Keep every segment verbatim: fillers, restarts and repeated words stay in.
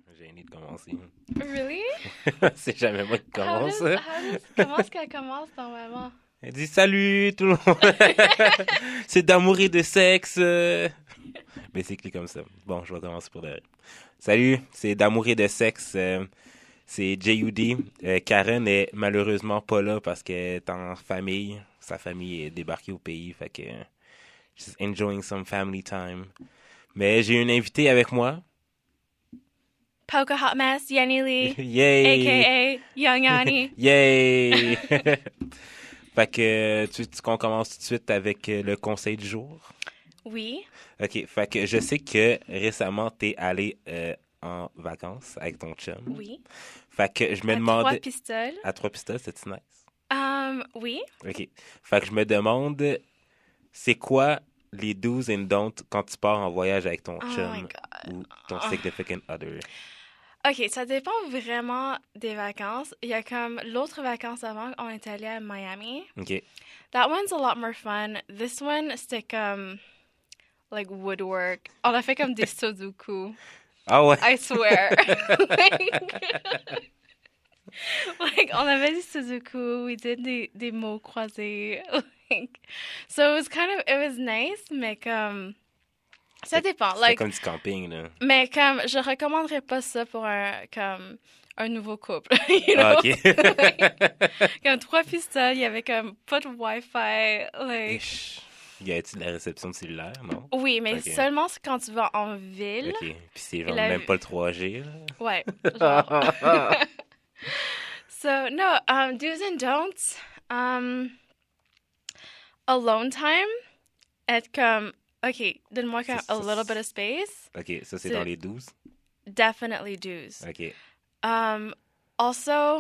gêné de commencer. Really? C'est jamais moi qui How commence. does, how does, comment est-ce qu'elle commence normalement? Elle dit salut tout le monde. C'est d'amour et de sexe. Mais c'est écrit comme ça. Bon, je vais commencer pour derrière. Salut, c'est d'amour et de sexe. euh, C'est J U D. Euh, Karen est malheureusement pas là parce qu'elle est en famille. Sa famille est débarquée au pays. Fait que euh, just enjoying some family time. Mais j'ai une invitée avec moi. Poker Hot Mess, Yenny Lee, Yay! a k a. Young Yanni. Yay! Fait que tu, tu qu'on commence tout de suite avec euh, le conseil du jour. Oui. OK, fait que je sais que récemment t'es allé euh, en vacances avec ton chum. Oui. Fait que je me À demandais trois pistoles. à trois pistoles, c'est nice. Um, oui. OK. Fait que je me demande c'est quoi les do's and don'ts quand tu pars en voyage avec ton Oh my chum God. ou ton Ah. significant other. OK, ça dépend vraiment des vacances. Il y a comme l'autre vacances avant, on est allé à Miami. OK. That one's a lot more fun. This one, c'était comme, like, woodwork. On a fait comme des sudoku. Ah ouais. I swear. like, like, on avait des sudoku. We did des, des mots croisés. Like, so it was kind of, it was nice, mais comme, ça dépend. C'est Like, comme du camping là. mais comme, je recommanderais pas ça pour un, comme, un nouveau couple. You know? Ah, OK. Like, comme trois pistoles, il y avait comme pas de Wi-Fi. Like, Ish. Y a-t-il de la réception de cellulaire, non? oui, mais Ok. seulement quand tu vas en ville. OK. Puis c'est genre la- même pas le trois G, là. Ouais. Genre. So, no, um, do's and don'ts. Um, alone time. Être comme, OK, donne-moi comme Ça, a ça, little bit of space. OK, ça, c'est C'est- dans les douze. Definitely do's. OK. Um, also,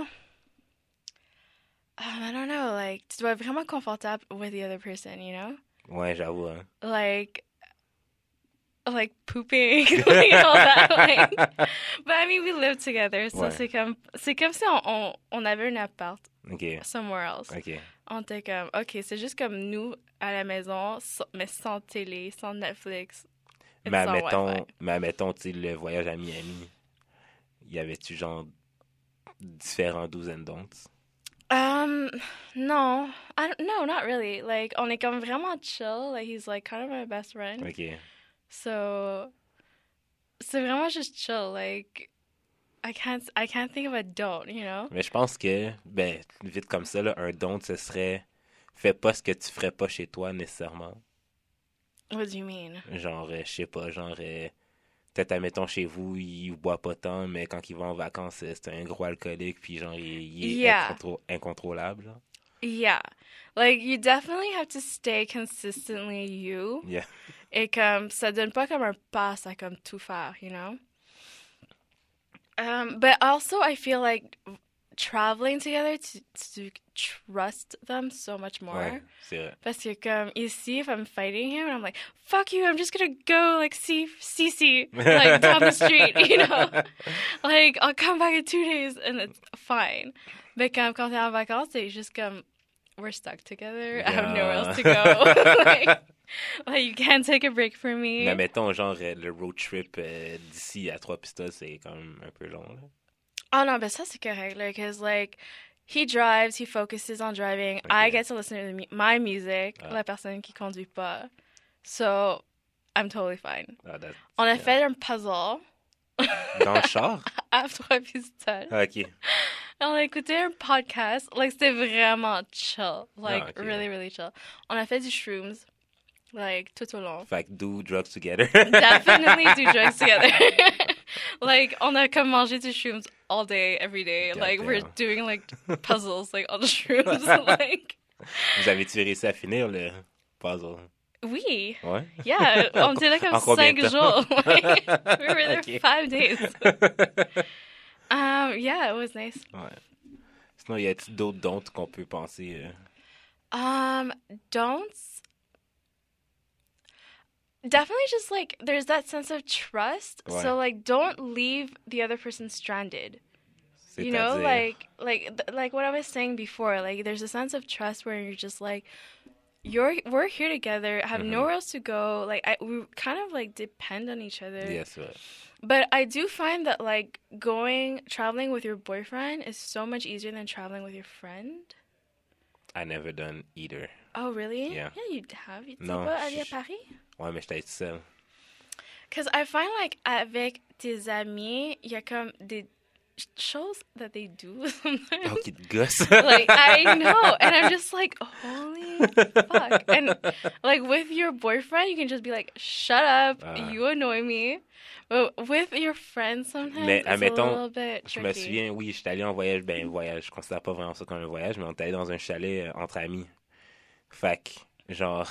um, I don't know, like, tu dois être vraiment confortable with the other person, you know? Ouais, j'avoue, hein. Like, like pooping, like all that. Like, but I mean, we live together, so Ouais. c'est comme, c'est comme si on, on, on avait un appart OK. somewhere else. OK. On était comme, OK, c'est juste comme nous à la maison, so- mais sans télé, sans Netflix. et Mais sans admettons, Wi-Fi. mais admettons, tu sais, le voyage à Miami, y avait-tu genre différents do's and don'ts? Um, no, I don't, no, not really. Like, on est comme vraiment chill. Like, he's like kind of my best friend. OK. So, c'est vraiment juste chill. Like, I can't, I can't think of a don't, you know? Mais je pense que, ben, vite comme ça, là, un don't, ce serait fais pas ce que tu ferais pas chez toi nécessairement. What do you mean? Genre, euh, je sais pas, genre, euh, peut-être, admettons, chez vous, il boit pas tant, mais quand il va en vacances, euh, c'est un gros alcoolique, puis genre, il, il est Yeah. incontro- incontrôlable, genre. Yeah. Like, you definitely have to stay consistently you. Yeah. Et comme, ça donne pas comme un pass à comme tout faire, you know? Um, but also, I feel like traveling together to, to trust them so much more. Ouais, c'est vrai. Parce que comme ici, if I'm fighting him, and I'm like, fuck you, I'm just gonna go like see Cece like down the street, you know? Like, I'll come back in two days and it's fine. Mais comme quand t'es en vacances, c'est juste comme, we're stuck together, I have nowhere else to go. like, like, you can't take a break for me. Mais mettons, genre, euh, le road trip euh, d'ici à Trois Pistoles, c'est quand même un peu long, là. Oh non, but ça c'est correct, like, cause like, he drives, he focuses on driving, I Okay. get to listen to the mu- my music, Ah. la personne qui conduit pas. So, I'm totally fine. Ah, that- On a yeah. fait un puzzle Dans le char? à trois pistoles. Ah, OK. On a écouté un podcast. Like, c'était vraiment chill. Like, Ah, ok. really, really chill. On a fait du shrooms. Like, tout au long. Fait que do drugs together. Definitely do drugs together. Like, on a comme mangé du shrooms all day, every day. God Like, we're damn. doing, like, puzzles, like, on the shrooms. Like, Vous avez-tu réussi à finir le puzzle? oui. Ouais? Yeah, on était là comme En combien cinq de temps? jours. Like, we were there Ok. five days. Um, yeah, it was nice. Ouais. Sinon, y a-t-il d'autres don'ts qu'on peut penser? euh? Um, don'ts. Definitely just like there's that sense of trust. Ouais. So like don't leave the other person stranded. You know, C'est-à-dire- like like th- like what I was saying before, like there's a sense of trust where you're just like you're we're here together. I have Mhm. nowhere else to go. Like I, we kind of like depend on each other. Yes, ouais. But I do find that like going traveling with your boyfriend is so much easier than traveling with your friend. I never done either. Oh really? Yeah. Yeah, you have. You t'es Non, pas allé à je- Paris? Ouais, mais j'étais tout seul. Because I find like avec tes amis, il y a comme des choses that they do sometimes. Oh, qui te gosse. Like I know, and I'm just like, holy fuck. And like with your boyfriend, you can just be like, shut up, Ah. you annoy me. But with your friends, sometimes Mais, it's admettons, a little bit Je tricky. me souviens, oui, j'étais allé en voyage, ben voyage, je considère pas vraiment ça comme un voyage, mais on était allé dans un chalet euh, entre amis. Fait que, genre,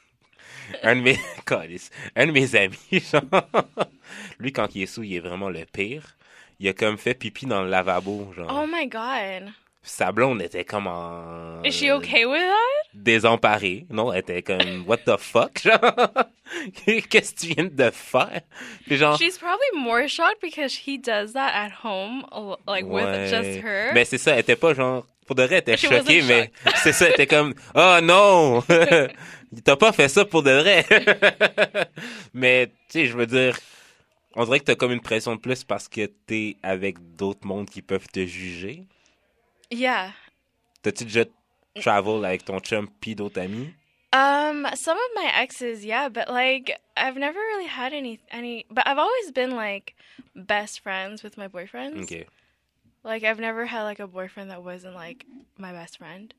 un de mes, câlisse, un de mes amis, genre, lui quand il est sous, il est vraiment le pire. Il a comme fait pipi dans le lavabo, genre. Oh my god. Sa blonde était comme en... Is she okay with that? Désemparée. Non, elle était comme, what the fuck, genre? Qu'est-ce que tu viens de faire? Puis genre... She's probably more shocked because he does that at home, al- like with Ouais. just her. Mais c'est ça, elle était pas genre... Pour de vrai, elle était She choquée, wasn't mais c'est ça, elle était comme... Oh non! T'as pas fait ça pour de vrai! Mais, tu sais, je veux dire... On dirait que t'as comme une pression de plus parce que t'es avec d'autres mondes qui peuvent te juger. Yeah. T'as-tu déjà travel avec ton chum pis d'autres amis? Um, some of my exes, yeah, but like I've never really had any any. But I've always been like best friends with my boyfriends. Ok. Like I've never had like a boyfriend that wasn't like my best friend.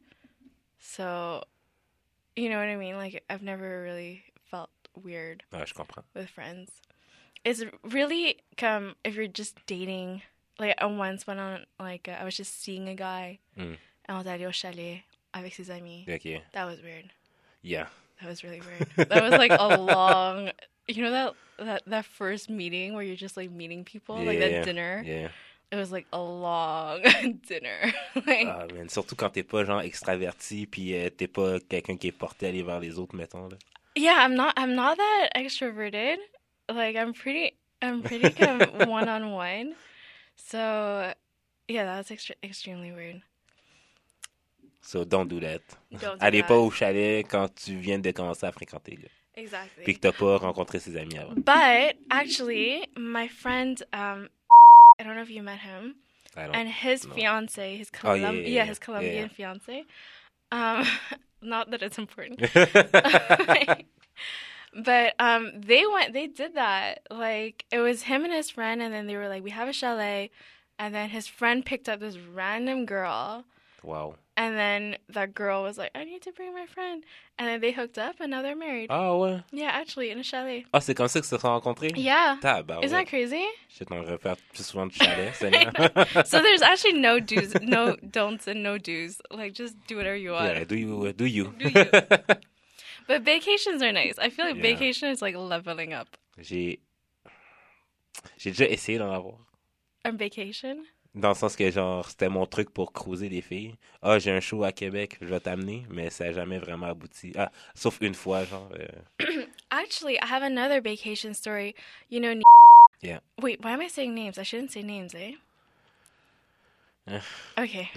So, you know what I mean? Like I've never really felt weird Ah, je comprends. with friends. It's really come if you're just dating. Like I once went on like uh, I was just seeing a guy, Mm. and I was allé au chalet avec ses amis. Ok. That was weird. Yeah. That was really weird. That was like a long, you know that that that first meeting where you're just like meeting people, like Yeah. that dinner. Yeah. It was like a long dinner. Like, Ah, man, surtout quand t'es pas genre extraverti puis euh, t'es pas quelqu'un qui est porté à aller vers les autres, mettons, là. yeah, I'm not I'm not that extroverted. Like I'm pretty I'm pretty kind of one on one. So yeah, that was extre- extremely weird. So don't do that. Don't do Allez that. pas au chalet quand tu viens de commencer à fréquenter, là. Exactly. Puis que t'as pas rencontré ses amis avant. But actually, my friend, um, I don't know if you met him, I don't- and his no. fiance, his Oh, Colum- yeah, yeah, yeah. his Colombian Yeah, yeah. fiance. Um, not that it's important, but um, they went, they did that. Like it was him and his friend, and then they were like, "We have a chalet," and then his friend picked up this random girl. Wow. And then that girl was like, I need to bring my friend. And then they hooked up and now they're married. Ah ouais? Yeah, actually, in a chalet. Ah, c'est comme ça qu'ils se sont rencontrés? Yeah. Tabarouette. Isn't that crazy? Je t'en refaire plus souvent de chalet, Seigneur. So there's actually no do's, no don'ts, and no do's. Like, just do whatever you want. Yeah, do you, do you. Do you. But vacations are nice. I feel like Yeah. vacation is like leveling up. J'ai... J'ai déjà essayé d'en avoir. On vacation? Dans le sens que, genre, c'était mon truc pour cruiser des filles. Ah, j'ai un show à Québec, je vais t'amener, mais ça n'a jamais vraiment abouti. Ah, sauf une fois, genre. euh, Actually, I have another vacation story. You know, Yeah. wait, why am I saying names? I shouldn't say names, eh? Eh. Okay.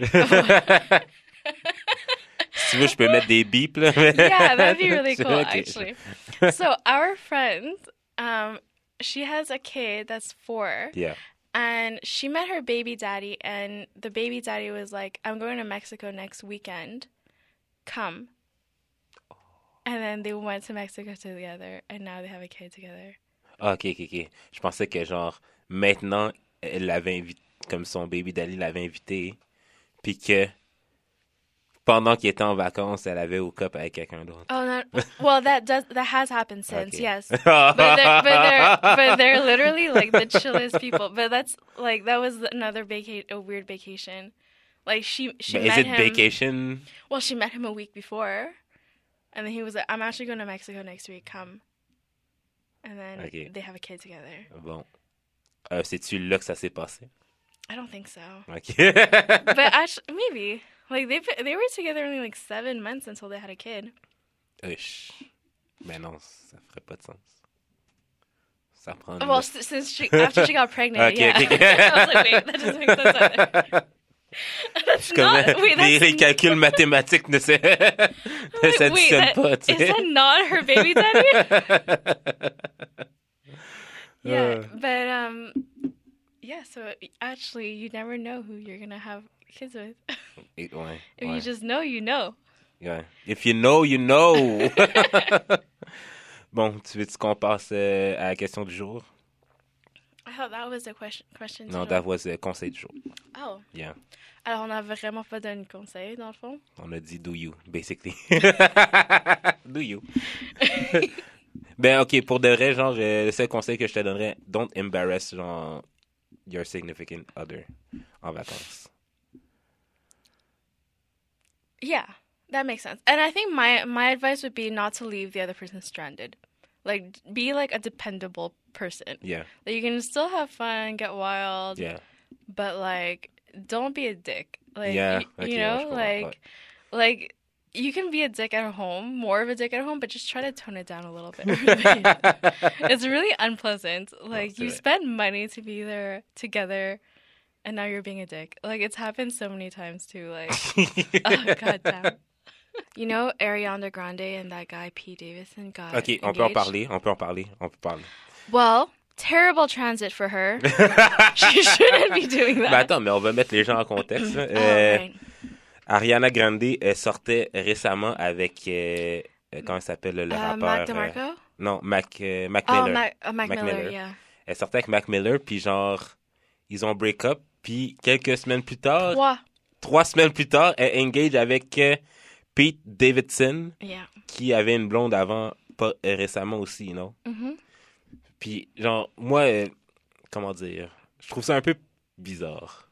Si tu veux, je peux mettre des bips, là. Yeah, that'd be really cool, Ok. actually. So our friend, um, she has a kid that's four, Yeah. and she met her baby daddy, and the baby daddy was like, "I'm going to Mexico next weekend. Come." And then they went to Mexico together, and now they have a kid together. Ah, ok, ok, ok. Je pensais que, genre, maintenant, elle l'avait invité, comme son baby daddy l'avait invité, puis que pendant qu'il était en vacances, elle avait hook up avec quelqu'un d'autre. Oh no! Well, that does that has happened since, Okay. yes. But they're, but they're but they're literally like the chillest people. But that's like that was another vaca- a weird vacation. Like she she But is met it him. vacation? Well, she met him a week before, and then he was like, "I'm actually going to Mexico next week. Come." And then Okay. they have a kid together. Bon. Euh, c'est-tu là que ça s'est passé? I don't think so, Ok. but actually maybe like they they were together only like seven months until they had a kid. Ush. Mais non, ça ferait pas de sens. Ça prend... Well, s- since she after she got pregnant, Okay, yeah. okay. I was like, wait, that doesn't make sense either. That's Comme, not. Wait, les, that's les calculs mathématiques ne se- ne wait, s'additionnent that, pas, tu is sais. that not her baby daddy? Yeah, Euh, but um, yeah. So actually, you never know who you're gonna have kids with. et- ouais, If ouais, you just know, you know. ouais. If you know, you know. Bon, tu veux-tu qu'on passe euh, à la question du jour? I thought that was the question. Question. Non, today. that was le conseil du jour. Oh. Yeah. Alors, on n'a vraiment pas donné de conseil, dans le fond. On a dit do you, basically. Do you. Ben, ok, pour de vrai, genre, euh, le seul conseil que je te donnerais, don't embarrass, genre, your significant other en vacances. Yeah, that makes sense. And I think my my advice would be not to leave the other person stranded. Like, be like a dependable person. Yeah, Like, you can still have fun, get wild, yeah. but like, don't be a dick. Like, Yeah, y- ok, you ouais, know, je comprends, like, ouais. like you can be a dick at home, more of a dick at home, but just try to tone it down a little bit. It's really unpleasant. Like, c'est you vrai. spend money to be there together, and now you're being a dick. Like, it's happened so many times too. Like, oh god damn. You know, Ariana Grande and that guy Pete Davidson got Ok, on peut en engaged? parler, on peut en parler, on peut parler. Well, terrible transit for her. She shouldn't be doing that. Mais attends, mais on va mettre les gens en contexte. là. Oh, Euh, right. Ariana Grande elle sortait récemment avec, euh, euh, comment il s'appelle le Uh, rappeur? Mac euh, DeMarco? non, Mac, euh, Mac Oh, Miller. Mac, uh, Mac, Mac Miller, Miller. yeah. Elle sortait avec Mac Miller, puis genre, ils ont break up, puis quelques semaines plus tard, Trois. trois semaines plus tard, elle engage avec euh, Pete Davidson, Yeah. qui avait une blonde avant, pas euh, récemment aussi, you know? Mhm. Puis genre, moi, euh, comment dire, je trouve ça un peu bizarre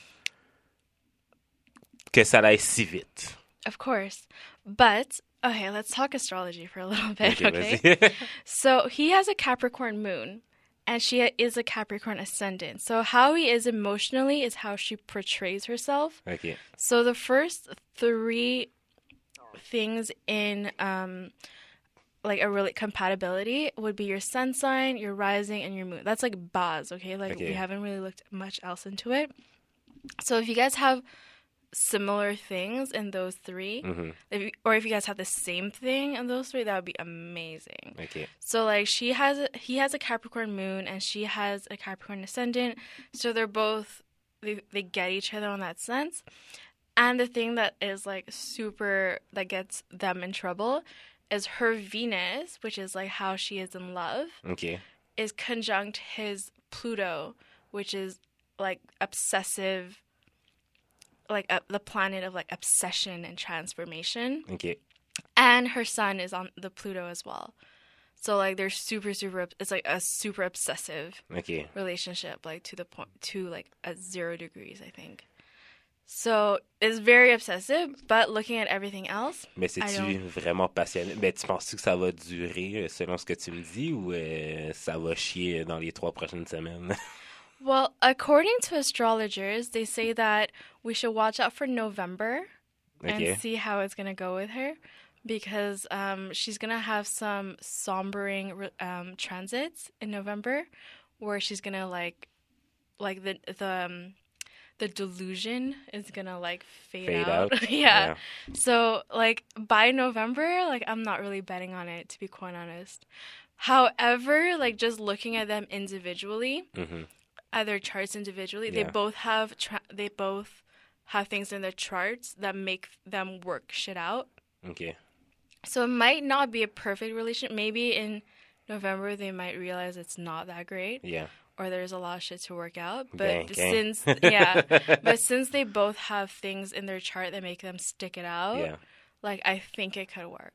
que ça aille si vite. Of course. But, okay, let's talk astrology for a little bit, Ok, okay? vas-y. So, he has a Capricorn moon, and she is a Capricorn ascendant. So, how he is emotionally is how she portrays herself. Ok, So, the first three things in um like a really compatibility would be your sun sign, your rising, and your moon. That's like baz, okay? Like Okay. we haven't really looked much else into it. So if you guys have similar things in those three, mhm, if you, or if you guys have the same thing in those three, that would be amazing. ok, So like she has a, he has a Capricorn moon and she has a Capricorn ascendant, so they're both they, they get each other on that sense. And the thing that is like super that gets them in trouble is her Venus, which is like how she is in love, ok, is conjunct his Pluto, which is like obsessive, like uh, the planet of like obsession and transformation. ok, And her sun is on the Pluto as well. So like they're super super it's like a super obsessive ok. relationship, like to the point to like at zero degrees, I think. So it's very obsessive, but looking at everything else, Mais I c'est-tu don't- vraiment passionné? Ben, tu penses que ça va durer euh, selon ce que tu me dis ou euh, ça va chier dans les trois prochaines semaines? well, according to astrologers, they say that we should watch out for November Ok, and see how it's gonna go with her, because um, she's gonna have some sombering re- um, transits in November, where she's gonna like, like the the um, the delusion is gonna like fade, fade out. out. yeah. So like by November, like I'm not really betting on it, to be quite honest. However, like just looking at them individually, Mhm. at their charts individually, Yeah. they both have tra- they both have things in their charts that make them work shit out. Ok, So it might not be a perfect relationship. Maybe in November they might realize it's not that great, yeah. or there's a lot of shit to work out. But Dang, dang. since yeah, but since they both have things in their chart that make them stick it out, Yeah. like I think it could work.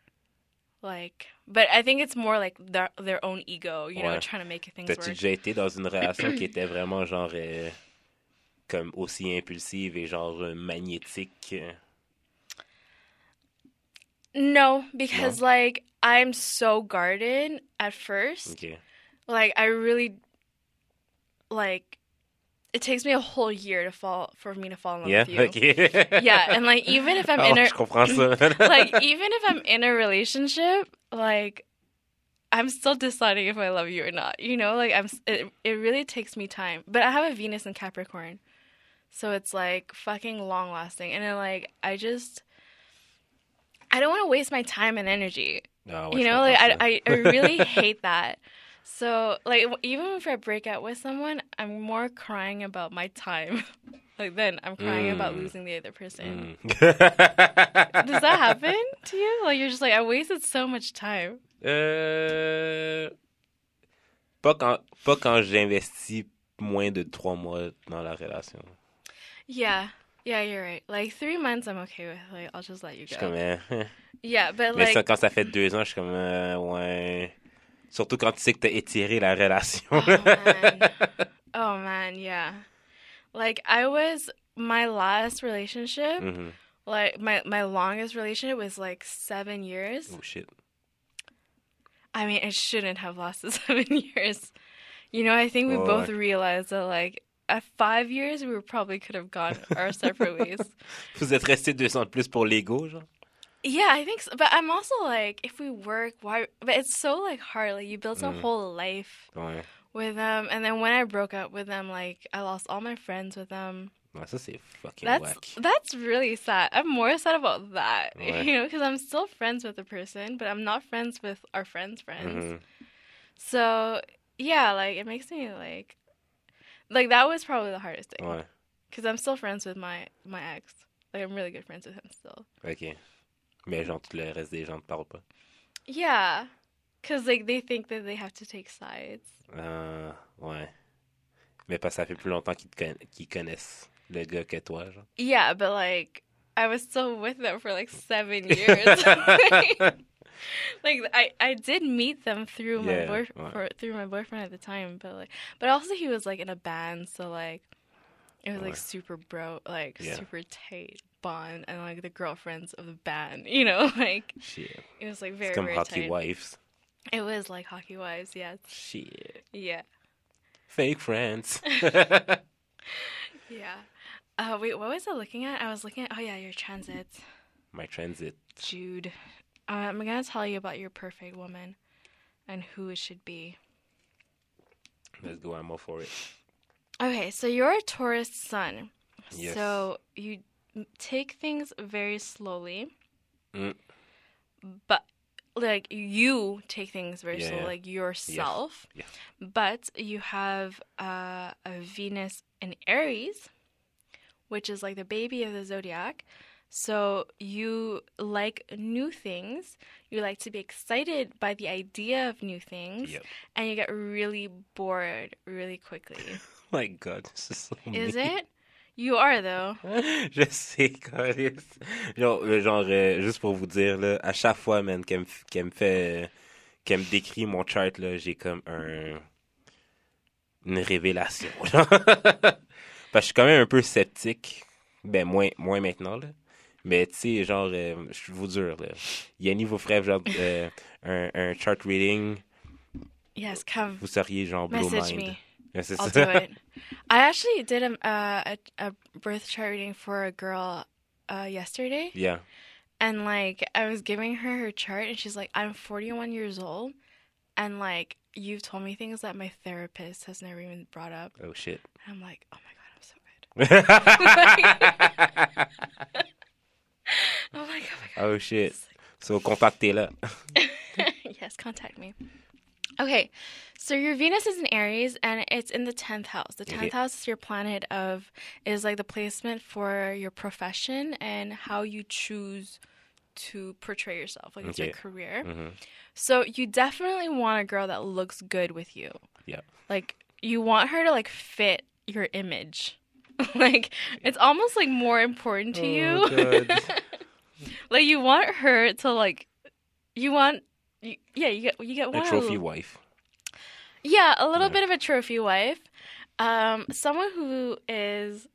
Like, but I think it's more like their their own ego, you know, Ouais. trying to make things T'as-tu work. déjà été dans une relation qui était vraiment genre euh, comme aussi impulsive et genre euh, magnétique? euh? No, because like I'm so guarded at first. Ok, Like I really like it takes me a whole year to fall for me to fall in love yeah, with you. ok. Yeah, and like even if I'm Oh, in a je comprends ça. like even if I'm in a relationship, like I'm still deciding if I love you or not. You know, like I'm. It, it really takes me time. But I have a Venus in Capricorn, So it's like fucking long lasting. And then like I just I don't want to waste my time and energy. Ah, ouais, You je know, like comprends I, ça. I, I really hate that. So like w- even if I break up with someone, I'm more crying about my time. Like then I'm crying about Mm. losing the other person. Mm. Does that happen to you? Like you're just like I wasted so much time. Euh, pas quand, pas quand j'investis moins de trois mois dans la relation. Yeah. Yeah, you're right. Like three months I'm okay with. Like I'll just let you Je suis comme, go. euh, hein. Yeah, but Mais ça, like quand ça fait deux ans, je suis comme, euh, ouais. Surtout quand tu sais que t'as étiré la relation. oh man. Oh man, yeah. Like I was my last relationship, Mhm. like my my longest relationship was like seven years. Oh shit. I mean, it shouldn't have lasted seven years. You know, I think we Ouais, both ouais. realized that like at five years we probably could have gone our separate ways. Vous êtes restés deux ans de plus pour l'ego, genre? Yeah, I think so. But I'm also like, if we work, why? But it's so like hard. Like you build a Mm. whole life Ouais. with them, and then when I broke up with them, like I lost all my friends with them. Ouais, ça, c'est fucking That's whack. that's really sad. I'm more sad about that, Ouais. you know, because I'm still friends with the person, but I'm not friends with our friends' friends. Mhm. So yeah, like it makes me like, like that was probably the hardest thing, Ouais. because I'm still friends with my my ex. Like I'm really good friends with him still. OK. Mais genre, tout le reste des gens ne te parlent pas. Yeah, because like they think that they have to take sides. Euh, ouais. Mais parce que ça fait plus longtemps qu'ils te conna- qu'ils connaissent le gars que toi, genre. Yeah, but like I was still with them for like seven years. Like I, I did meet them through my Yeah, boy ouais. for, through my boyfriend at the time, but like but also he was like in a band, so like it was like Ouais. super bro like Yeah. super tight bond, and like the girlfriends of the band, you know, like Shit. it was like C'est very comme very Hockey tight. Wives. It was like hockey wives, yeah. Shit. Yeah. Fake friends. Yeah. Uh wait, what was I looking at? I was looking at oh yeah, your transits. My transit. Jude. Uh, I'm gonna tell you about your perfect woman and who it should be. Let's go, I'm all for it. Okay, so you're a Taurus sun. Yes. So you m- take things very slowly. Mm. But like you take things very Yeah, slow, yeah. like yourself. Yeah. But you have uh, a Venus in Aries, which is like the baby of the zodiac. So you like new things. You like to be excited by the idea of new things, Yep. and you get really bored really quickly. Oh my God, c'est so Is mean. it? You are though. Je sais, Carlis. Genre, euh, genre euh, juste pour vous dire, là, à chaque fois, man, qu'elle me, f- qu'elle me fait, euh, qu'elle me décrit mon chart, là, j'ai comme un, une révélation. genre. Parce que je suis quand même un peu sceptique. Ben, moins, moins maintenant, là. Mais, tu sais, genre, euh, je vous jure, là. Yanni vous ferait, genre, euh, un, un chart reading, Yes, come vous seriez, genre, blow message mind. me. Ouais, c'est I'll ça. do it. I actually did a, uh, a a birth chart reading for a girl uh, yesterday, Yeah. and like I was giving her her chart, and she's like, "I'm forty-one years old, and like you've told me things that my therapist has never even brought up." Oh, shit. And I'm like, "Oh my god, I'm so good." I'm like, "Oh my god." Oh, shit. So, contactez-la. Yes, contact me. Okay, so your Venus is in Aries and it's in the tenth house. The tenth Okay. house is your planet of, is like the placement for your profession and how you choose to portray yourself. Like it's your Okay. career. Mhm. So you definitely want a girl that looks good with you. Yeah. Like you want her to like fit your image. Like it's almost like more important to Oh, you. God. Like you want her to like, you want, you, yeah, you get you get A one trophy wife. Yeah, a little Yeah. bit of a trophy wife. Um, someone who is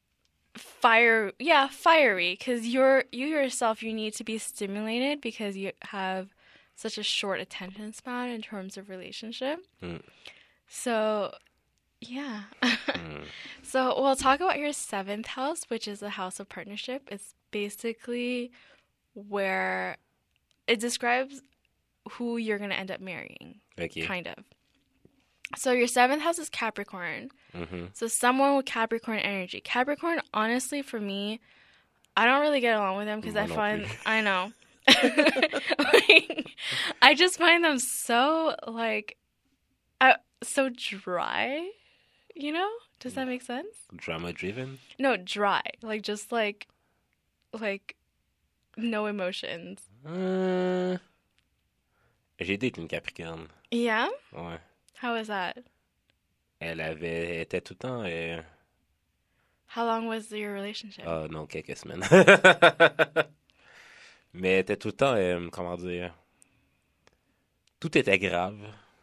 fire, yeah, fiery, because you're you yourself, you need to be stimulated because you have such a short attention span in terms of relationship. Mm. So, yeah. Mm. So we'll talk about your seventh house, which is the house of partnership. It's basically where it describes who you're gonna end up marrying. Okay. Kind of. So your seventh house is Capricorn. Mm-hmm. So someone with Capricorn energy. Capricorn, honestly, for me, I don't really get along with them because Moi I non find, plus. I know. Like, I just find them so, like, uh, so dry, you know? Does that make sense? Drama driven. No, dry. Like, just like, like, no emotions. Euh, J'ai date une Capricorne. Yeah? Ouais. How was that? Elle avait, elle était tout le temps. euh, How long was your relationship? Ah non, quelques semaines. Mais elle était tout le temps, euh, comment dire, tout était grave.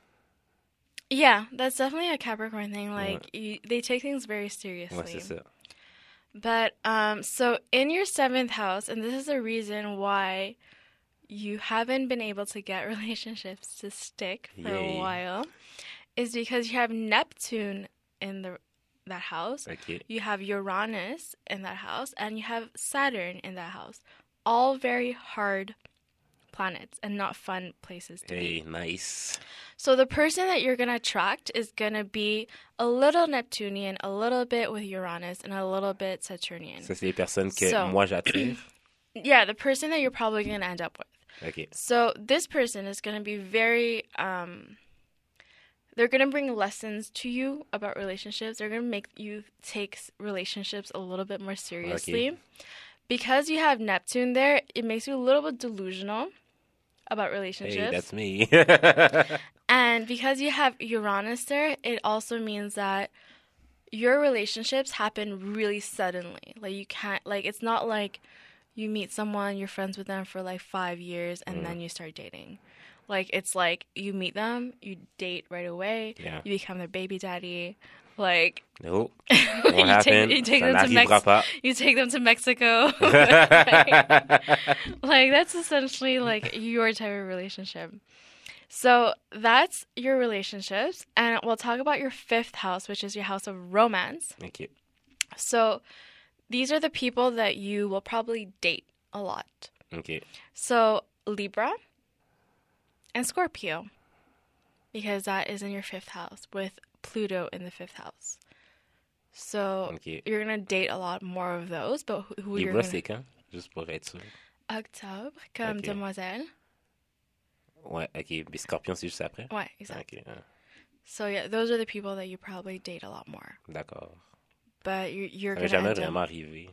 Yeah, that's definitely a Capricorn thing. Ouais, Like, you, they take things very ouais, seriously. c'est ça. But um, so in your seventh house, and this is the reason why you haven't been able to get relationships to stick for a Yay. while, is because you have Neptune in the that house, Ok. you have Uranus in that house, and you have Saturn in that house. All very hard planets and not fun places to be. Hey, nice. So the person that you're going to attract is going to be a little Neptunian, a little bit with Uranus, and a little bit Saturnian. Ça, c'est les personnes que So- moi j'attire. Yeah, the person that you're probably going to end up with. Ok. So this person is going to be very, um, they're going to bring lessons to you about relationships. They're going to make you take s- relationships a little bit more seriously. Because you have Neptune there, it makes you a little bit delusional about Hey, relationships. that's me. And because you have Uranus there, it also means that your relationships happen really suddenly. Like you can't, like it's not like you meet someone, you're friends with them for like five years, and then you start dating. Like it's like you meet them, you date right away, Yeah. you become their baby daddy. Like No, you won't happen. take, you take Ça them to n'arrivera Mex- pas. you take them to Mexico. like, like that's essentially like your type of relationship. So that's your relationships, and we'll talk about your fifth house, which is your house of romance. Ok. So these are the people that you will probably date a lot. Ok. So Libra and Scorpio, because that is in your fifth house with Pluto in the fifth house. So Ok. you're gonna date a lot more of those, but who, who you're Libra, gonna... c'est quand? Juste pour être sûr. Octobre, comme Ok. demoiselle. Ouais, ok. Puis Scorpion, c'est juste après? Ouais, exactly. Ok. ah, So yeah, those are the people that you probably date a lot more. D'accord. But you're, you're Ça m'est gonna jamais end vraiment up... arrivé.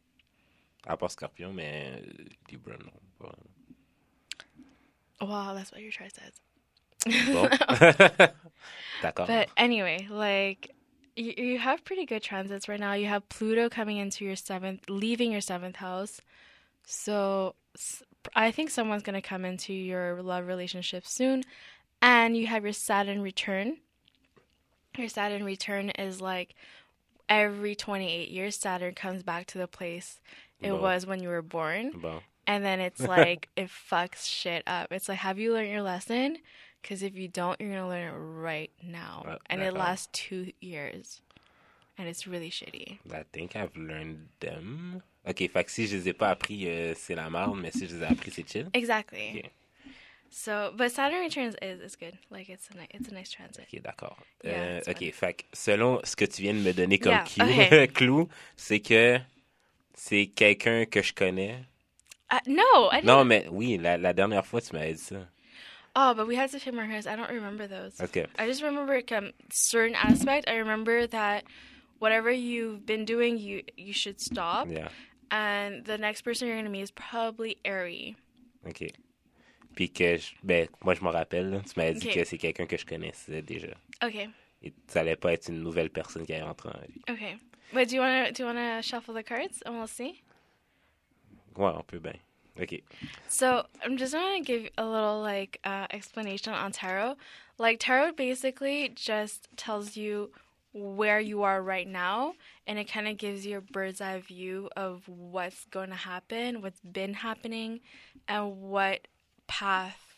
À part Scorpion, mais euh, Libra, non. Pas vraiment. Wow, that's what your chart says. Bon. D'accord. But anyway, like you, you have pretty good transits right now. You have Pluto coming into your seventh, leaving your seventh house. So s- I think someone's going to come into your love relationship soon. And you have your Saturn return. Your Saturn return is like every twenty-eight years, Saturn comes back to the place it Bon. was when you were born. Bon. And then it's like, it fucks shit up. It's like, have you learned your lesson? Because if you don't, you're going to learn it right now. Uh, and it d'accord. lasts two years. And it's really shitty. I think I've learned them. Ok, fait que si je les ai pas appris, euh, c'est la merde, mais si je les ai appris, c'est chill. Exactly. Ok, So, but Saturn returns is, is good. Like, it's a, ni- it's a nice transit. ok, d'accord. Yeah, Euh, it's ok, fun. fait que selon ce que tu viens de me donner comme Yeah, cue- okay. clou, c'est que c'est quelqu'un que je connais. Uh, no, I didn't. Non, mais oui, la, la dernière fois, tu m'avais dit ça. Oh, but we had to film our hairs. I don't remember those. Ok, I just remember um, certain aspect. I remember that whatever you've been doing, you you should stop. yeah, And the next person you're gonna meet is probably Ari. ok. Puis que, je- ben, moi, je me rappelle, là, tu m'avais dit Ok. que c'est quelqu'un que je connaissais déjà. Okay. Et ça allait pas être une nouvelle personne qui allait rentrer en vie. Okay. Wait, do you wanna do you wanna shuffle the cards and we'll see? Ouais, on peut bien. Ok. So I'm just gonna give a little like uh, explanation on tarot. Like tarot basically just tells you where you are right now, and it kind of gives you a bird's eye view of what's going to happen, what's been happening, and what path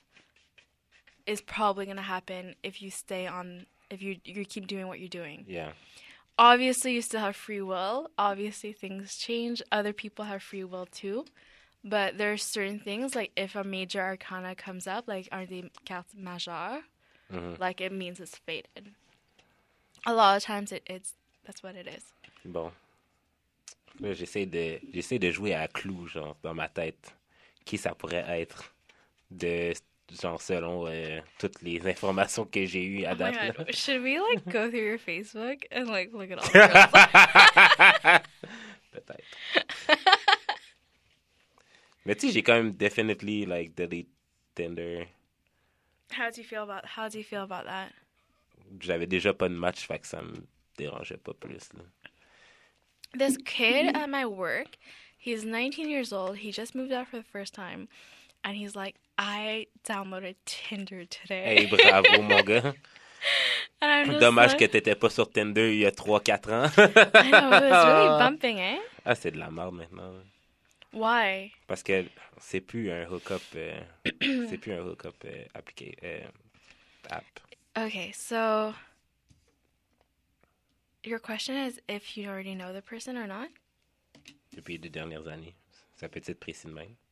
is probably going to happen if you stay on, if you you keep doing what you're doing. Yeah. Obviously, you still have free will. Obviously, things change. Other people have free will too. But there's certain things, like if a major arcana comes up, like are the cartes majeures, Mhm. like it means it's fated. a lot of times it, it's that's what it is. Bon. Là, j'essaie de, j'essaie de jouer à clou, genre, dans ma tête. Qui ça pourrait être de, genre, selon euh, toutes les informations que j'ai eues à Oh my date. god, should we like go through your Facebook and like look at all the girls? Peut-être. Mais tu sais, j'ai quand même definitely, like, delete Tinder. How do you feel about how do you feel about that? J'avais déjà pas de match, fait que ça me dérangeait pas plus, là. This kid at my work, he's nineteen years old. He just moved out for the first time, and he's like, "I downloaded Tinder today." Hey, bravo, mon gars. And I'm just Dommage like, que t'étais pas sur Tinder il y a trois quatre ans. I know, it was really bumping, eh? Ah, c'est de la merde maintenant. Why? Parce que c'est plus un hook-up, euh, c'est plus un hook-up euh, appliqué, euh, app. Okay, so your question is if you already know the person or not? Depuis les deux dernières années. Ça peut être précis de même.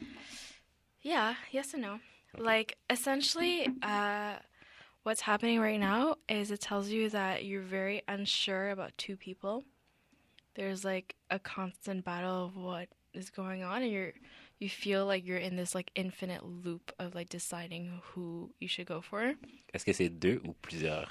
Yeah, yes and no. Like, essentially, uh, what's happening right now is it tells you that you're very unsure about two people. There's, like, a constant battle of what is going on, and you're, you feel like you're in this, like, infinite loop of, like, deciding who you should go for. Est-ce que c'est deux ou plusieurs?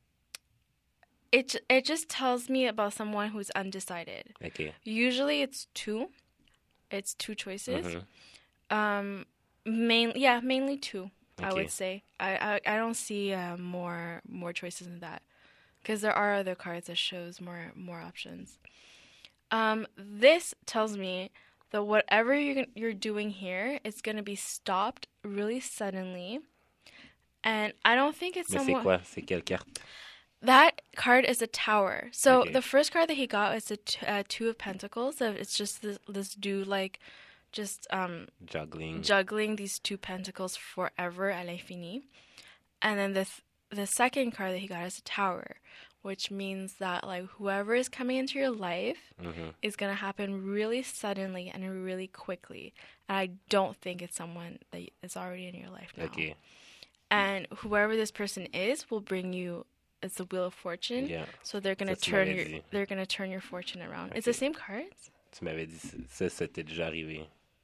It, it just tells me about someone who's undecided. OK. Usually it's two. It's two choices. Mhm. Um, main, yeah, mainly two. I Okay. would say. I, I, I don't see uh, more more choices than that, because there are other cards that shows more more options. Um, this tells me that whatever you're gon- you're doing here is gonna be stopped really suddenly, and I don't think it's Mais c'est someone. quoi? C'est quelle carte? That card is a tower. So Okay. the first card that he got is a t- uh, two of pentacles. So it's just this, this dude like just um Juggling. juggling these two pentacles forever à l'infini. And then the th- the second card that he got is a tower, which means that like whoever is coming into your life Mhm. is going to happen really suddenly and really quickly. And I don't think it's someone that is already in your life now. OK. And whoever this person is will bring you, it's the Wheel of Fortune. Yeah. So they're gonna Ça, tu turn m'avais your dit. they're gonna turn your fortune around. It's Okay. the same cards. Tu m'avais dit ça, ça t'est déjà arrivé.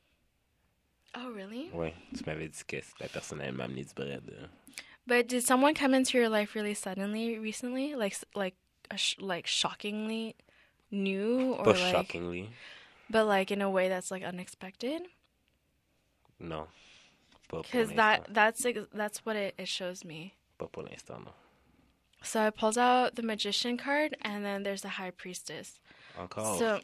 Oh really? Ouais. Tu m'avais dit que la personne elle m'a amené du bread. euh. But did someone come into your life really suddenly recently, like s- like a sh- like shockingly new, or Pas like, shockingly. but like in a way that's like unexpected? Non. Pas pour Because l'instant. that that's ex- that's what it, it shows me. Pas pour l'instant, non. So I pulled out the Magician card, and then there's the High Priestess. Encore. So,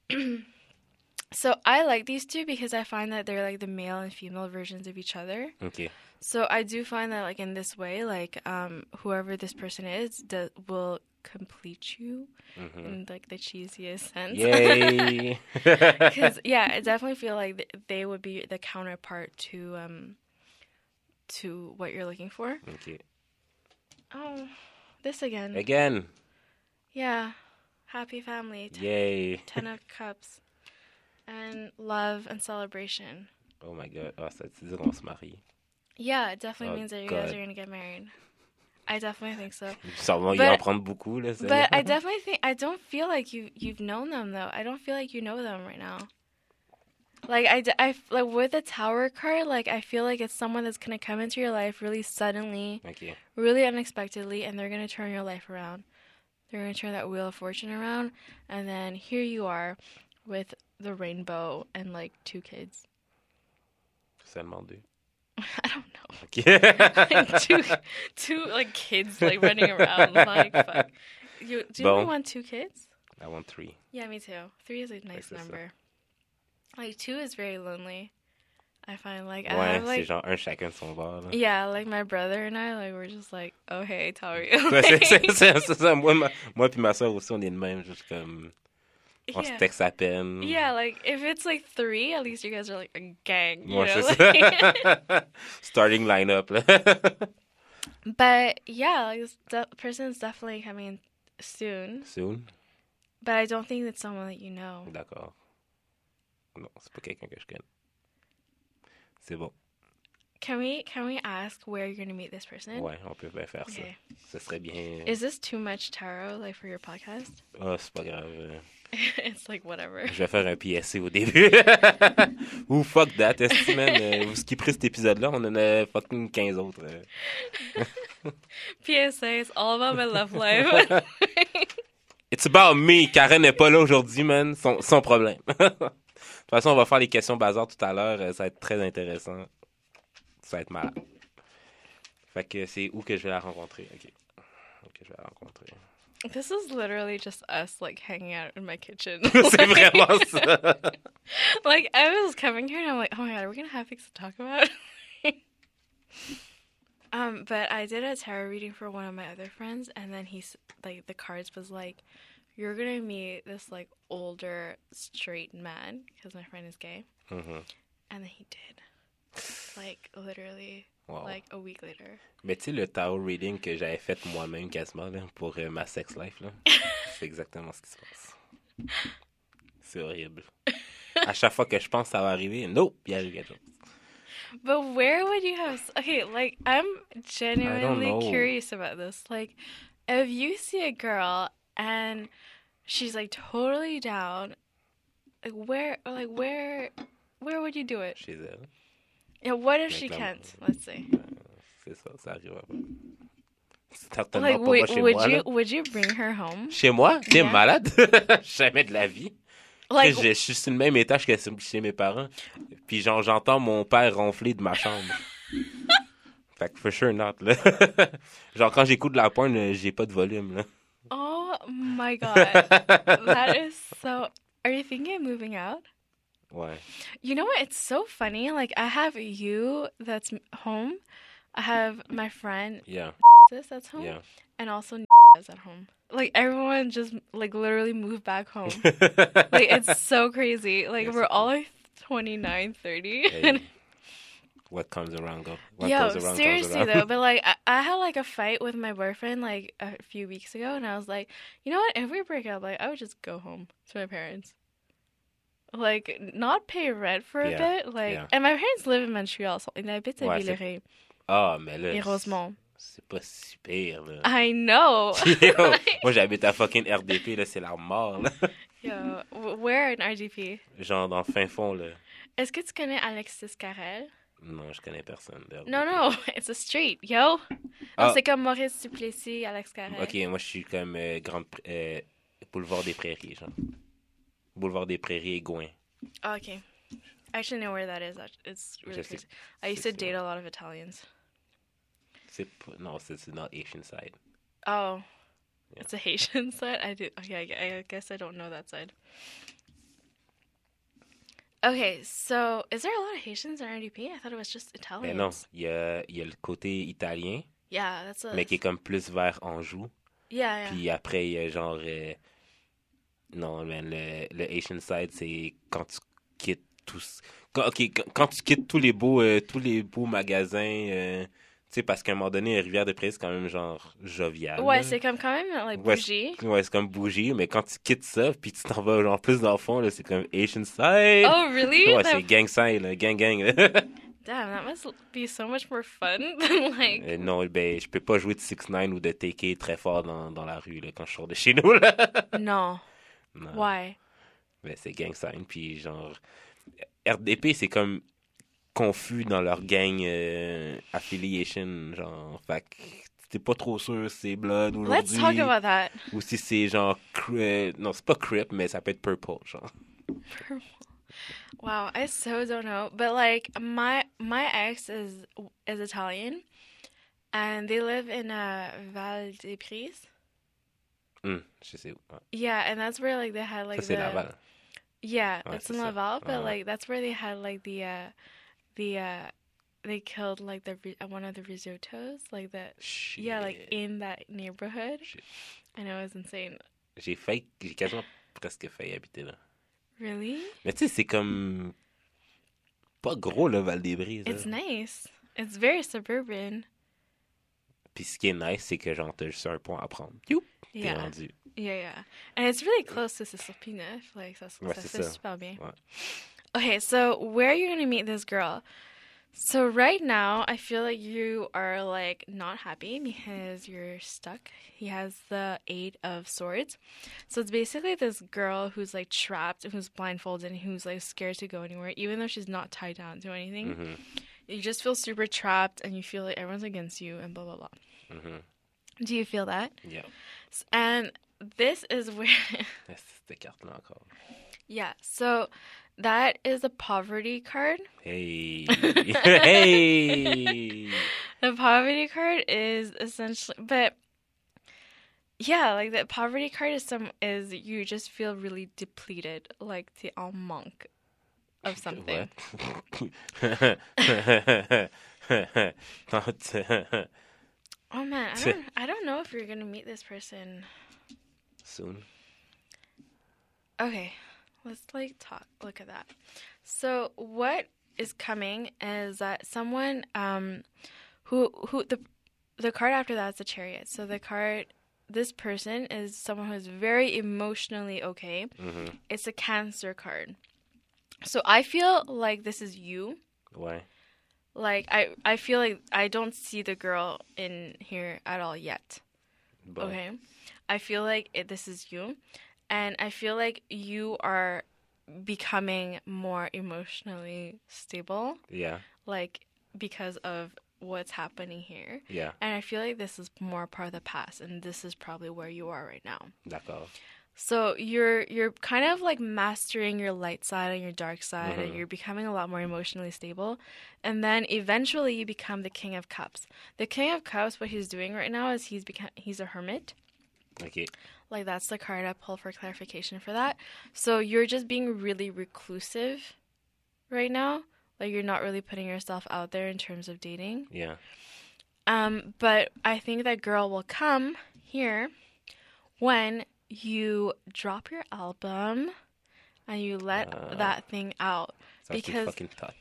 so I like these two because I find that they're like the male and female versions of each other. OK. So I do find that like in this way, like um, whoever this person is do- will complete you Mhm. in like the cheesiest sense. Yay! Because yeah, I definitely feel like th- they would be the counterpart to um to what you're looking for. OK. Oh, this again. Again! Yeah, happy family. Ten, Yay! ten of cups, and love and celebration. Oh my god. Ah, ça veut dire qu'on se marie. Yeah, it definitely Oh, means that you guys God. are gonna get married. I definitely think so. Sûrement, il But- va en prendre beaucoup, là. ça. But I definitely think I don't feel like you you've known them though. I don't feel like you know them right now. Like I, d- I f- like with the Tower card, like I feel like it's someone that's gonna come into your life really suddenly, OK. really unexpectedly, and they're gonna turn your life around. They're gonna turn that Wheel of Fortune around, and then here you are, with the rainbow and like two kids. Seulement deux. I don't know. OK. two, two like kids like running around. Like fuck. You do you Bon. only want two kids? I want three. Yeah, me too. Three is a nice c'est ça. number. Like two is very lonely. I find like I Ouais, have c'est like genre un chacun de son bord, là. yeah, like my brother and I like we're just like, oh hey, how are you? Ouais, c'est c'est- c'est- c'est ça. Moi, ma, moi puis ma soeur aussi, on est de même. Juste comme... On se yeah. texte à peine. Yeah, like if it's like three, at least you guys are like a gang, you Ouais, know. c'est like- ça. Starting line-up, là. But yeah, like this de- person is definitely coming soon. Soon? But I don't think it's someone that you know. D'accord. Non, c'est pas quelqu'un que je connais. C'est bon. can we can we ask where you're gonna meet this person? Ouais, on peut bien faire Okay. ça. Ce serait bien. Is this too much tarot, like, for your podcast? Ah, c'est pas grave. euh, It's like whatever. Je vais faire un P S C au début. Ou fuck that, est-ce man? Euh, vous skipperez cet épisode-là, on en a fucking quinze autres. euh. P S A is all about my love life. It's about me. Karen n'est pas là aujourd'hui, man. Son, son problème. De toute façon, on va faire les questions bazar tout à l'heure. euh, Ça va être très intéressant. Ça va être malade. Fait que c'est où que je vais la rencontrer? OK. OK, je vais la rencontrer. This is literally just us, like, hanging out in my kitchen. C'est vraiment ça. Like, I was coming here and I'm like, oh my god, are we gonna have things to talk about? um, but I did a tarot reading for one of my other friends, and then he's like, the cards was like, you're gonna meet this like older straight man because my friend is gay, Mhm. and then he did, like literally, Wow. like a week later. Mais tu sais, le tarot reading que j'avais fait moi-même quasiment là, pour euh, ma sex life, là, c'est exactement ce qui se passe. C'est horrible. À chaque fois que je pense que ça va arriver, nope, il arrive quelque chose. But where would you have? Okay, like I'm genuinely know. curious about this. Like, if you see a girl and she's like totally down, like where, like where, where would you do it? Chez elle. Yeah, what if Like, she um, can't? Let's say. Euh, C'est ça, ça arrive pas. Certainement Like, pas would, moi chez would moi. you là. would you bring her home? Chez moi? T'es Yeah. malade? Jamais de la vie. Like, je, je suis sur le même étage que chez mes parents. Puis genre, j'entends mon père ronfler de ma chambre. Fait que for sure not, là. Genre, quand j'écoute de la porn, euh, j'ai pas de volume, là. oh my god, that is so. Are you thinking of moving out? Ouais. You know what? It's so funny. Like, I have you that's m- home. I have my friend Yeah. this that's home, Yeah. and also is at home. Like, everyone just like literally moved back home. Like, it's so crazy. Like, Yes, we're it all like twenty-nine, thirty. Hey, what comes around go. What Yo, goes around seriously comes around. though, but like I, I had like a fight with my boyfriend like a few weeks ago, and I was like, you know what? If we break up, like I would just go home to my parents. Like, not pay rent for a Yeah, bit, like, yeah. and my parents live in Montreal, so ils habitent à Ouais, c'est- Villeray Ah, mais là, et Rosemont. c'est pas si pire, là. I know. Yo, moi, j'habite à fucking R D P, là, c'est la mort, là. Yo, w- where in R D P? Genre, dans le fin fond, là. Est-ce que tu connais Alexis Carrel? Non, je connais personne de R D P. Non, non, it's a street, yo. Ah. Oh, c'est comme Maurice Duplessis, Alex Carrel. Ok, moi, je suis comme euh, Grande... Pr- euh, Boulevard des Prairies, genre. Boulevard des Prairies et Gouin. Oh, okay. I actually know where that is. act- It's really Je sais- crazy. I used c'est to ça. date a lot of Italians. C'est pas... Non, c'est c'est dans Asian side. Oh, Yeah. it's a Haitian side. I do. Okay, I, gu- I guess I don't know that side. Okay, so is there a lot of Haitians in R D P? I thought it was just Mais Italians. non, il y a, il y a le côté italien, Yeah, that's a. mais qui est comme plus vers Anjou. Yeah, yeah. Puis après, il y a genre... euh, Non, man, le, le Asian side, c'est quand tu quittes tous... Quand, ok, quand, quand tu quittes tous les beaux, euh, tous les beaux magasins... euh, tu sais, parce qu'à un moment donné, Rivière-des-Prairies, c'est quand même genre jovial. Ouais, là. c'est comme quand même like Ouais, bougie. Ouais, c'est comme bougie, mais quand tu quittes ça, puis tu t'en vas genre plus dans le fond, là, c'est comme Asian side. Oh, really? Ouais, That- c'est gang side, là, gang gang. là. Damn, that must be so much more fun than like. Euh, non, ben, je peux pas jouer de six neuf ou de T K très fort dans, dans la rue, là, quand je sors de chez nous, là. No. Non. Why? Ben, c'est gang sign, puis genre... R D P, c'est comme confus dans leur gang euh, affiliation, genre, fait que t'es pas trop sûr si c'est Blood Let's aujourd'hui, talk about that. ou si c'est genre... Cri- euh, non, c'est pas Crip, mais ça peut être Purple, genre. Wow, I so don't know. But like my my ex is is Italian, and they live in uh, Val des Pris. Hum, je sais où. Ouais. Yeah, and that's where like they had like Ça, c'est the Laval. yeah, Ouais, it's c'est in ça. Laval, but Ouais, ouais. like that's where they had like the uh the uh they killed like the ri- uh, one of the risottos, like the Shit. yeah, like in that neighborhood. Shit. I know it was insane. J'ai failli... J'ai quasiment presque failli habiter là. Really? Mais tu sais, c'est comme... Pas gros, le Val-des-Bris. It's là. nice. It's very suburban. Puis ce qui est nice, c'est que genre, t'as juste un point à prendre. Youp, t'es Yeah. rendu. Yeah, yeah. And it's really close to Cisalpina. Like, ça, Ouais, ça c'est fait ça. super bien. Ouais. Okay, so where are you going to meet this girl? So right now, I feel like you are like not happy because you're stuck. He has the Eight of Swords. So it's basically this girl who's like trapped, who's blindfolded, and who's like scared to go anywhere, even though she's not tied down to anything. Mm-hmm. You just feel super trapped, and you feel like everyone's against you, and blah blah blah. Mm-hmm. Do you feel that? Yeah. S- And this is where, Cette carte-là encore. yeah. So that is a poverty card. Hey. Hey. The poverty card is essentially, but yeah, like the poverty card is some is you just feel really depleted, like the en manque of something. What? Oh man, I don't, I don't know if you're gonna meet this person. Soon. Okay, let's like talk. Look at that. So what is coming is that someone um who who the the card after that is the Chariot. So the card this person is someone who is very emotionally okay. Mm-hmm. It's a Cancer card. So I feel like this is you. Why? Like I I feel like I don't see the girl in here at all yet. Bon. Okay. I feel like it, this is you. And I feel like you are becoming more emotionally stable, Yeah. like because of what's happening here. Yeah. And I feel like this is more part of the past, and this is probably where you are right now. D'accord. So you're you're kind of like mastering your light side and your dark side, Mhm. and you're becoming a lot more emotionally stable. And then eventually you become the King of Cups. The King of Cups, what he's doing right now is he's become he's a hermit. Okay. Like that's the card I pull for clarification for that. So you're just being really reclusive right now. Like you're not really putting yourself out there in terms of dating. Yeah. Um, but I think that girl will come here when you drop your album and you let Uh, that thing out. Ça, c'est Because fucking tot.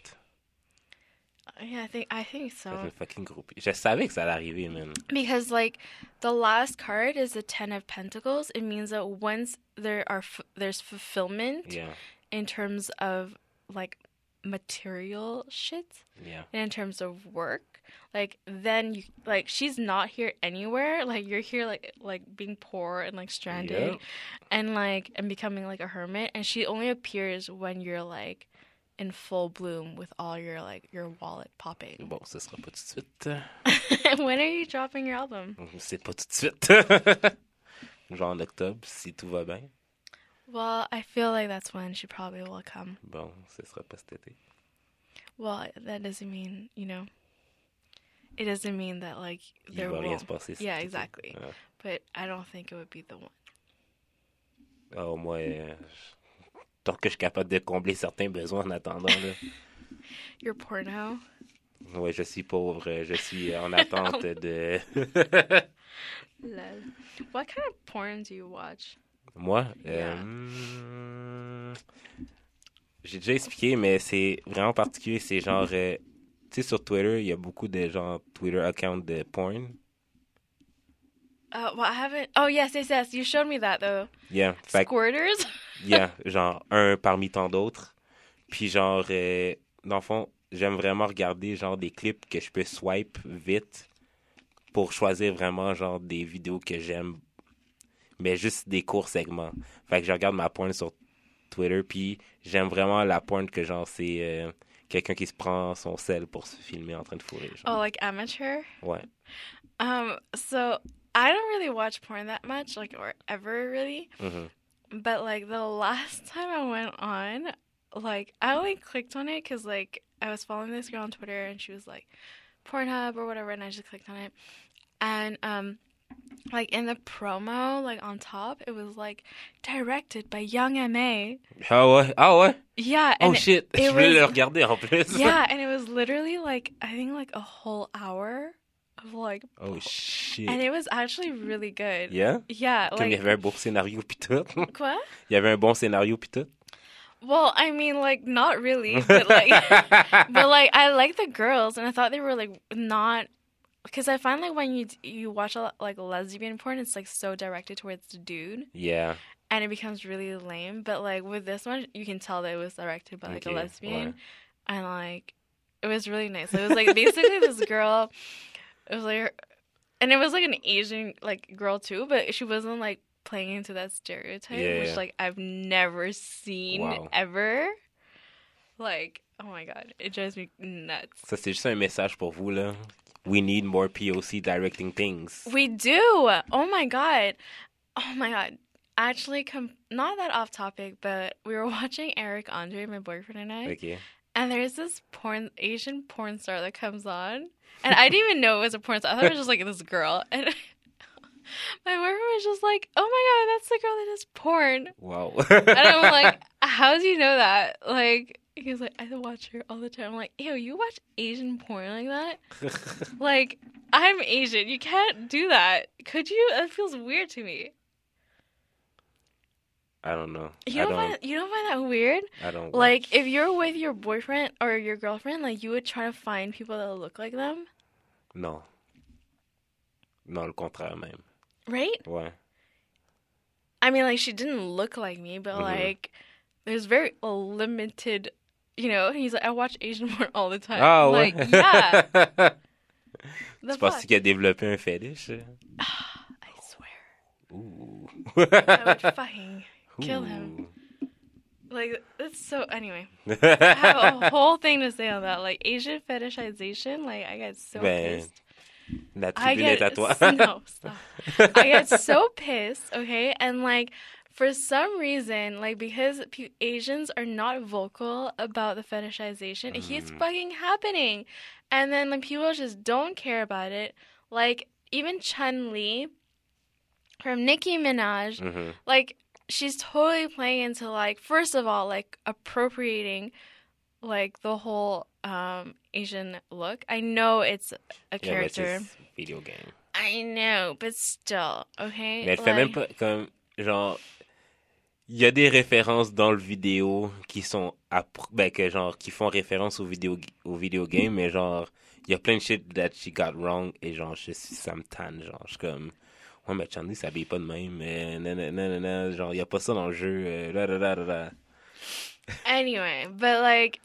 yeah, I think I think Ça so. fait fucking groupie. Je savais que ça allait arriver, man. Because like the last card is the Ten of Pentacles. It means that once there are f- there's fulfillment Yeah. in terms of like material shit Yeah. and in terms of work, like then you like she's not here anywhere. Like you're here like like being poor and like stranded Yep. and like and becoming like a hermit, and she only appears when you're like in full bloom with all your like your wallet popping. Bon, ce sera pas tout de suite. When are you dropping your album? C'est pas tout de suite. Genre en octobre, si tout va bien. Well, I feel like that's when she probably will come. Bon, ce sera pas cet été. Well, that doesn't mean, you know, it doesn't mean that like Il there va rien won't. se passer. cet Yeah, été. exactly. Ah. But I don't think it would be the one. Oh, moi, euh, tant que je suis capable de combler certains besoins en attendant, là. Your porno. Ouais, je suis pauvre. euh, Je suis en attente de... Lol. What kind of porn do you watch? Moi, Yeah. euh, j'ai déjà expliqué, mais c'est vraiment particulier. C'est genre, euh, tu sais, sur Twitter, il y a beaucoup de genre Twitter accounts de porn. Uh, well, I haven't. Oh yes, yes, yes. You showed me that though. Yeah, fait que, Squirters. yeah, genre un parmi tant d'autres. Puis genre, euh, dans le fond, j'aime vraiment regarder genre des clips que je peux swipe vite pour choisir vraiment genre des vidéos que j'aime, mais juste des courts segments. Fait que je regarde ma porn sur Twitter, puis j'aime vraiment la porn que genre c'est euh, quelqu'un qui se prend son sel pour se filmer en train de fourrer. Genre. Oh, like amateur. Ouais. Um. So I don't really watch porn that much, like or ever really. Mhm. But like the last time I went on, like I only clicked on it because like I was following this girl on Twitter and she was like Pornhub or whatever, and I just clicked on it, and um, like in the promo, like on top, it was like directed by Young M A. Ah ouais, ah ouais. Yeah. Oh And it- shit, it je voulais was- le regarder en plus. yeah, and it was literally like I think like a whole hour of like, Oh shit. and it was actually really good. Yeah? Yeah. Comme il y Like avait un beau scénario pis tout. quoi? Il y avait un bon scénario pis tout. Well, I mean, like not really, but like. But like I like the girls, and I thought they were like not, because I find like when you you watch a lot, like lesbian porn, it's like so directed towards the dude, Yeah. and it becomes really lame. But like with this one, you can tell that it was directed by like Ok, a lesbian, ouais. and like It was really nice. It was like basically this girl. It was like, and it was like an Asian like girl too, but she wasn't like playing into that stereotype, Yeah, which yeah. like I've never seen Wow. ever. Like, oh my god, it drives me nuts. Ça, c'est juste un message pour vous, là. We need more P O C directing things. We do. Oh my god. Oh my god. Actually, com- not that off topic, but we were watching Eric Andre, my boyfriend and I, Okay. and there's this porn Asian porn star that comes on, and I didn't even know it was a porn star. I thought it was just like this girl, and my boyfriend was just like, "Oh my god, that's the girl that does porn," Wow. and I'm like, "How do you know that?" Like, he was like, "I watch her all the time." I'm like, "Ew, you watch Asian porn like that?" Like, I'm Asian. You can't do that. Could you? That feels weird to me. I don't know. You I don't, don't. find you don't find that weird? I don't. Like, watch. if you're with your boyfriend or your girlfriend, like, you would try to find people that look like them, Non. Non, le contraire même. right? Ouais. I mean, like, she didn't look like me, but, Mhm. like, there's very limited, you know? He's like, I watch Asian porn all the time. Ah ouais. Like, yeah. The Tu penses fuck? qu'il a développé un fétiche? I swear. Ouh. I would fucking kill him. Like, that's so, anyway. I have a whole thing to say on that. Like, Asian fetishization, like, I get so Ben, pissed. la I tribune est get à toi. no, stop. I get so pissed, okay? And like for some reason, like because pe- Asians are not vocal about the fetishization, it keeps Mm. fucking happening. And then like people just don't care about it. Like even Chun-Li from Nicki Minaj, Mhm. like she's totally playing into like first of all like appropriating like the whole um Asian look. I know it's a Yeah, but character. c'est video game. I know, but still, okay? Mais elle fait même Like, pas comme genre il y a des références dans le vidéo qui sont appro- ben que genre qui font référence au vidéo au video game mais genre il y a plein de shit that she got wrong et genre je suis ça me tanne genre je suis comme ouais mais Chandy s'habille pas de même mais nanana, genre il y a pas ça dans le jeu euh, là, là, là, là, là. anyway, but like,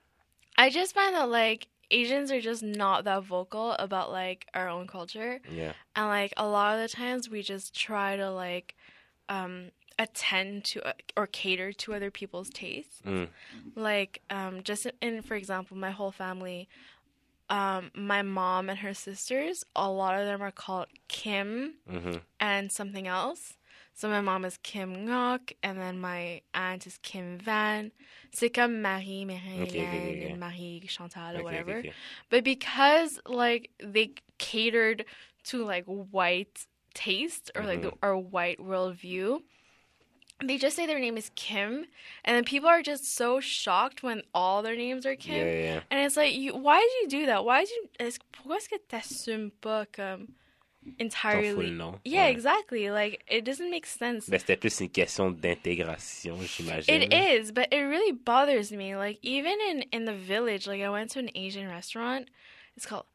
I just find that like Asians are just not that vocal about like our own culture, Yeah. and like a lot of the times we just try to like um attend to uh, or cater to other people's tastes. Mm. Like um just in for example, my whole family, um my mom and her sisters, a lot of them are called Kim Mhm. and something else. So my mom is Kim Ngok, and then my aunt is Kim Van. C'est comme Marie, Marie Okay, okay, okay, okay. and Marie Chantal or Okay, whatever. okay, okay. But because like they catered to like white taste or like Mhm. the, our white worldview, they just say their name is Kim, and then people are just so shocked when all their names are Kim. Yeah, yeah, yeah. And it's like, you, why did you do that? Why did you? Est-ce, pourquoi est-ce que t'assumes pas comme Ton entirely? full nom. Yeah, Ouais. exactly. Like it doesn't make sense. Ben, c'était plus une question d'intégration, j'imagine. It is, but it really bothers me. Like even in in the village, like I went to an Asian restaurant. It's called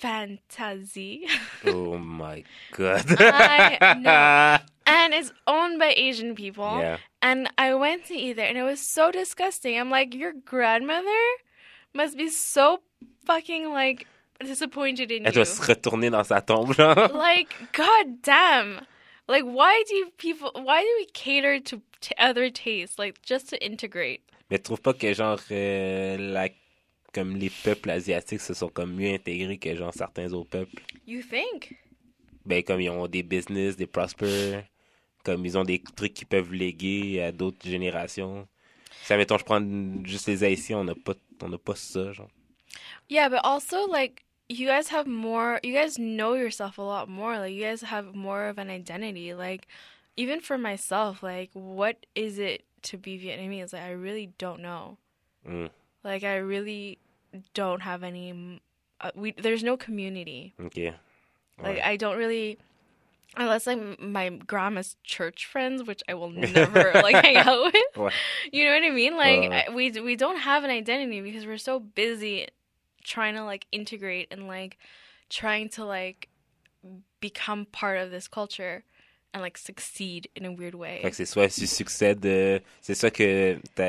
Fantasy, Oh my god. I know. and it's owned by Asian people. Yeah. And I went to eat there, and it was so disgusting. I'm like, your grandmother must be so fucking like disappointed in Elle you. doit se retourner dans sa tombe, genre. Like, god damn. Like, why do you people? Why do we cater to t- other tastes? Like, just to integrate. Mais tu trouves pas que, genre, euh, la... comme les peuples asiatiques se sont comme mieux intégrés que, genre, certains autres peuples? You think? Ben, comme ils ont des business, des prosper, comme ils ont des trucs qu'ils peuvent léguer à d'autres générations. Ça, mettons, je prends juste les Haïtiens, on n'a pas, on n'a pas ça, genre. Yeah, but also like you guys have more. You guys know yourself a lot more. Like you guys have more of an identity. Like even for myself, like what is it to be Vietnamese? Like I really don't know. Mm. Like I really don't have any. Uh, we there's no community. OK. Like Ouais. I don't really, unless like m- my grandma's church friends, which I will never like hang out with. Ouais. You know what I mean? Like Uh. I, we we don't have an identity because we're so busy trying to like integrate and like trying to like become part of this culture and like succeed in a weird way. Fait que c'est soit tu succèdes, euh, c'est soit que ta,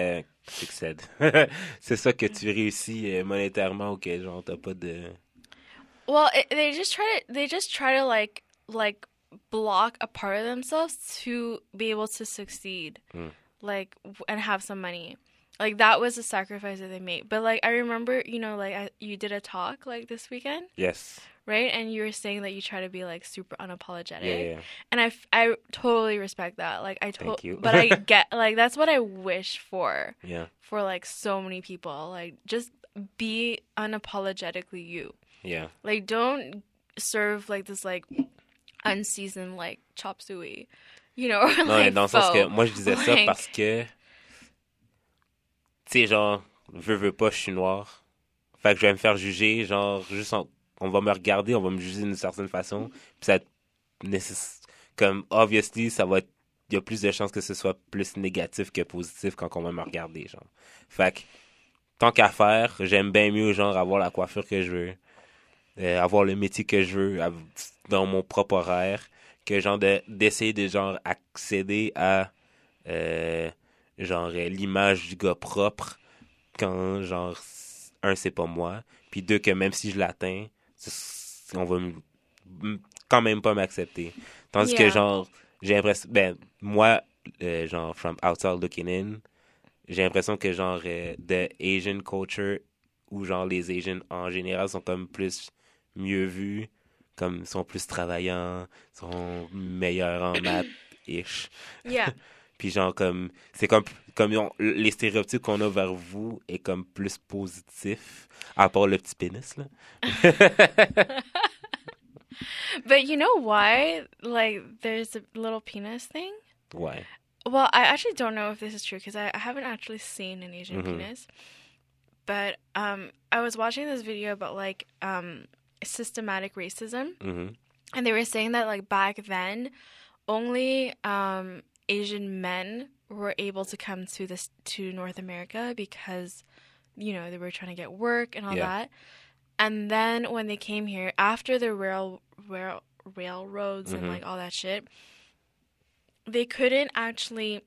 succède. C'est ça que tu réussis euh, monétairement ou que genre t'as pas de... Well, it, they just try to they just try to like like block a part of themselves to be able to succeed, Mm. like w- and have some money. Like that was a sacrifice that they made. But like I remember, you know, like I, you did a talk like this weekend, Yes. right? And you were saying that you try to be like super unapologetic. Yeah, yeah. And I, f- I totally respect that. Like I Thank to- you. but I get like that's what I wish for Yeah. for like so many people. Like just be unapologetically you. Yeah. Like don't serve like this like unseasoned like chop suey, you know, or Non, mais like dans le sens que pho. moi je disais ça Like- parce que, tu sais, genre, veux, veux pas, je suis noir. Fait que je vais me faire juger, genre, juste en- on va me regarder, on va me juger d'une certaine façon. Puis ça va être nécess- comme, obviously, ça va être, il y a plus de chances que ce soit plus négatif que positif quand on va me regarder, genre. Fait que, tant qu'à faire, j'aime bien mieux, genre, avoir la coiffure que je veux, euh, avoir le métier que je veux av- dans mon propre horaire, que genre de d'essayer de genre accéder à euh, genre euh, l'image du gars propre quand genre c- un c'est pas moi, puis deux que même si je l'atteins, c- on va m- m- quand même pas m'accepter. Tandis que Yeah. genre j'ai l'impression ben moi euh, genre from outside looking in, j'ai l'impression que genre euh, the Asian culture ou genre les Asians en général sont comme plus mieux vus, comme sont plus travaillants, sont meilleurs en maths ish. Yeah. Puis genre comme c'est comme comme on- les stéréotypes qu'on a vers vous est comme plus positif à part le petit pénis là. But you know why? Like there's a little penis thing. Ouais. Well, I actually don't know if this is true because I, I haven't actually seen an Asian Mhm. penis. But um, I was watching this video about like um, systematic racism, Mhm. and they were saying that like back then, only um, Asian men were able to come to this to North America because, you know, they were trying to get work and all Yeah. that. And then when they came here after the rail, rail railroads and Mhm. like all that shit, they couldn't actually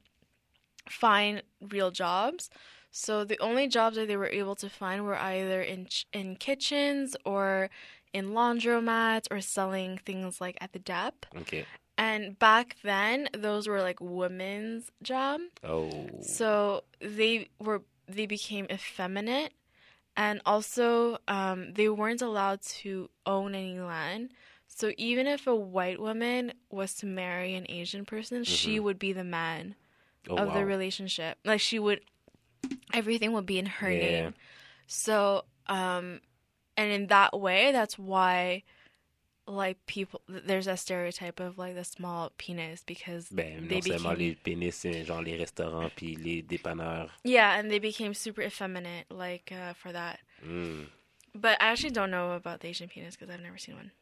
find real jobs. So the only jobs that they were able to find were either in ch- in kitchens or in laundromats or selling things like at the Dep. OK. And back then, those were like women's job. Oh. So they were they became effeminate, and also um, they weren't allowed to own any land. So even if a white woman was to marry an Asian person, she Mhm. would be the man Oh, of the wow. relationship. Like she would, everything would be in her Yeah. name. So, um, and in that way, that's why, like people, there's a stereotype of like the small penis because Ben, they non seulement became, les pénis, c'est genre les restaurants puis les dépanneurs. yeah, and they became super effeminate like uh, for that. Hmm. But I actually don't know about the Asian penis because I've never seen one.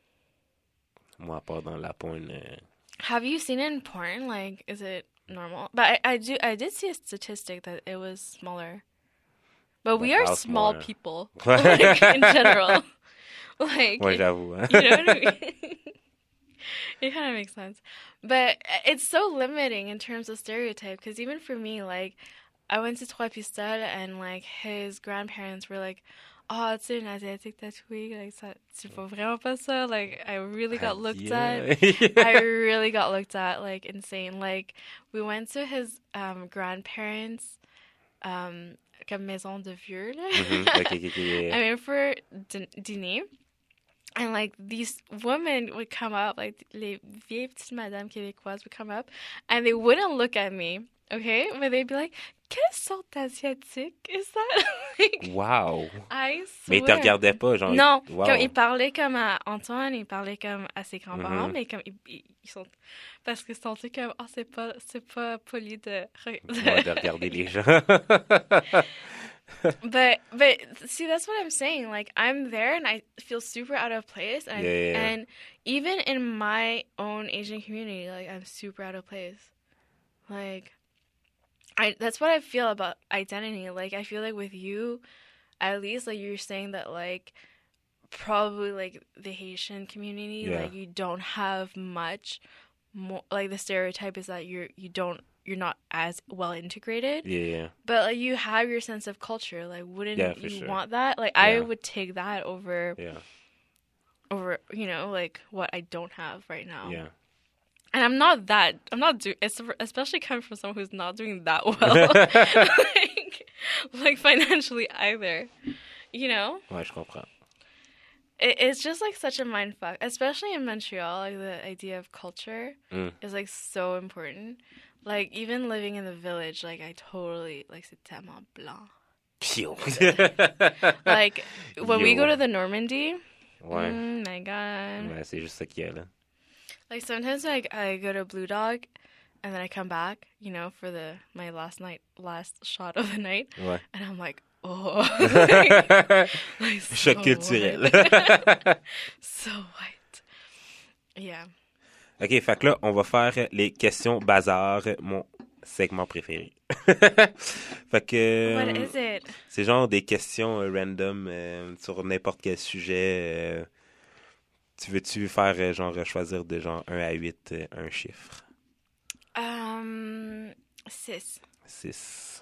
Moi, à part dans la porn, euh, Have you seen it in porn? Like, is it normal? But I, I do, I did see a statistic that it was smaller. But we Like are how small smaller? people, like, in general. Like, ouais, j'avoue. Hein? you know what I mean? It kind of makes sense. But it's so limiting in terms of stereotype because even for me, like, I went to Trois Pistoles and, like, his grandparents were like, oh, tu sais, une asiatique tatouée, like, ça, tu fais vraiment pas ça. Like, I really got looked at. I really got looked at, like, insane. Like, we went to his um, grandparents' um, comme maison de vieux, là. Mhm. Ok, ok, ok, yeah. I went for din- dîner. And, like, these women would come up, like, les vieilles petites madames québécoises would come up, and they wouldn't look at me, okay? But they'd be like, quelle sorte d'asiatique is that? Like, Wow. I Mais ils te swear. regardaient pas, genre. Non, Wow. comme il parlait comme à Antoine, il parlait comme à ses grands-parents, Mhm. mais comme ils, ils- ils sont parce qu'ils sont tous comme oh c'est pas c'est pas poli de, re- Ouais, de regarder les gens. but but see that's what I'm saying. Like I'm there and I feel super out of place, and Yeah, yeah, yeah. and even in my own Asian community, like I'm super out of place. Like I that's what I feel about identity. Like I feel like with you, at least like you're saying that like probably like the Haitian community, Yeah. like you don't have much more like the stereotype is that you're you don't you're not as well integrated. Yeah, yeah. But like you have your sense of culture. Like, wouldn't Yeah, for you sure. want that? Like, I Yeah. would take that over Yeah. over you know like what I don't have right now. Yeah. And I'm not that. I'm not doing. Especially coming from someone who's not doing that well, like, like financially either. You know. Ouais, je comprends. It, it's just like such a mind fuck, especially in Montreal. Like the idea of culture Mm. is like so important. Like even living in the village, like I totally like c'est tellement blanc. Pio. Like when we Yo. go to the Normandy, Ouais. oh my god. Ouais, c'est juste ça qu'il y a, là. Like sometimes like I go to Blue Dog, and then I come back, you know, for the my last night last shot of the night, Ouais. and I'm like, oh, like, like so Choc culturel. white. So white. Yeah. OK, fait que là, on va faire les questions bazar, mon segment préféré. Fait que... What euh, is it? C'est genre des questions euh, random euh, sur n'importe quel sujet. euh. Tu veux-tu faire, euh, genre, choisir de genre un à huit, euh, un chiffre? Um, sis. six.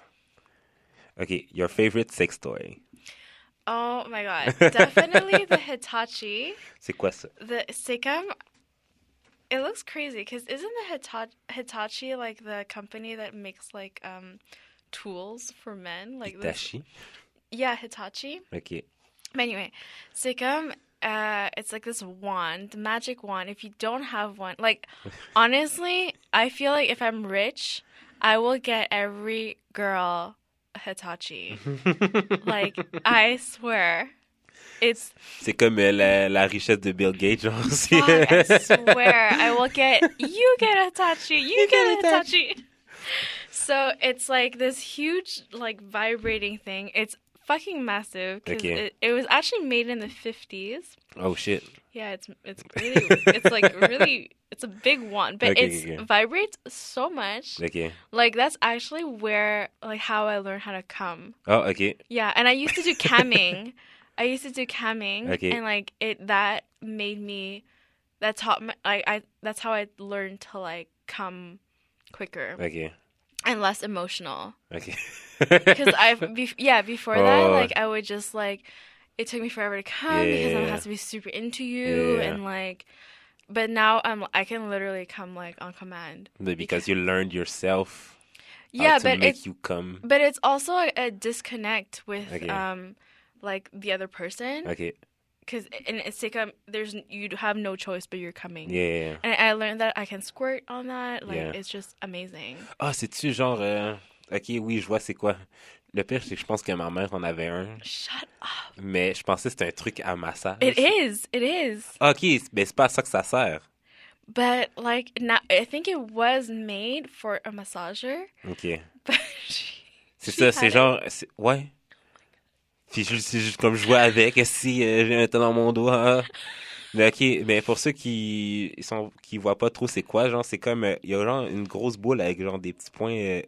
OK, your favorite sex toy. Oh my god, definitely the Hitachi. C'est quoi ça? The Sikkim. It looks crazy because isn't the Hita- Hitachi like the company that makes like um tools for men? Like this- Hitachi? yeah, Hitachi. OK. But anyway, Sikkim, uh, it's like this wand, magic wand. If you don't have one, like, honestly, I feel like if I'm rich, I will get every girl a Hitachi. Like, I swear. It's, C'est comme euh, la, la richesse de Bill Gates, genre aussi. fuck, I swear. I will get, you get a Hitachi, you, get, a Hitachi. So it's like this huge, like, vibrating thing. It's fucking massive because Okay. it, it was actually made in the fifties. Oh, shit. Yeah, it's it's really it's like really it's a big one, but Okay, it's okay. vibrates so much. OK. Like that's actually where like how I learned how to come. Oh, OK. Yeah, and I used to do camming. I used to do camming, Okay. and like it that made me that taught me like I that's how I learned to like come quicker OK. and less emotional. OK. Because I've bef- yeah before that Oh. like I would just like it took me forever to come because I Yeah. have to be super into you Yeah. and like but now I'm I can literally come like on command. But because you learned yourself Yeah, how to but make it's you come. but it's also a, a disconnect with Okay. um like the other person OK. because in it's like um there's you have no choice but you're coming. Yeah. And I learned that I can squirt on that. Like Yeah. it's just amazing. Ah, c'est-tu genre... euh, OK, oui, je vois c'est quoi. Le pire, c'est que je pense que ma mère en avait un, Shut up. mais je pensais que c'était un truc à massage. It is. It is. Ah, OK, c'est- ben c'est pas à ça que ça sert. But like now, I think it was made for a massager. OK. But she, C'est she ça, had c'est it. genre... c'est- Ouais. Puis je- c'est juste comme je jouais avec, si euh, j'ai un temps dans mon doigt. ah. Mais OK, mais pour ceux qui ils sont qui voient pas trop c'est quoi, genre c'est comme... euh, Il y a genre une grosse boule avec genre des petits points... euh,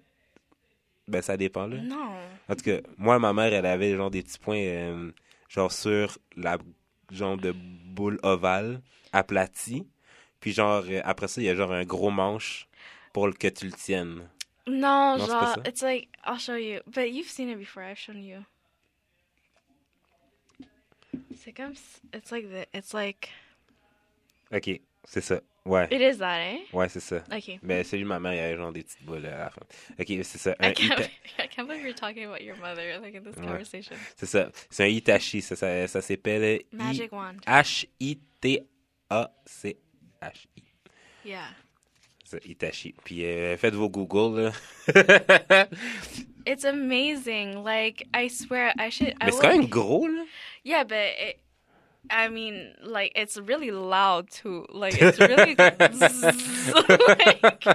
Ben ça dépend là. Non. En tout cas, moi, ma mère, elle avait genre des petits points, euh, genre sur la genre de boule ovale aplatie. Puis genre, euh, après ça, il y a genre un gros manche pour le- que tu le tiennes. No, Non, c'est pas genre, ça. it's like I'll show you. But you've seen it before. I've shown you. C'est comme s- it's like the it's like OK, c'est ça. Ouais, it is that, eh? ouais, c'est ça. Okay. Ben, celui de ma mère, il y avait genre des petites boules à la fin. OK, c'est ça. I Un can't. Ita- I can't believe you're talking about your mother like in this Ouais. conversation. C'est ça. C'est un Hitachi. Ça, ça, ça s'appelle I- Magic wand. H I T A C H I. Yeah. C'est Hitachi. Puis euh, faites vos Google, là. It's amazing. Like I swear, I should. I Mais c'est will- quand même gros, là. Yeah, but it, I mean, like it's really loud too. Like it's really like,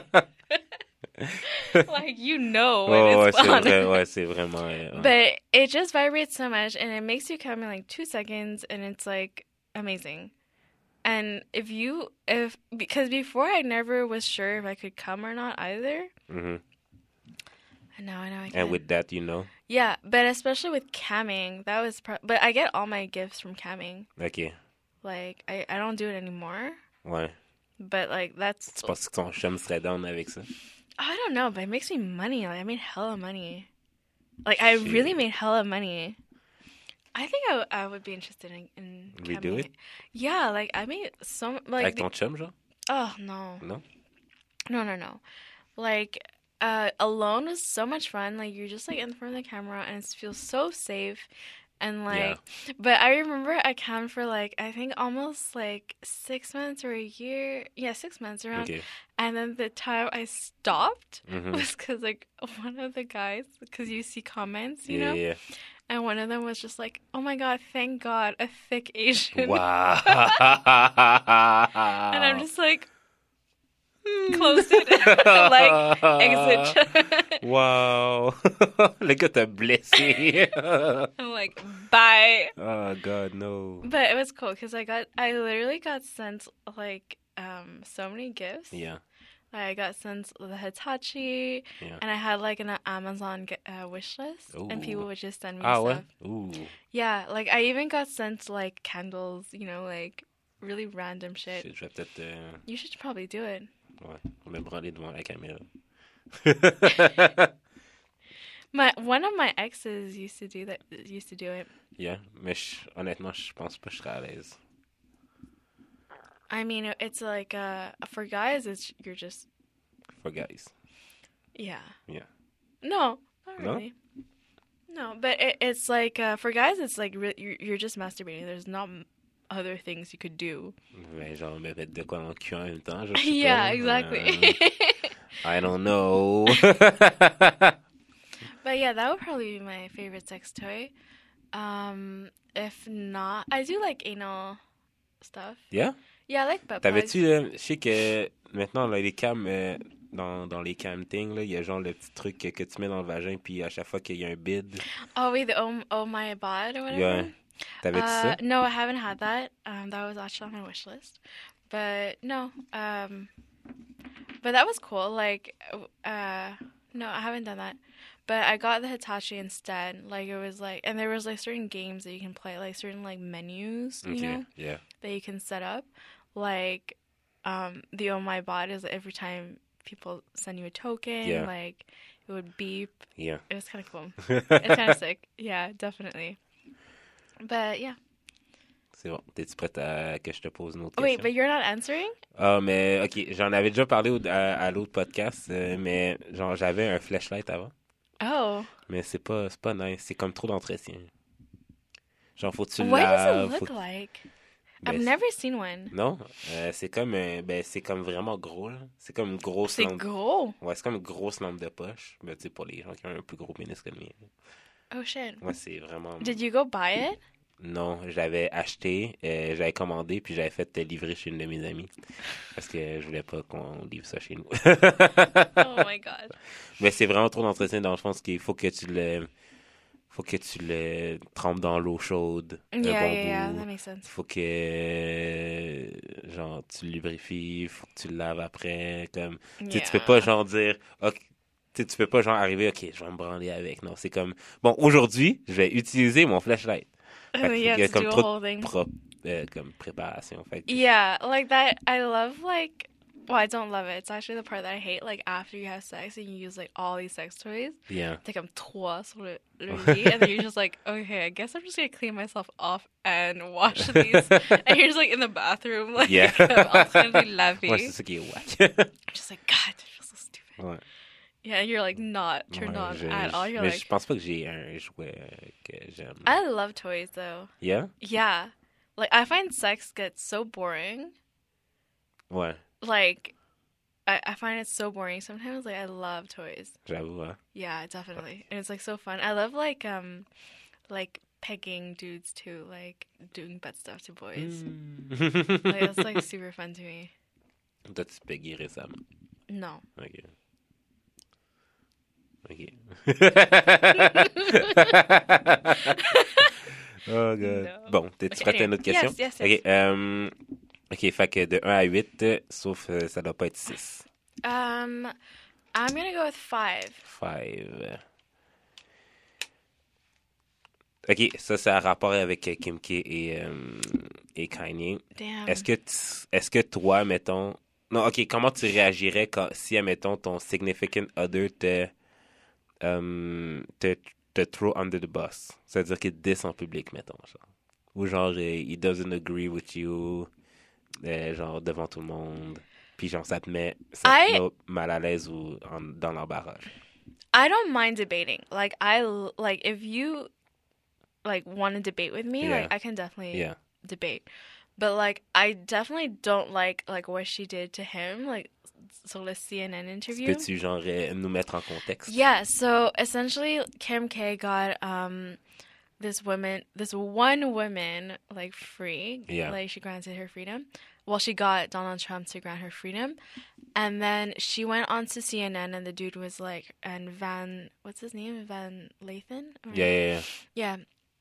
like you know when Oh, ouais, it's c'est on. vrai, ouais, c'est vraiment... euh, ouais. But it just vibrates so much, and it makes you come in like two seconds, and it's like amazing. And if you, if because before I never was sure if I could come or not either, Mhm. and now I know I can. And with that, you know. Yeah, but especially with camming, that was. Pro- but I get all my gifts from camming. OK. Like I, I don't do it anymore. Ouais. But like that's Tu penses que ton chum serait down avec ça? I don't know, but it makes me money. Like I made hella money. Like I Shit. really made hella money. I think I, w- I would be interested in in Redo camming. it? Yeah, like I made so like Avec the- ton chum, genre? oh no Non? no no no like uh alone was so much fun. Like you're just like in front of the camera and it feels so safe. And like, but I remember I cammed for like I think almost like six months or a year. Yeah, six months around. Okay. And then the time I stopped Mhm. was because like one of the guys, because you see comments, you Yeah, know, yeah, and one of them was just like, "Oh my God, thank God, a thick Asian." yeah. Wow. And I'm just like, close it, like exit. Wow. Le gars t'a blessé. I'm like, bye. Oh, God, no. But it was cool because I got, I literally got sent like um so many gifts. Yeah, Like, I got sent the Hitachi, yeah. and I had like an Amazon g- uh, wish list, and people Ooh. would just send me Ah, stuff. ouais? Ooh. Yeah, like I even got sent like candles, you know, like really random shit. Shit, je vais peut-être... euh, You should probably do it. Ouais, me branler devant la caméra. My one of my exes used to do that. Used to do it. Yeah, mais je- honnêtement, je pense pas que je serais à l'aise. I mean, it's like uh for guys, it's you're just For guys. yeah. Yeah. No, not No? really. No, but it, it's like uh, for guys, it's like re- you're, you're just masturbating. There's not m- other things you could do. Mais genre, me mettre de quoi dans le cul en même temps, je sais Yeah, pas. exactly. Euh, I don't know. But yeah, that would probably be my favorite sex toy. Um, if not, I do like anal stuff. Yeah? Yeah, I like butt plugs. T'avais-tu, là, je sais que maintenant, là, les cams, euh, dans, dans les cam things, là, il y a genre le petit truc que, que tu mets dans le vagin, puis à chaque fois qu'il y a un bid, Oh wait, the oh, oh my bod or whatever. yeah. T'avais-tu Uh, ça? no, I haven't had that. Um, that was actually on my wish list, but no. Um, but that was cool. Like, uh, no, I haven't done that. But I got the Hitachi instead. Like it was like, and there was like certain games that you can play, like certain like menus, you Okay, know, yeah. that you can set up. Like, um, the Oh My Bot is every time people send you a token, Yeah. like it would beep. Yeah. It was kind of cool. It's kind of sick. Yeah, definitely. But yeah. C'est bon. T'es-tu prête à que je te pose une autre Oh, wait, question? but you're not answering? Ah, mais, ok, j'en avais déjà parlé au- à, à l'autre podcast, euh, mais genre, j'avais un flashlight avant. Oh. Mais c'est pas, c'est pas nice. C'est comme trop d'entretien. Genre, faut que tu What does laves. it faut look que- like? Ben, I've never seen one. Non, euh, c'est comme un- ben c'est comme vraiment gros là. C'est comme une grosse C'est lampe. gros. Ouais, c'est comme une grosse lampe de poche. Ben tu sais pour les gens qui ont un plus gros pénis que le mien. Oh shit. Ouais, c'est vraiment. Did you go buy it? Non, j'avais acheté, euh, j'avais commandé puis j'avais fait livrer chez une de mes amies parce que je voulais pas qu'on livre ça chez nous. Oh my god. Mais c'est vraiment trop d'entretien dans le fond, parce qu'il faut que tu le faut que tu le trempes dans l'eau chaude. un Yeah, bon yeah, yeah. bout. That makes sense. Faut que euh, genre tu le lubrifies, faut que tu le laves après, comme tu sais, tu peux pas genre dire ok, tu sais, tu peux pas genre arriver ok, je vais me branler avec. Non, c'est comme bon, aujourd'hui, je vais utiliser mon flashlight. Fait Oh, que you il y a have to comme do a trop whole de thing. pro- euh, comme préparation. Fait que- Yeah, like that. I love like. Well, I don't love it. It's actually the part that I hate. Like after you have sex and you use like all these sex toys. Yeah. T'es comme trois sur le, le lit, and then you're just like, okay, I guess I'm just gonna clean myself off and wash these. And you're just like in the bathroom, like Yeah. en train de laver. Ouais, c'est ça qui est whack. Just like God, I feel so stupid. Ouais. Yeah, you're like not turned Ouais, on je- at all. You're mais like, je pense pas que j'ai un jouet euh, que j'aime. I love toys though. Yeah? Yeah, like I find sex gets so boring. Ouais, Like, I I find it so boring sometimes. Like I love toys. j'avoue, hein. Yeah, definitely, and it's like so fun. I love like um, like pegging dudes too, like doing butt stuff to boys. Mm. Like that's like super fun to me. T'as-tu payé récemment? No. Ok. Ok. Oh, God. No. Bon, t'es-tu Okay, prête à une anyway. autre question? Yes, yes, Ok, yes. euh, ok, fait que de un à huit, euh, sauf euh, ça doit pas être six. Um, I'm gonna go with five. Five. Ok, ça, c'est un rapport avec euh, Kim K et, euh, et Kanye. Damn. Est-ce que, tu- est-ce que toi, mettons, Non, ok, comment tu réagirais quand, si, admettons, ton significant other te, euh, te, te throw under the bus? C'est-à-dire qu'il te diss en public, mettons, genre. Ou genre, euh, he doesn't agree with you, euh, genre, devant tout le monde. Puis genre, ça te met, ça te I met mal à l'aise ou en- dans l'embarras. I don't mind debating. Like I l- like if you like want to debate with me, Yeah. like I can definitely Yeah. debate. But like I definitely don't like like what she did to him, like so the C N N interview. Peux-tu, genre, euh, nous mettre en contexte? Yeah, so essentially Kim K got um this woman this one woman like free. Yeah. Like she granted her freedom. Well, she got Donald Trump to grant her freedom. And then she went on to C N N and the dude was like and Van what's his name? Van Lathan? Or- Yeah, yeah, yeah. Yeah.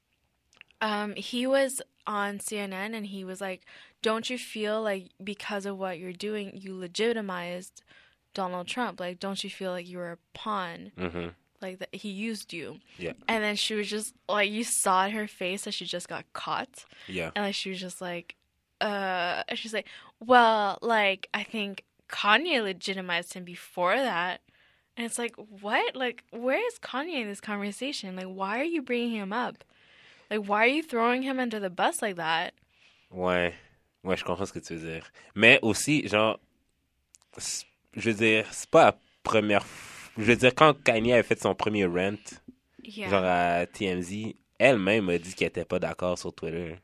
Um, he was on C N N and he was like, don't you feel like because of what you're doing, you legitimized Donald Trump? Like, don't you feel like you were a pawn? Mm-hmm. Like, that he used you? Yeah. And then she was just, like, you saw in her face that she just got caught. Yeah. And, like, she was just like, uh, and she's like, well, like, I think Kanye legitimized him before that. And it's like, what? Like, where is Kanye in this conversation? Like, why are you bringing him up? Like, why are you throwing him under the bus like that? Ouais. Ouais, je comprends ce que tu veux dire. Mais aussi, genre, c'est- je veux dire, c'est pas la première f- Je veux dire, quand Kanye avait fait son premier rant, Yeah. genre à T M Z, elle-même a dit qu'elle était pas d'accord sur Twitter.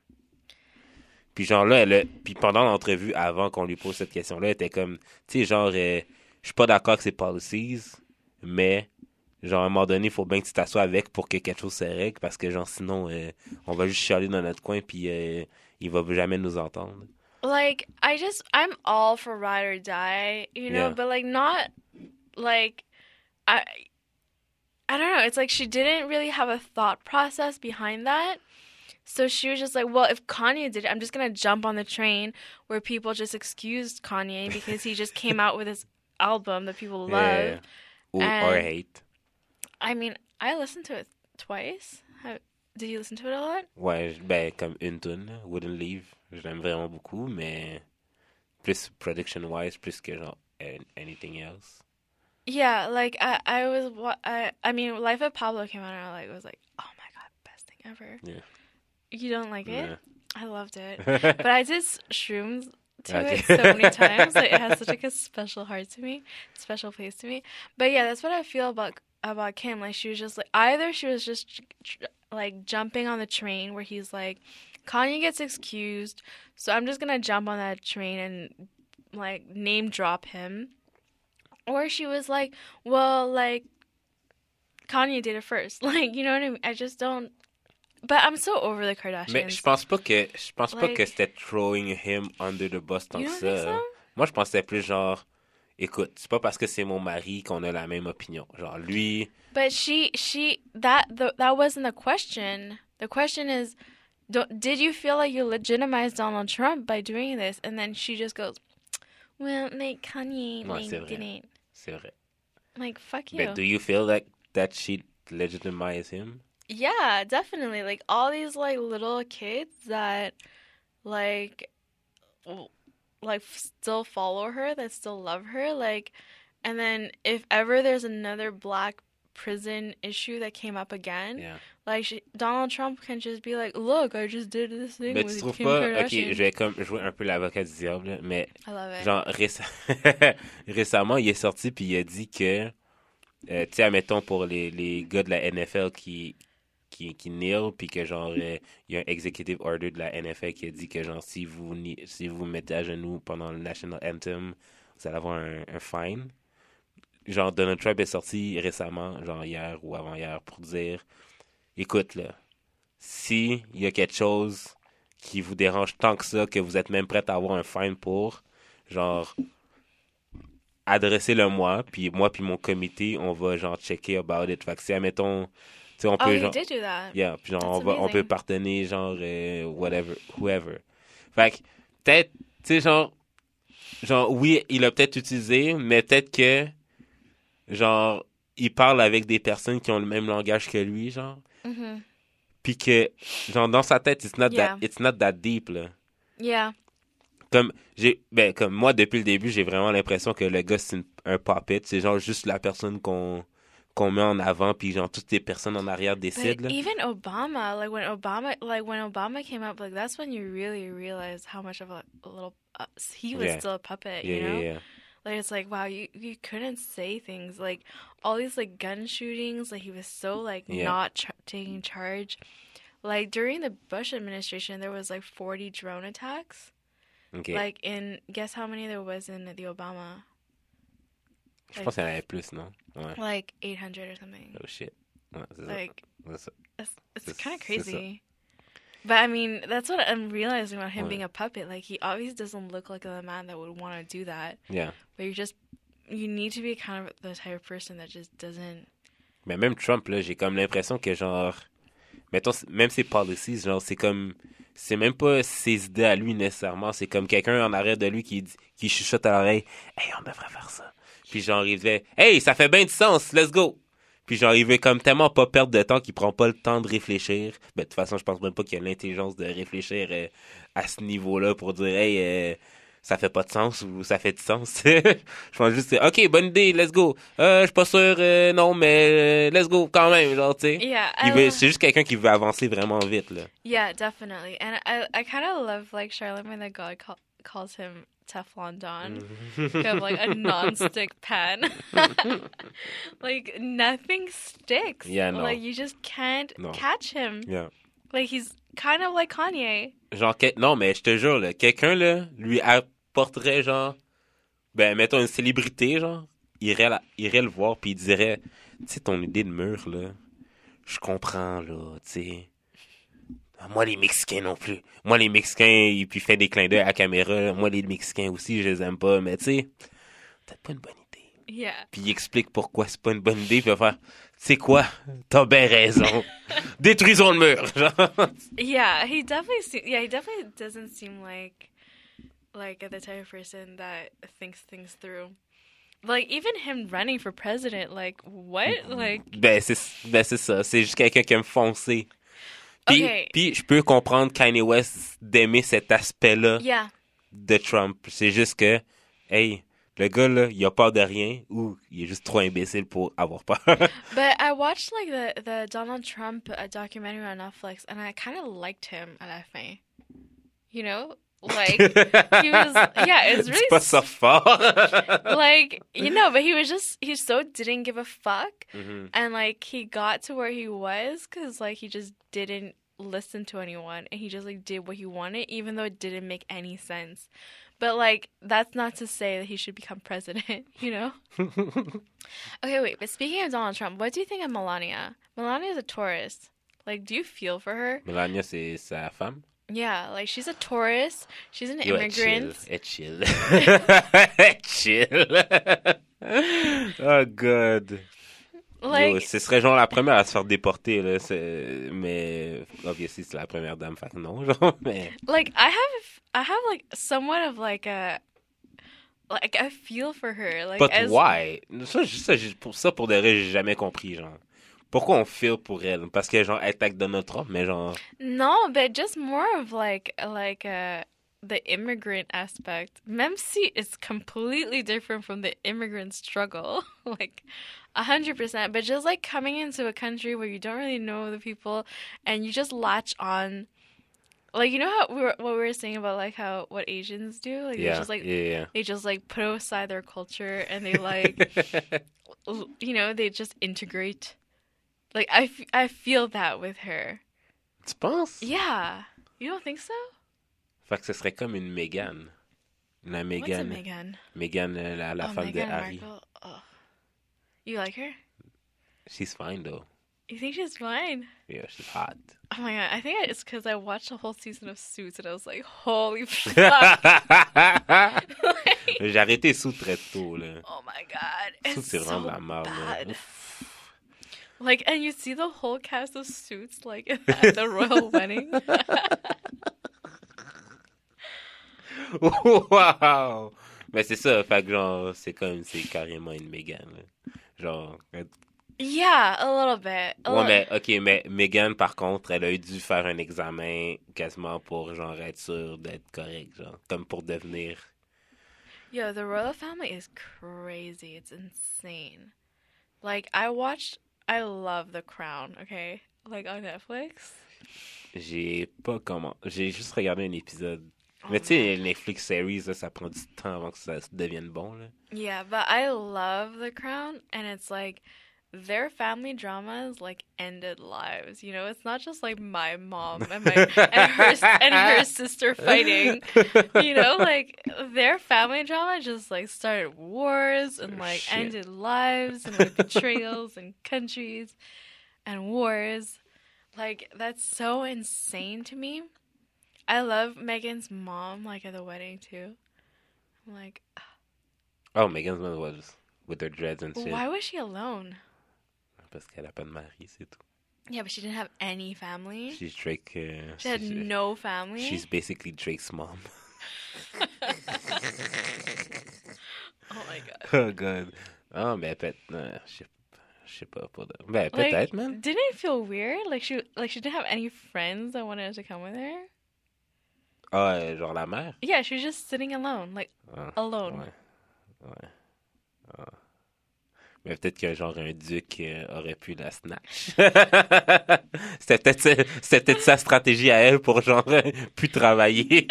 Puis genre là, elle a- puis pendant l'entrevue, avant qu'on lui pose cette question-là, elle était comme, tu sais, genre, euh, je suis pas d'accord avec ses policies, mais genre, à un moment donné, il faut bien que tu t'assoies avec pour que quelque chose se règle, parce que genre, sinon, euh, on va juste chialer dans notre coin, puis euh, il va jamais nous entendre. Like, I just, I'm all for ride or die, you know, Yeah. but like, not like, I, I don't know. It's like she didn't really have a thought process behind that. So she was just like, well, if Kanye did it, I'm just going to jump on the train where people just excused Kanye because he just came out with his album that people love. Yeah. Ou And- or hate. I mean, I listened to it twice. How, did you listen to it a lot? Ouais, ben, comme une tune, là, Wouldn't Leave. Je l'aime vraiment beaucoup, mais plus production-wise, plus que genre an- anything else. Yeah, like I, I was, wa- I, I mean, Life of Pablo came out and I like was like, oh my god, best thing ever. Yeah. You don't like it? Yeah. I loved it, but I did s- shrooms to Okay. it so many times. Like it has such like a special heart to me, special place to me. But yeah, that's what I feel about about Kim. Like she was just like either she was just tr- tr- like jumping on the train where he's like, Kanye gets excused, so I'm just gonna jump on that train and like name drop him. Or she was like, well, like, Kanye did it first. Like, you know what I mean? I just don't. But I'm so over the Kardashians. Mais je pense pas que je pense pas Like- que c'était throwing him under the bus tant You que don't think ça. so? Moi, je pensais plus genre, écoute, c'est pas parce que c'est mon mari qu'on a la même opinion. Genre, lui, But she, she, that, the, that wasn't the question. The question is, don't, did you feel like you legitimized Donald Trump by doing this? And then she just goes, well, like, Kanye, Ouais, like, c'est vrai. didn't. c'est vrai. Like, fuck you. But do you feel like that she legitimized him? Yeah, definitely. Like all these like little kids that like w- like f- still follow her, that still love her, like and then if ever there's another black prison issue that came up again, Yeah. like she, Donald Trump can just be like, "Look, I just did this thing Mais tu with trouves Kim pas, ok, Kardashian." je vais comme jouer un peu l'avocat du diable, là, mais I love it. genre réce- récemment, il est sorti puis il a dit que, euh, tu sais, admettons pour les, les gars de la N F L qui qui, qui kneel, puis que genre, euh, il y a un executive order de la N F L qui a dit que genre, si vous ni- si vous mettez à genoux pendant le national anthem, vous allez avoir un, un fine. Genre, Donald Trump est sorti récemment, genre hier ou avant-hier, pour dire, écoute là, si il y a quelque chose qui vous dérange tant que ça, que vous êtes même prêt à avoir un fine pour, genre, adressez-le moi, puis moi puis mon comité, on va genre checker about it. Fait que si, admettons, tu sais, on Oh, peut he genre... did do that. Yeah, puis genre, That's on, va, on amazing. peut pardonner, genre, euh, whatever, whoever. Fait que, peut-être, tu sais, genre, genre, oui, il a peut-être utilisé, mais peut-être que, genre, il parle avec des personnes qui ont le même langage que lui, genre, Mhm. puis que, genre, dans sa tête, it's not, Yeah. that, it's not that deep, là. Yeah. Comme, j'ai, ben, comme moi, depuis le début, j'ai vraiment l'impression que le gars, c'est une- un puppet. C'est genre juste la personne qu'on, qu'on met en avant, puis genre toutes les personnes en arrière But décident, là. even Obama, like when Obama, like when Obama came up, like that's when you really realize how much of a, a little uh, he was Yeah. still a puppet, Yeah, you yeah, know? yeah. Like it's like wow, you you couldn't say things like all these like gun shootings, like he was so like Yeah. not ch taking charge. Like during the Bush administration, there was like forty drone attacks. OK. Like in guess how many there was in the Obama? Je pense qu'il y en avait plus, non? Ouais. Like eight hundred or something. Oh shit. Ouais, c'est ça. Like C'est ça. it's it's C'est- kind of c'est ça. crazy. But I mean, that's what I'm realizing about him Ouais. being a puppet. Like he obviously doesn't look like a man that would want to do that. Yeah. But you just you need to be kind of the type of person that just doesn't. Mais même Trump, là, j'ai comme l'impression que genre, mettons, même ses policies, genre, c'est comme, c'est même pas ses idées à lui nécessairement, c'est comme quelqu'un en arrière de lui qui, dit- qui chuchote à l'oreille, hey, on devrait faire ça. Puis genre, il fait, hey, ça fait bien du sens, let's go. Puis genre, il veut comme tellement pas perdre de temps qu'il prend pas le temps de réfléchir. Ben, de toute façon, je pense même pas qu'il a l'intelligence de réfléchir euh, à ce niveau-là pour dire, hey, euh, ça fait pas de sens ou ça fait du sens. Je pense juste, ok, bonne idée, let's go. Euh, je suis pas sûr, euh, non, mais euh, let's go quand même, genre, tu sais. Yeah, Il I veut, lo- c'est juste quelqu'un qui veut avancer vraiment vite, là. yeah, definitely. And I I kind of love like Charlemagne the God call, calls him Teflon Don. Kind of like a non-stick pan. Like nothing sticks. Yeah, no. Like you just can't No. catch him. Yeah. Like he's kind of like Kanye. Genre, que- non, mais je te jure, là, quelqu'un, là, lui apporterait, genre, ben, mettons une célébrité, genre, irait, la- irait le voir, puis il dirait, tu sais, ton idée de mur, là, je comprends, là, tu sais. Moi, les Mexicains non plus. Moi, les Mexicains, et puis il fait des clins d'œil à la caméra, là. Moi, les Mexicains aussi, je les aime pas, mais tu sais, peut-être pas une bonne idée. Yeah. Puis il explique pourquoi c'est pas une bonne idée, puis il va faire, tu sais quoi, t'as bien raison. Détruisons le mur, genre. Yeah, he definitely se- yeah, he definitely doesn't seem like like the type of person that thinks things through. Like even him running for president, like what? Like Ben, c'est, ben, c'est ça. C'est juste quelqu'un qui aime foncer. Puis, Okay. puis je peux comprendre Kanye West d'aimer cet aspect-là yeah. de Trump. C'est juste que, hey, le gars, là, il a peur de rien ou il est juste trop imbécile pour avoir peur. But I watched like the the Donald Trump uh, documentary on Netflix, and I kind of liked him à la fin. You know, like he was yeah, it's Dis really pas ça fort. like you know, but he was just he so didn't give a fuck, Mhm. and like he got to where he was because like he just didn't listen to anyone, and he just like did what he wanted, even though it didn't make any sense. But like that's not to say that he should become president, you know. Okay, wait. But speaking of Donald Trump, what do you think of Melania? Melania is a tourist. Like, do you feel for her? Melania, c'est sa femme. Yeah, like she's a tourist. She's an Yo, elle chill. immigrant. Elle chill. Elle chill. Oh, God. Like, Yo, ce serait genre la première à se faire déporter, là. C'est... Mais, obviously, c'est la première dame, fait que non, genre, mais... like I have, I have like somewhat of like a, like I feel for her. Like, But as why? Ça, je- ça, je- pour ça, pour de vrai, j'ai jamais compris, genre. Pourquoi on feel pour elle? Parce que, genre, elle attaque Donald Trump, mais genre... no, but just more of like, like uh, the immigrant aspect. Même si it's completely different from the immigrant struggle, like a hundred percent. But just like coming into a country where you don't really know the people, and you just latch on. Like, you know how we were what we were saying about like how what Asians do, like they Yeah, just like yeah, they just like put aside their culture and they like yeah. l- you know, they just integrate. Like I, f- I feel that with her. Tu penses? Yeah, you don't think so? Fait que ce serait comme une Meghan. La What's a Meghan. Megan? Meghan, euh, la, la Oh, femme de Meghan Harry. Markle. Oh. You like her? She's fine, though. You think she's fine? Yeah, she's hot. Oh my god, I think it's because I watched the whole season of Suits and I was like, holy fuck. Like, J'ai arrêté sous très tôt, là. oh my god, Sous, it's c'est vraiment so de la merde, là. bad. Ouf. Like, and you see the whole cast of Suits like at the royal wedding. Wow! Mais c'est ça, fait que genre, c'est comme, c'est carrément une Meghan, là. Genre, euh, Yeah, a little bit. A Ouais, little... mais, ok, mais Megan, par contre, elle a eu dû faire un examen quasiment pour, genre, être sûre d'être correct, genre, comme pour devenir. Yo, the royal family is crazy. It's insane. Like, I watched, I love The Crown, okay? Like, on Netflix. J'ai pas comment. J'ai juste regardé un épisode. Oh, Mais tu sais, man. Netflix series, là, ça prend du temps avant que ça se devienne bon, là. Yeah, but I love The Crown, and it's like their family dramas like ended lives. You know, it's not just like my mom and my and her and her sister fighting. You know, like their family drama just like started wars and like Shit. ended lives and like betrayals and countries and wars. Like that's so insane to me. I love Megan's mom like at the wedding too. I'm like, Oh, Megan's mother was with her dreads and shit. why was she alone? Parce qu'elle a pas de mari, c'est tout. Yeah, but she didn't have any family. She's Drake. Uh, She had she's, no family. she's basically Drake's mom. Oh my god. Oh, God. Oh, mais peut-être. euh, je sais je sais pas. Pour de... Ben, Like, peut-être, man. didn't it feel weird? Like she, like she didn't have any friends that wanted to come with her. Ah, euh, genre la mère? Yeah, she was just sitting alone, like Ah, alone. ouais. Ouais. Ah. Mais peut-être qu'un genre un duc euh, aurait pu la snatch. C'était peut-être ça- c'était peut-être sa stratégie à elle pour genre euh, plus travailler.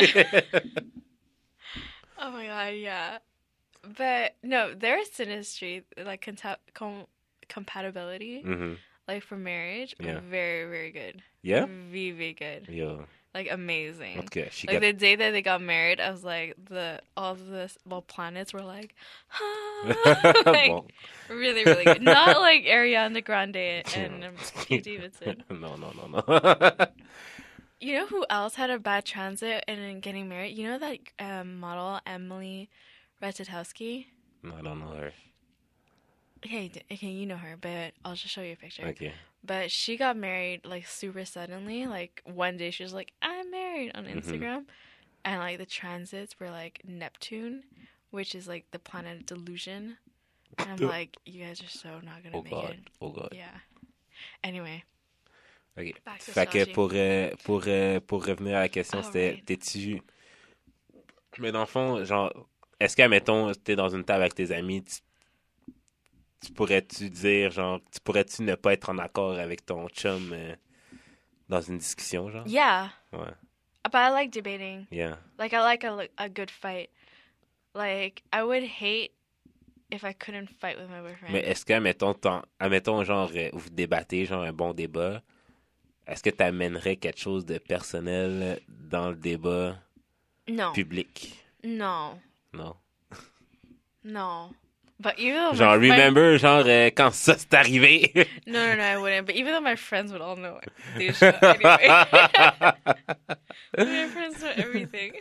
Oh my god, yeah. But no, their synastry, like conta- com- compatibility, Mhm. like for marriage, Yeah. very, very good. Yeah? Very, very good. Yo. Like amazing. En tout cas, she Like got... the day that they got married, I was like, the all the well planets were like, like Bon. really, really good. Not like Ariana Grande and um, Pete Davidson. non, non, non, non. You know who else had a bad transit and in getting married? You know that um, model Emily Ratajkowski? No, I don't know her. Okay, d- okay, you know her, but I'll just show you a picture. Okay. But she got married like super suddenly. Like one day she was like, "I'm married" on Mhm. Instagram, and like the transits were like Neptune, which is like the planet of delusion. And I'm Duh. like, you guys are so not gonna Oh make God. it. Oh God. Yeah. Anyway, OK. back to Fait que astrology. pour, euh, pour, euh, pour revenir à la question, c'était, Alright. t'es-tu... Mais dans le fond, genre, est-ce que, mettons, t'es dans une table avec tes amis, tu, tu pourrais-tu dire, genre, tu pourrais-tu ne pas être en accord avec ton chum euh, dans une discussion, genre? Yeah, Ouais. but I like debating. Yeah. Like I like a a good fight. Like I would hate if I couldn't fight with my boyfriend. Mais est-ce que, admettons, t'en- admettons genre, euh, vous débattez, genre, un bon débat, est-ce que t'amènerais quelque chose de personnel dans le débat no, public? no, Non. no. But even though Genre, my friend- remember, genre, euh, quand ça s'est arrivé? no, no, no, I wouldn't. But even though my friends would all know it, they should anyway. My friends know everything.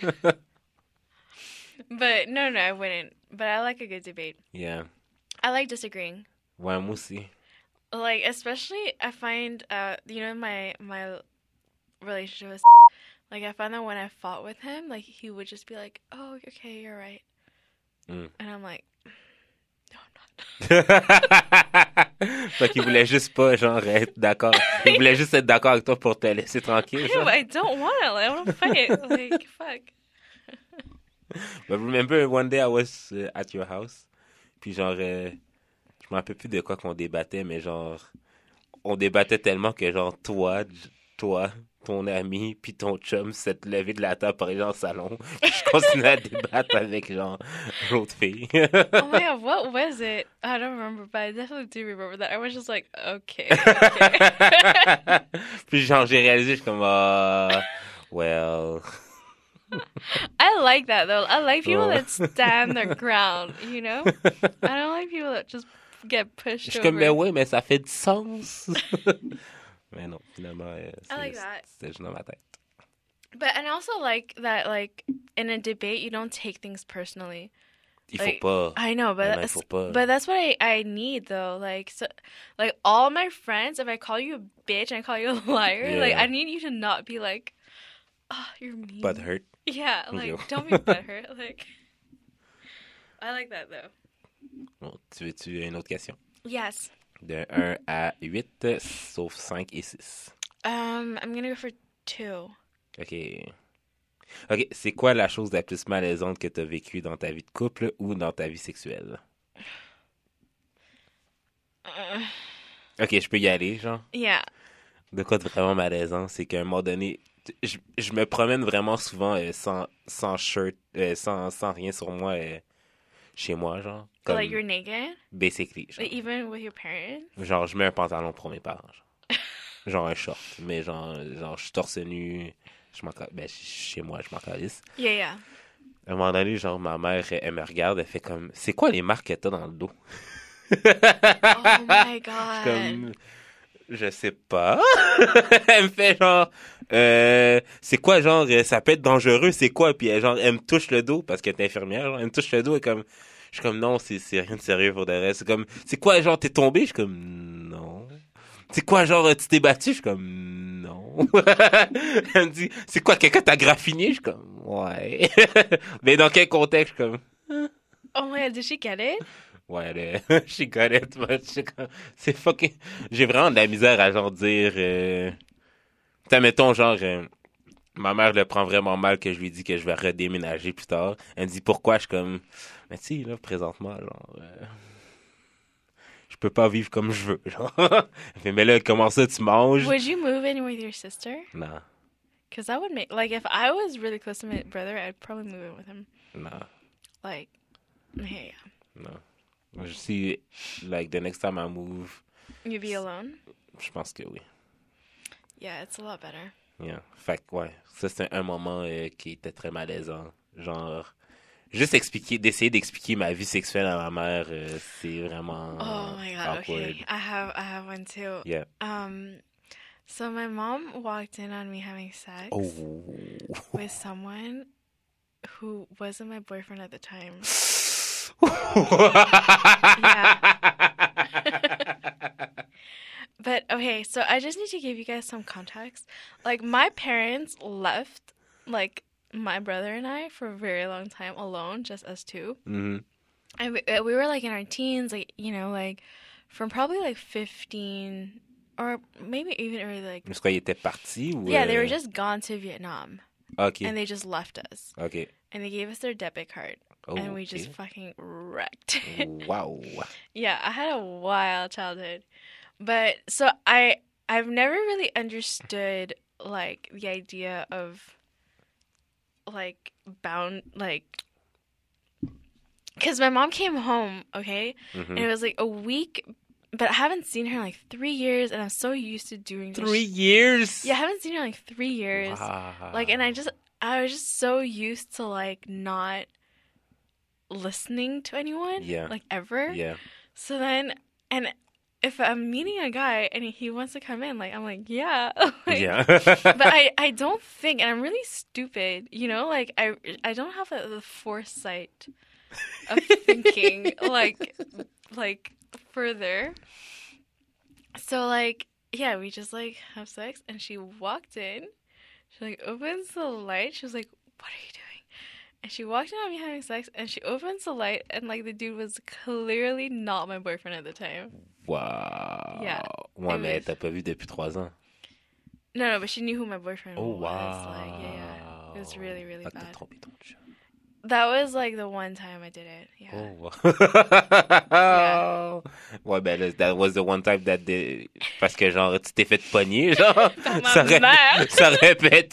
But no, no, I wouldn't. But I like a good debate. Yeah. I like disagreeing. Ouais, moi aussi. Like especially, I find uh, you know, my my relationship with like I find that when I fought with him, like he would just be like, "Oh, okay, you're right," Mm. and I'm like, "No, I'm not." Fait qu'il voulait juste pas, genre, être d'accord. Il voulait juste être d'accord avec toi pour te laisser tranquille. Ew, genre. I don't want to. Like, I want to fight. Like, fuck. But remember one day I was uh, at your house, puis genre, euh, je me rappelle plus de quoi qu'on débattait, mais genre, on débattait tellement que genre, toi, j- toi, ton ami, puis ton chum s'est levé de la table pour aller dans le salon. Puis je continuais à débattre avec genre, l'autre fille. Oh my god, what was it? I don't remember, but I definitely do remember that. I was just like, okay. okay. Puis genre, j'ai réalisé, je suis comme, ah, well. I like that though. I like people Oh. that stand their ground, you know? I don't like people that just get Je pushed suis over. comme, mais oui, mais ça fait du sens. Mais non, finalement, euh, I like c'est- that. c'était juste dans ma tête. But and I also like that like in a debate you don't take things personally. Il faut Like, pas. I know, but Mais non, il that's, faut pas. but that's what I, I need though. Like so, like all my friends, if I call you a bitch and I call you a liar, like Yeah. I need you to not be like, oh, you're mean. But hurt. Yeah, like Okay. don't be butthurt. Like I like that though. Bon, tu veux-tu une autre question? Yes. De un à huit, sauf cinq et six. Um, I'm gonna go for two. OK. OK, c'est quoi la chose la plus malaisante que tu as vécue dans ta vie de couple ou dans ta vie sexuelle? Uh, OK, je peux y aller, genre. yeah. De quoi de vraiment malaisant, c'est qu'à un moment donné, je, je me promène vraiment souvent euh, sans, sans shirt, euh, sans, sans rien sur moi euh, chez moi, genre. Comme, Like you're naked? basically, genre. Like even with your parents? Genre, je mets un pantalon pour mes parents, genre. Genre un short, mais genre, genre je suis torse nu, je m'en ca- ben, chez moi, je m'en calisse. Yeah, yeah. À un moment donné, genre, ma mère, elle, elle me regarde, elle fait comme, c'est quoi les marques que t'as dans le dos? Oh my Je suis god. comme, je sais pas. Elle me fait genre, euh, c'est quoi, genre, euh, ça peut être dangereux, c'est quoi? Puis elle, genre, elle me touche le dos parce qu'elle est infirmière, genre, elle me touche le dos et comme, je suis comme, non, c'est, c'est rien de sérieux pour de vrai. C'est comme, c'est quoi, genre, t'es tombé? Je suis comme, non. C'est quoi, genre, tu t'es battu? Je suis comme, non. Elle me dit, c'est quoi, quelqu'un t'a graffiné? Je suis comme, ouais. Mais dans quel contexte? Je suis comme, Oh my god, did she get it? ouais, elle, je got it, but je suis comme, c'est fucking, j'ai vraiment de la misère à genre dire, euh, t'as, mettons, genre, euh, ma mère le prend vraiment mal que je lui dis que je vais redéménager plus tard. Elle me dit pourquoi, je suis comme, mais tu sais, là, présentement, genre, euh, je peux pas vivre comme je veux, genre. Elle fait, mais là, comment ça, tu manges? Would you move in with your sister? Non, Because that would make, like, if I was really close to my brother, I'd probably move in with him. non, Like, yeah, non. Je see, like, the next time I move, yeah. You'd be alone? je pense que oui. Yeah, it's a lot better. Yeah. Fait que, ouais, ça, c'est un moment euh, qui était très malaisant. Genre, juste expliquer, d'essayer d'expliquer ma vie sexuelle à ma mère, euh, c'est vraiment Oh my god, awkward. okay. I have I have one too. Yeah. Um so my mom walked in on me having sex Oh. with someone who wasn't my boyfriend at the time. But okay, so I just need to give you guys some context. Like my parents left like my brother and I for a very long time alone, just us two. Mhm. And we, uh, we were like in our teens, like, you know, like from probably like fifteen or maybe even early, like, Est-ce qu'ils étaient partis ou... yeah, they euh, were just gone to Vietnam OK. and they just left us. OK. And they gave us their debit card Oh, and we OK. just fucking wrecked. Wow. Yeah, I had a wild childhood. But so I I've never really understood like the idea of like bound like because my mom came home, okay, Mhm. and it was like a week, but I haven't seen her in like three years, and I'm so used to doing this. Three years? Yeah, I haven't seen her in like three years. Wow. Like, and I just I was just so used to like not listening to anyone, Yeah. like ever. Yeah. So then, and if I'm meeting a guy and he wants to come in, like I'm like, yeah, like, Yeah. but I, I don't think, and I'm really stupid, you know, like I, I don't have a, the foresight of thinking like, like further. So like, yeah, we just like have sex, and she walked in, she like opens the light, she was like, "What are you doing?" And she walked in on me having sex, and she opens the light, and like the dude was clearly not my boyfriend at the time. Wow. Yeah. Ouais, It mais was- t'as pas vu depuis trois ans. No, no, but she knew who my boyfriend Oh, was. wow. Like, yeah, yeah. It was really, really Ah, t'as bad. trompé ton chum. That was like the one time I did it. Yeah. Oh, wow. Ouais, ben là, that was the one time that the... Parce que, genre, tu t'es fait pogner, genre. Par ma ça, ré- mère. ça répète.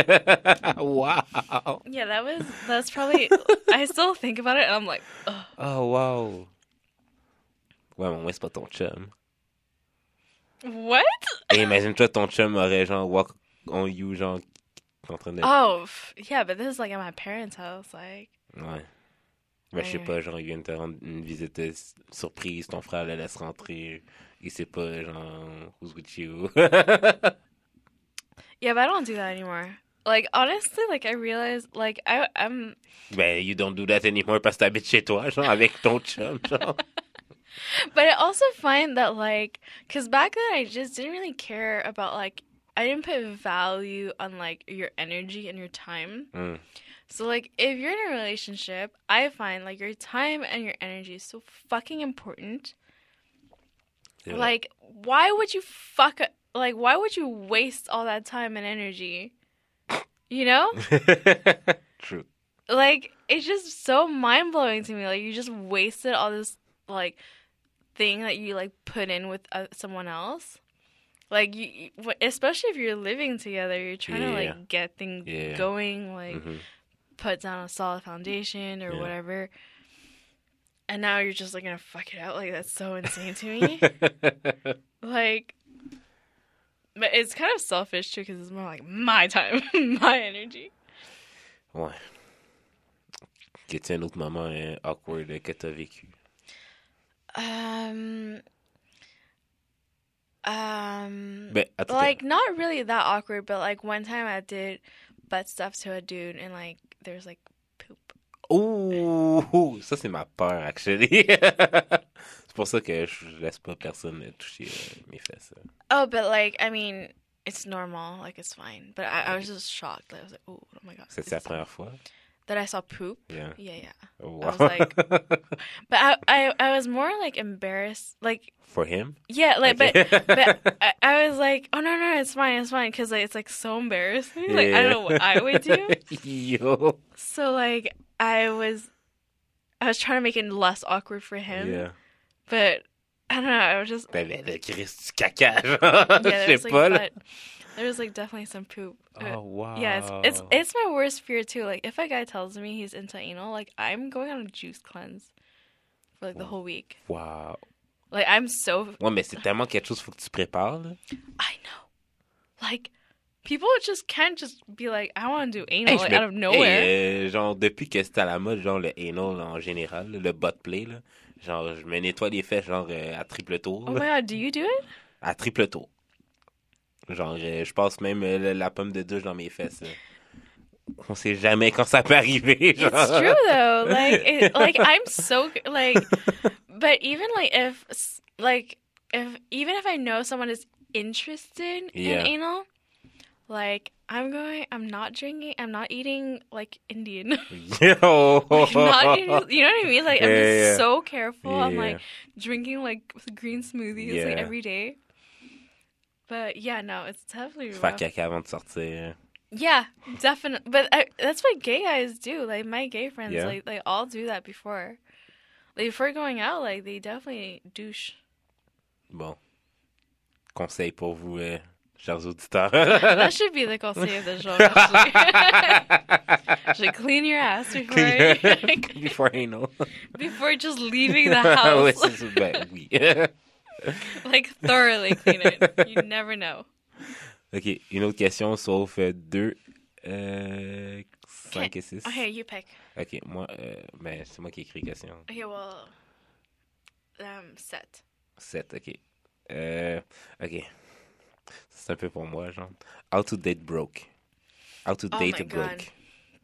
Wow. Yeah, that was, that's probably, I still think about it and I'm like, ugh. Oh, wow. Ouais, mais au moins, c'est pas ton chum. What? Et imagine-toi, ton chum aurait, genre, walk on you, genre, en train de... Oh, f- yeah, but this is like at my parents' house. Like, Ouais. Ben, je sais Ouais. pas, genre, il vient de te rendre une visite euh, surprise, ton frère le laisse rentrer, il sait pas, genre, who's with you. yeah, but I don't do that anymore. Like, honestly, like, I realized, like, I, I'm, Ben, you don't do that anymore parce que t'habites chez toi, genre, avec ton chum, genre. but I also find that, like, because back then I just didn't really care about, like, I didn't put value on, like, your energy and your time. Mm. So, like, if you're in a relationship, I find, like, your time and your energy is so fucking important. C'est vrai. Like, why would you fuck? Like, why would you waste all that time and energy? You know? True. Like, it's just so mind blowing to me. Like, you just wasted all this like thing that you like put in with uh, someone else. Like, you, you- especially if you're living together, you're trying to Yeah. like get things Yeah. going, like Mhm. put down a solid foundation or Yeah. whatever. And now you're just like gonna fuck it out. Like, that's so insane to me. Like, but it's kind of selfish too because it's more like my time, my energy. Ouais. Qu'est-ce un autre moment hein, awkward que t'as vécu? Um, um, Ben, en tout cas, like not really that awkward, but like one time I did butt stuff to a dude and like there's like poop. ouh, ça c'est ma peur, actually. C'est pour ça que je laisse pas personne toucher euh, mes fesses. Oh, but like I mean, it's normal, like it's fine. But I, I was just shocked. Like, I was like, oh, oh my god. C'est la it's- première fois? that I saw poop. Yeah. Yeah, yeah. Oh, I was wow. like- But I, I, I was more like embarrassed. Like, For him? yeah, like, Okay. but, but I, I was like, oh no, no, it's fine, it's fine, because like, it's like so embarrassing. Like, I don't know what I would do. Yo. So like, I was, I was trying to make it less awkward for him. Yeah. But I don't know. I was just Ben, ben, le Christ du caca, genre. yeah. Je There sais was like, pas, là. but there was like definitely some poop. Oh, wow. Yeah, it's, it's it's my worst fear too. Like if a guy tells me he's into anal, like I'm going on a juice cleanse for like the whole week. Wow. Like I'm so Ouais, mais c'est tellement quelque chose qu'il faut que tu prépares, là. I know. Like people just can't just be like I want to do anal Hey, je like, me- out of nowhere. hey, euh, genre, depuis que c'est à la mode, genre, le anal en général, là, le butt play, là. Genre, je me nettoie les fesses, genre, euh, à triple tour. Oh là. my god, do you do it? À triple tour. Genre, euh, je passe même euh, le- la pomme de douche dans mes fesses. là. On sait jamais quand ça peut arriver. Genre. It's true though. Like it, like I'm so like but even like if like if even if I know someone is interested Yeah. in anal, like I'm going I'm not drinking, I'm not eating like Indian. Yo. Like, not eating, you know what I mean? Like I'm Yeah, just yeah. so careful. I'm Yeah. like drinking like green smoothies like Yeah. every day. But yeah, no, it's definitely Faire rough. caca avant de sortir. Yeah, definitely. But I, that's what gay guys do. Like my gay friends, Yeah. like they all do that before. Like before going out, like they definitely douche. Bon. Conseil pour vous, euh, chers auditeurs. That should be the conseil of the jour. Actually, should clean your ass before Before anal. before just leaving the Ouais, house. c'est ça. Ben oui. Like thoroughly clean it. You never know. OK, une autre question, sauf euh, deux, euh, cinq Okay. et six. Okay, you pick. OK, moi, euh, ben, c'est moi qui écris question. Okay, well, um, set. sept, OK. Euh, OK. C'est un peu pour moi, genre. How to date broke. How to Oh date my God. broke.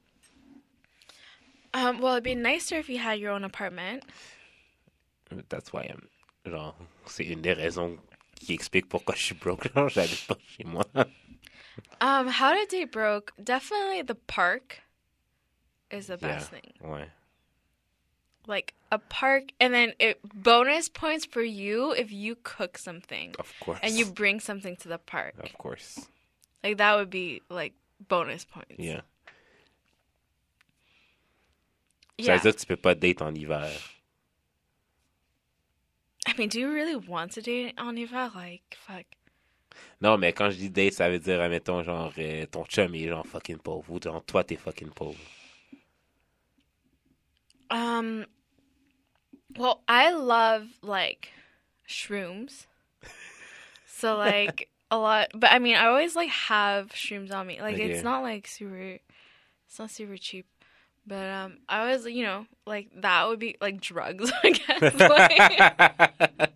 Um, well, it'd be nicer if you had your own apartment. That's why I'm... Genre, c'est une des raisons qui explique pourquoi je suis broke. Genre, j'habite pas chez moi. Um, how to date broke? Definitely the park is the best Yeah. thing. Ouais. Like a park, and then it bonus points for you if you cook something Of course. and you bring something to the park. Of course. Like that would be like bonus points. Yeah. Ça Yeah. veut dire que tu peux pas date en hiver. I mean, do you really want to date on hiver? Like, fuck. Non, mais quand je dis date, ça veut dire, admettons, genre, euh, ton chum est genre fucking pauvre. Ou genre, toi, t'es fucking pauvre. Um. Well, I love like shrooms. So like a lot, but I mean, I always like have shrooms on me. Like Okay. it's not like super, it's not super cheap. But um, I always, you know, like that would be like drugs, I guess. Like,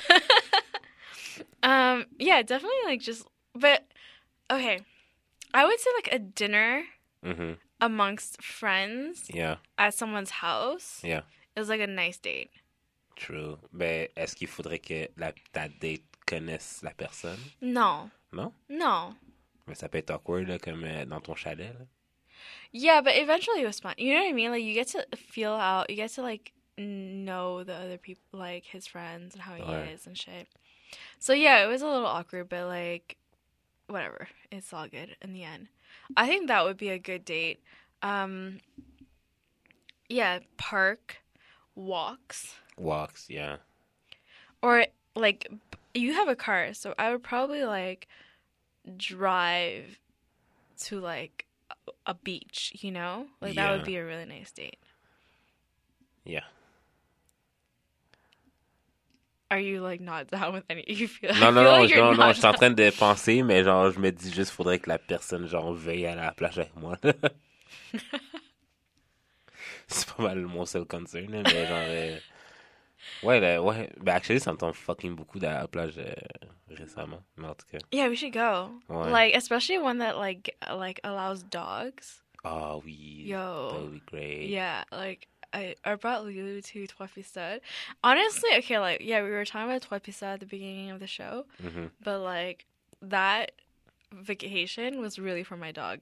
um, yeah, definitely like just, but okay, I would say like a dinner Mhm. amongst friends Yeah, at someone's house yeah. is like a nice date. True. Ben, est-ce qu'il faudrait que la, ta date connaisse la personne? No, Non? no. Mais ça peut être awkward, là, comme euh, dans ton chalet, là. Yeah, but eventually it was fun. You know what I mean? Like you get to feel out, you get to like know the other people, like his friends and how he Ouais. is and shit. So yeah, it was a little awkward, but like, whatever. It's all good in the end. I think that would be a good date. Um, yeah, park, walks, Walks, yeah. or like you have a car, so I would probably like drive to like a beach, you know? Like that would Yeah. be a really nice date. Yeah. Are you like not down with any? You feel? I Non, non, feel non, like je- you're non, non, not je suis en down. train de penser, mais genre, je me dis juste, faudrait que la personne, genre, veuille aller à la plage avec moi. C'est pas mal mon seul concern, là, mais genre, euh, ouais, là, ouais, ben, actually, ça me tombe fucking beaucoup d'aller à la plage euh, récemment, mais en tout cas, Yeah, we should go. ouais. Like especially one that like like allows dogs. Ah oui, that Yo. would be great. Yeah, like I I brought Lulu to Trois Pistes. Honestly, okay, like yeah, we were talking about Trois Pistes at the beginning of the show, Mhm. but like that vacation was really for my dog.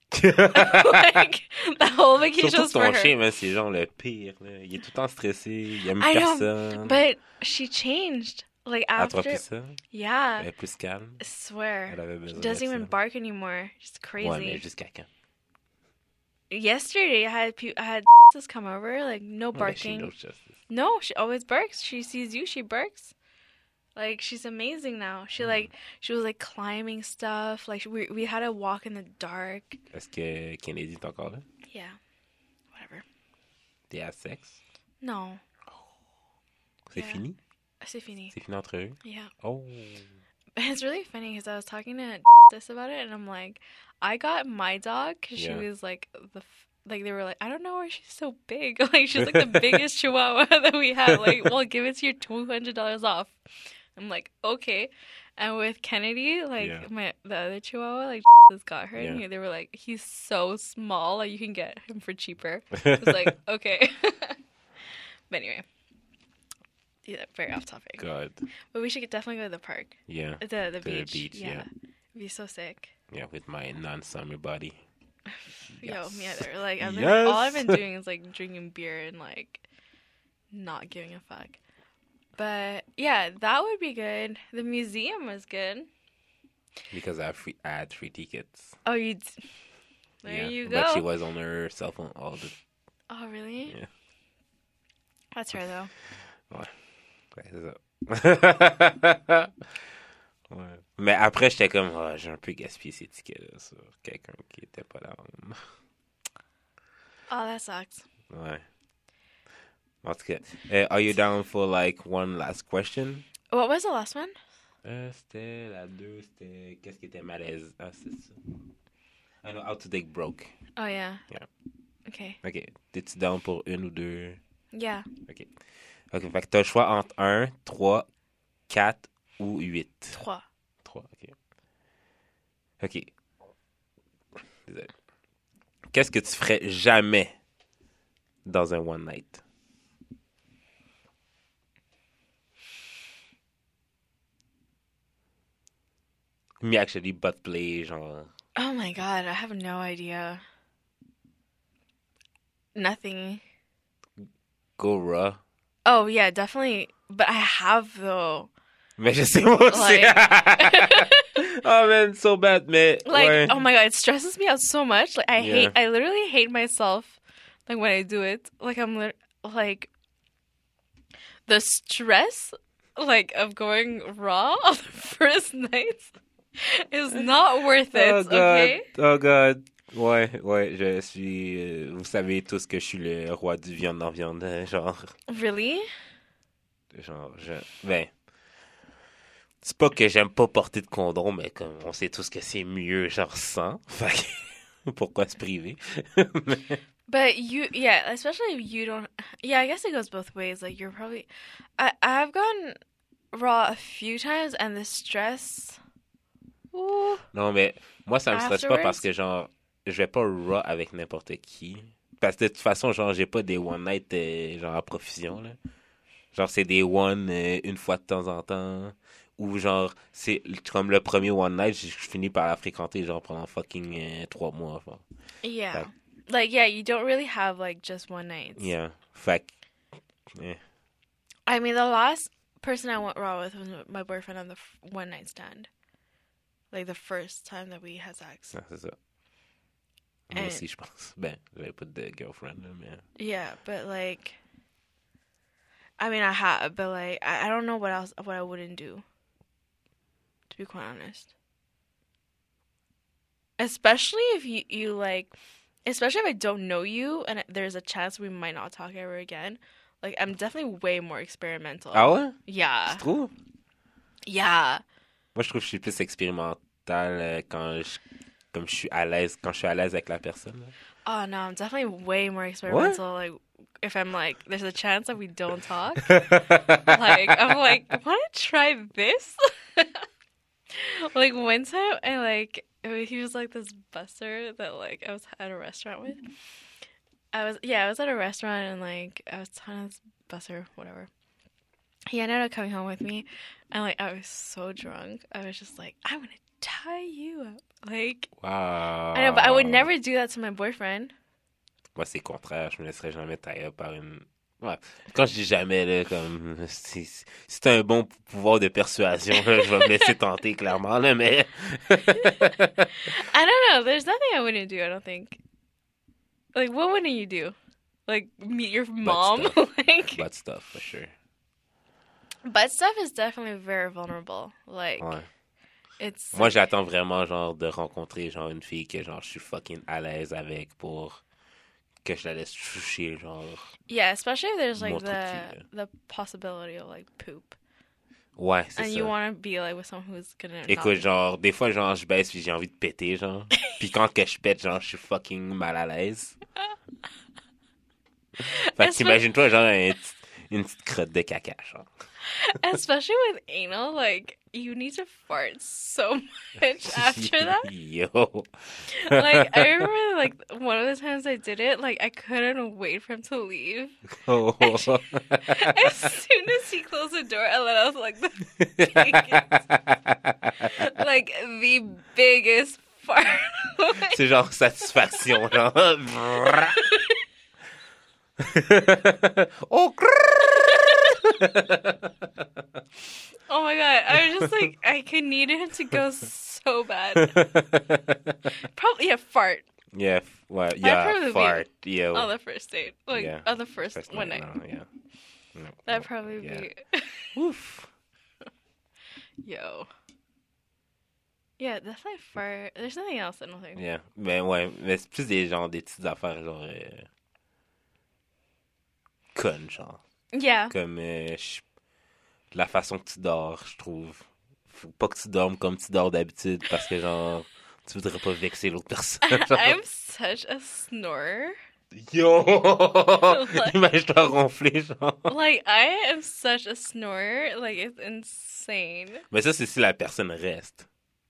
Like that whole vacation Surtout was for ton her. chien, man, c'est genre le pire, là. Il est tout le temps stressé, il aime I know, personne. But she changed. Like À trois after, pistes, yeah, elle est plus calme. I swear. Elle avait She besoin doesn't de even ça. bark anymore. She's crazy. Ouais, mais jusqu'à quand? Yesterday, I had pe- I had come over, like no Ouais, she barking. knows justice. No, she always barks. She sees you, she barks. Like she's amazing now. She like she was like climbing stuff. Like we we had to walk in the dark. Est-ce que Kennedy est encore là? Yeah, whatever. T'es à sexe? No, C'est Yeah. fini? c'est fini. C'est fini entre eux? Yeah, Oh. it's really funny because I was talking to this about it, and I'm like, I got my dog because Yeah. she was like the. F- Like they were like, I don't know why she's so big. Like she's like the biggest Chihuahua that we have. Like, well, give it to your two hundred dollars off. I'm like, okay. And with Kennedy, like Yeah. my the other Chihuahua, like has got her, and Yeah. they were like, he's so small, like you can get him for cheaper. I was like, okay. But anyway, yeah, very off topic. God. But we should definitely go to the park, Yeah. the the, the beach. beach, yeah. It'd be so sick. Yeah, with my non-summer body. Yo, Yes. me either. Like I've been, Yes. all I've been doing is like drinking beer and like not giving a fuck. But yeah, that would be good. The museum was good. Because I, have free, I had free tickets. Oh, you. D- there yeah. you But she go. was on her cell phone all the Oh, really? Yeah. That's her though. Ouais, c'est ça. Ouais. Mais après, j'étais comme, oh, j'ai un peu gaspillé ces tickets-là sur quelqu'un qui était pas là. Oh, that sucks. Ouais. En tout cas, euh, are you down for like one last question? What was the last one? Euh, c'était la deux, c'était qu'est-ce qui était malaise? Ah, c'est ça. I know how to take broke. Oh yeah. Yeah. Okay. Ok, t'es-tu down pour une ou deux? Yeah. Ok. Ok, fait que t'as le choix entre un, trois, quatre ou huit. Trois. trois, ok. Ok. Désolé. Qu'est-ce que tu ferais jamais dans un one night? Me actually butt play, genre. Oh my god, I have no idea. Nothing. Go raw. Oh yeah, definitely. But I have though. Mais je sais moi aussi. Oh man, so bad, mais. Like, ouais. oh my god, it stresses me out so much. Like, I Yeah. hate, I literally hate myself. Like when I do it, like I'm lit- like the stress, like of going raw on the first night, is not worth it. Oh god. Okay. Oh god. Ouais, ouais, je suis. euh, vous savez tous que je suis le roi du viande en viande, hein, genre. Really? Genre, je. Ben. C'est pas que j'aime pas porter de condom, mais comme on sait tous que c'est mieux, genre sans. Fait que. Pourquoi se priver? Mais- But you, yeah, especially if you don't. Yeah, I guess it goes both ways. Like you're probably, I I've gone raw a few times, and the stress. Ooh. Non, mais moi, ça me stresse pas Afterwards? parce que, genre, je vais pas raw avec n'importe qui. Parce que de toute façon, genre, j'ai pas des one night, euh, genre, à profusion, là. Genre, c'est des one euh, une fois de temps en temps. Ou, genre, c'est comme le premier one night, je, je finis par la fréquenter, genre, pendant fucking euh, trois mois. Genre. Yeah. Like- Like yeah, you don't really have like just one night. Yeah. Fait que, eh. I mean, the last person I went raw with was my boyfriend on the f- one night stand. Like the first time that we had sex. Ah, c'est ça. Moi And- aussi, je pense. Ben, j'avais pas de girlfriend, là, mais... Yeah, but like, I mean, I have, but like, I, I don't know what else, what I wouldn't do. To be quite honest. Especially if you, you like, especially if I don't know you and there's a chance we might not talk ever again. Like, I'm definitely way more experimental. Ah ouais? Yeah. Tu trouves? Yeah. Moi, je trouve que je suis plus expérimental euh, quand je... Comme je suis à l'aise, quand je suis à l'aise avec la personne. Là. Oh no, I'm definitely way more experimental. Like, if I'm like, there's a chance that we don't talk. Like, I'm like, want to try this? Like, one time, I like, he was like this busser that like I was at a restaurant with. I was, yeah, I was at a restaurant and like I was telling this busser, whatever. He ended up coming home with me, and like I was so drunk. I was just like, I'm gonna tie you up. Like, Wow. I know, but I would never do that to my boyfriend. Moi, c'est le contraire. Je me laisserais jamais tailler par une... Ouais. Quand je dis jamais, là, comme... Si c'est un bon pouvoir de persuasion, là, je vais me laisser tenter, clairement, là, mais... I don't know. There's nothing I wouldn't do, I don't think. Like, what wouldn't you do? Like, meet your mom? stuff. Like, Butt stuff, for sure. butt stuff is definitely very vulnerable. Like, Ouais. it's... Moi, j'attends vraiment, genre, de rencontrer, genre, une fille que, genre, je suis fucking à l'aise avec pour que je la laisse toucher, genre... Yeah, especially if there's, like, Mon truc the, qui- the possibility of, like, poop. Ouais, c'est And ça. you want to be, like, with someone who's gonna... not Écoute, be- genre, des fois, genre, je baisse puis j'ai envie de péter, genre. Puis quand que je pète, genre, je suis fucking mal à l'aise. Fait que Especially- t'imagines-toi, genre, un petit- une petite crotte de caca, genre. Especially with anal, like, you need to fart so much after that. Yo. Like, I remember, like, one of the times I did it, like, I couldn't wait for him to leave. Oh. As soon as he closed the door, I let out, like, the biggest, like, the biggest fart. C'est genre satisfaction, genre. Oh, Oh my god, I was just like, I could needed him to go so bad. Probably, yeah, fart yeah, f- ouais, yeah, probably fart, yo. on the first date. Like, Yeah. on the first, First one night. no, yeah. No, That'd no, probably yeah. be, Ouf. yo. Yeah, definitely fart. There's nothing else, I don't think. Yeah. Ben ouais, mais c'est plus des genre des petites affaires genre euh, connes, genre. Yeah. Comme euh, je- la façon que tu dors, je trouve. Faut pas que tu dormes comme tu dors d'habitude parce que genre tu voudrais pas vexer l'autre personne. genre. I'm such a snorer. Yo! Imagine-toi ronfler, genre. Like, I am such a snorer. Like, it's insane. Mais ça, c'est si la personne reste.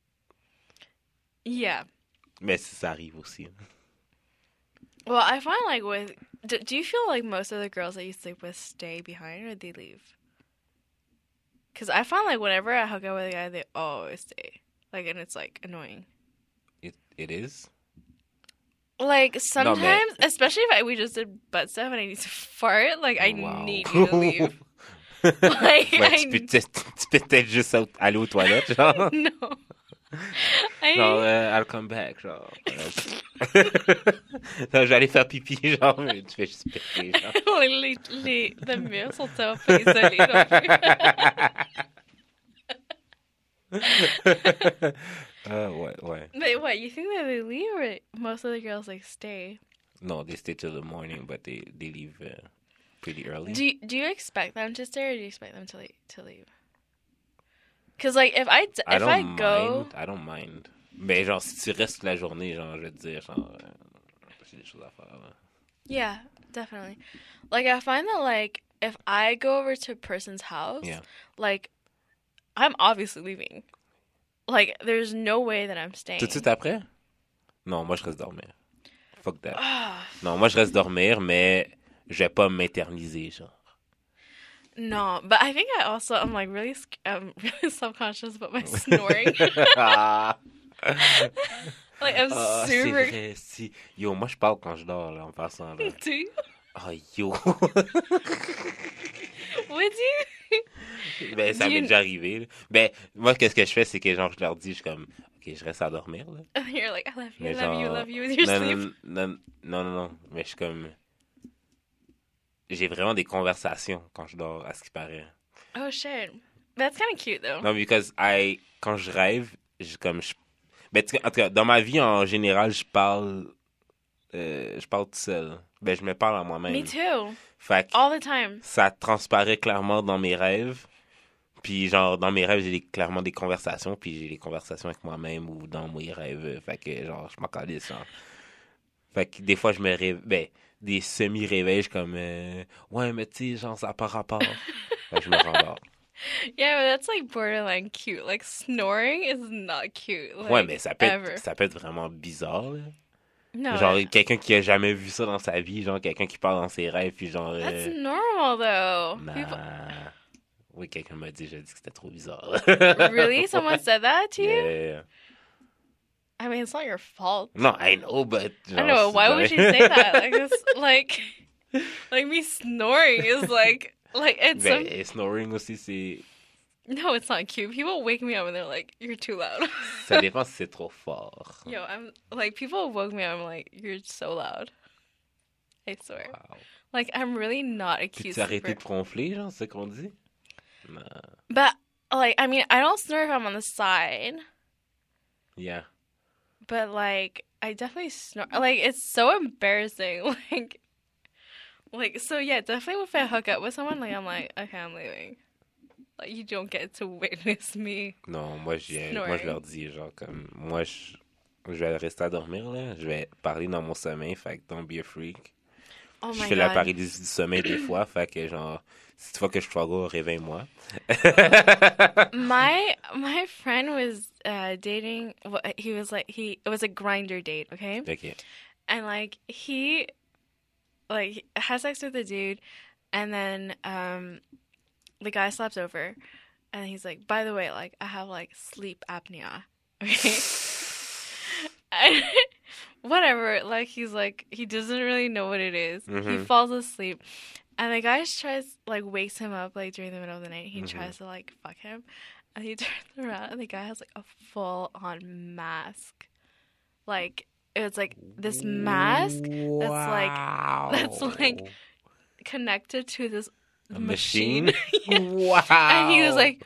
Yeah. Mais si ça arrive aussi. hein. Well, I find, like, with... Do, do you feel like most of the girls that you sleep with stay behind or they leave? Because I find, like, whenever I hook up with a guy, they always stay. Like, and it's, like, annoying. It, it is? Like, sometimes, especially if I, we just did butt stuff and I need to fart, like, I Wow. need you to leave. Like, Ouais, I... tu peux peut-être tu peux peut-être juste au- aller aux toilettes, genre. No. I... Genre, euh, I'll come back, genre. Non, je vais aller faire pipi, genre, mais tu fais juste péter, genre. les, les, les murs sont tellement pas isolés non plus. Ah, ouais, ouais. But what, you think that they leave or most of the girls, like, stay? No, they stay till the morning, but they, they leave uh, pretty early. Do you, do you expect them to stay or do you expect them to leave? To leave? Because, like, if I, d- I if don't I mind. go... I don't mind. Mais genre, si tu restes la journée, genre, je vais te dire, genre, euh, j'ai des choses à faire, là. Yeah, definitely. Like, I find that, like, if I go over to a person's house, Yeah. like, I'm obviously leaving. Like, there's no way that I'm staying. Tout de suite après? Non, moi, je reste dormir. Fuck that. Ah, Non, moi, je reste dormir, mais je vais pas m'éterniser, genre. no, but I think I also, I'm, like, really, sc- I'm really subconscious about my snoring. Ah, Like, I'm ah, c'est super... vrai, si. Yo, moi, je parle quand je dors, là, en passant, là. Do you? Oh, yo! Would you? Ben, ça Do m'est you- déjà arrivé, là. Ben, moi, qu'est-ce que je fais, c'est que, genre, je leur dis, je suis comme, OK, je reste à dormir, là. You're like, I love you, I Mais love you, I genre, love you with your non, sleep. non, non, non, non, non, mais je suis comme, j'ai vraiment des conversations quand je dors, à ce qui paraît. Oh shit. That's kind of cute though. Non, because I, quand je rêve, je, comme, je, ben, tu- en tout cas, dans ma vie, en général, je parle, euh, je parle tout seul. Ben, je me parle à moi-même. Me too. Fait que All the time. ça transparaît clairement dans mes rêves. Puis, genre, dans mes rêves, j'ai des- clairement des conversations, puis j'ai des conversations avec moi-même ou dans mes rêves. Fait que, genre, je m'en calisse, genre. Fait que des fois, je me réveille, ben, des semi-réveils, je suis comme, euh, ouais, mais tu sais, genre, ça n'a pas rapport. Fait que je me rendors. Yeah, but that's like borderline cute. Like snoring is not cute. Like, Ouais, mais ça peut, ever. être, ça peut être vraiment bizarre, là. No. Genre, quelqu'un qui a jamais vu ça dans sa vie, genre, quelqu'un qui parle dans ses rêves, puis genre... euh, That's normal though. nah. People... Oui, quelqu'un m'a dit, j'ai dit que c'était trop bizarre. Really? Someone said that to you? Yeah. I mean, it's not your fault. No, I know, but... I don't know. Why would you say that? Like this, like, like me snoring is like, like it's some... Ben, snoring aussi, c'est... No, it's not cute. People wake me up and they're like, "You're too loud." Ça dépend si c'est trop fort. Yo, I'm like, people woke me up. I'm like, "You're so loud." I swear. Wow. Like, I'm really not a Puis cute tu arrêté sleeper. de ronfler, genre, c'est ce qu'on dit? Non. But like, I mean, I don't snore if I'm on the side. Yeah. But like, I definitely snore. Like, it's so embarrassing. Like, like so yeah, definitely if I hook up with someone, like I'm like, okay, I'm leaving. Like, you don't get to witness me. Non, moi, je, Snoring. moi, je leur dis, genre, comme, moi, je, je vais rester à dormir, là. Je vais parler dans mon sommeil, fait que don't be a freak. Oh Je my fais la god. paralysie du sommeil des fois, fait que, genre, si tu vois que je struggle, réveille-moi. my my friend was uh dating wha- he was like he it was a grinder date, okay? OK. And like he like he has sex with the dude and then um the guy slaps over and he's like, by the way, like I have like sleep apnea. Okay. And whatever, like he's like he doesn't really know what it is. He Mhm. falls asleep. And the guy tries like wakes him up like during the middle of the night. He Mhm. tries to like fuck him. And he turns around and the guy has like a full on mask. Like it was like this mask like- that's like- connected to this A machine. machine? Wow. And he was like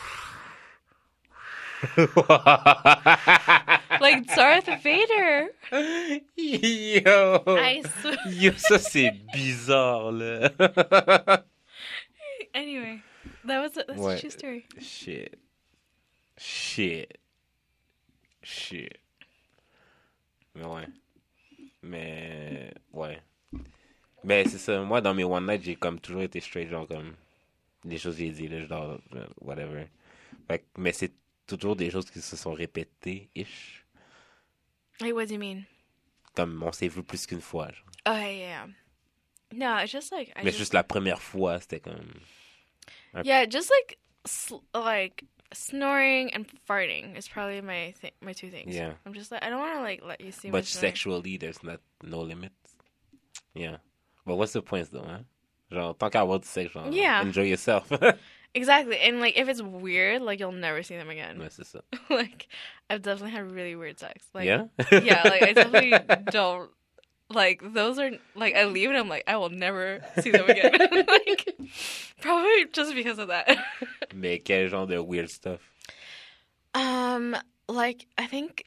like Darth Vader. Yo! I swear. Yo, ça c'est bizarre, là. Anyway, that was a, that's Ouais. a true story. Shit. Shit. Shit. Mais ouais. Mais, ouais. Mais c'est ça, moi dans mes one night, j'ai comme toujours été straight, genre comme, les choses que j'ai dit, là, je dors, euh, whatever. Fait que- mais c'est toujours des choses qui se sont répétées-ish. Like, what do you mean? Comme on s'est vu plus qu'une fois, genre. Oh yeah, yeah. No, it's just like I Mais just, juste la première fois, c'était comme... yeah, just like sl- like snoring and farting is probably my th- my two things. Yeah. I'm just like I don't want to like let you see. But my snoring. sexually, there's not no limits. Yeah. But what's the point, though, hein? Genre, tant qu'à avoir du sexe, genre, Yeah. enjoy yourself. Exactly, and like if it's weird, like you'll never see them again. Ouais, c'est ça. Like I've definitely had really weird sex. Like Yeah? yeah, like I definitely don't like those are like I leave and I'm like I will never see them again. Like probably just because of that. Mais quel genre de weird stuff? Um, like I think,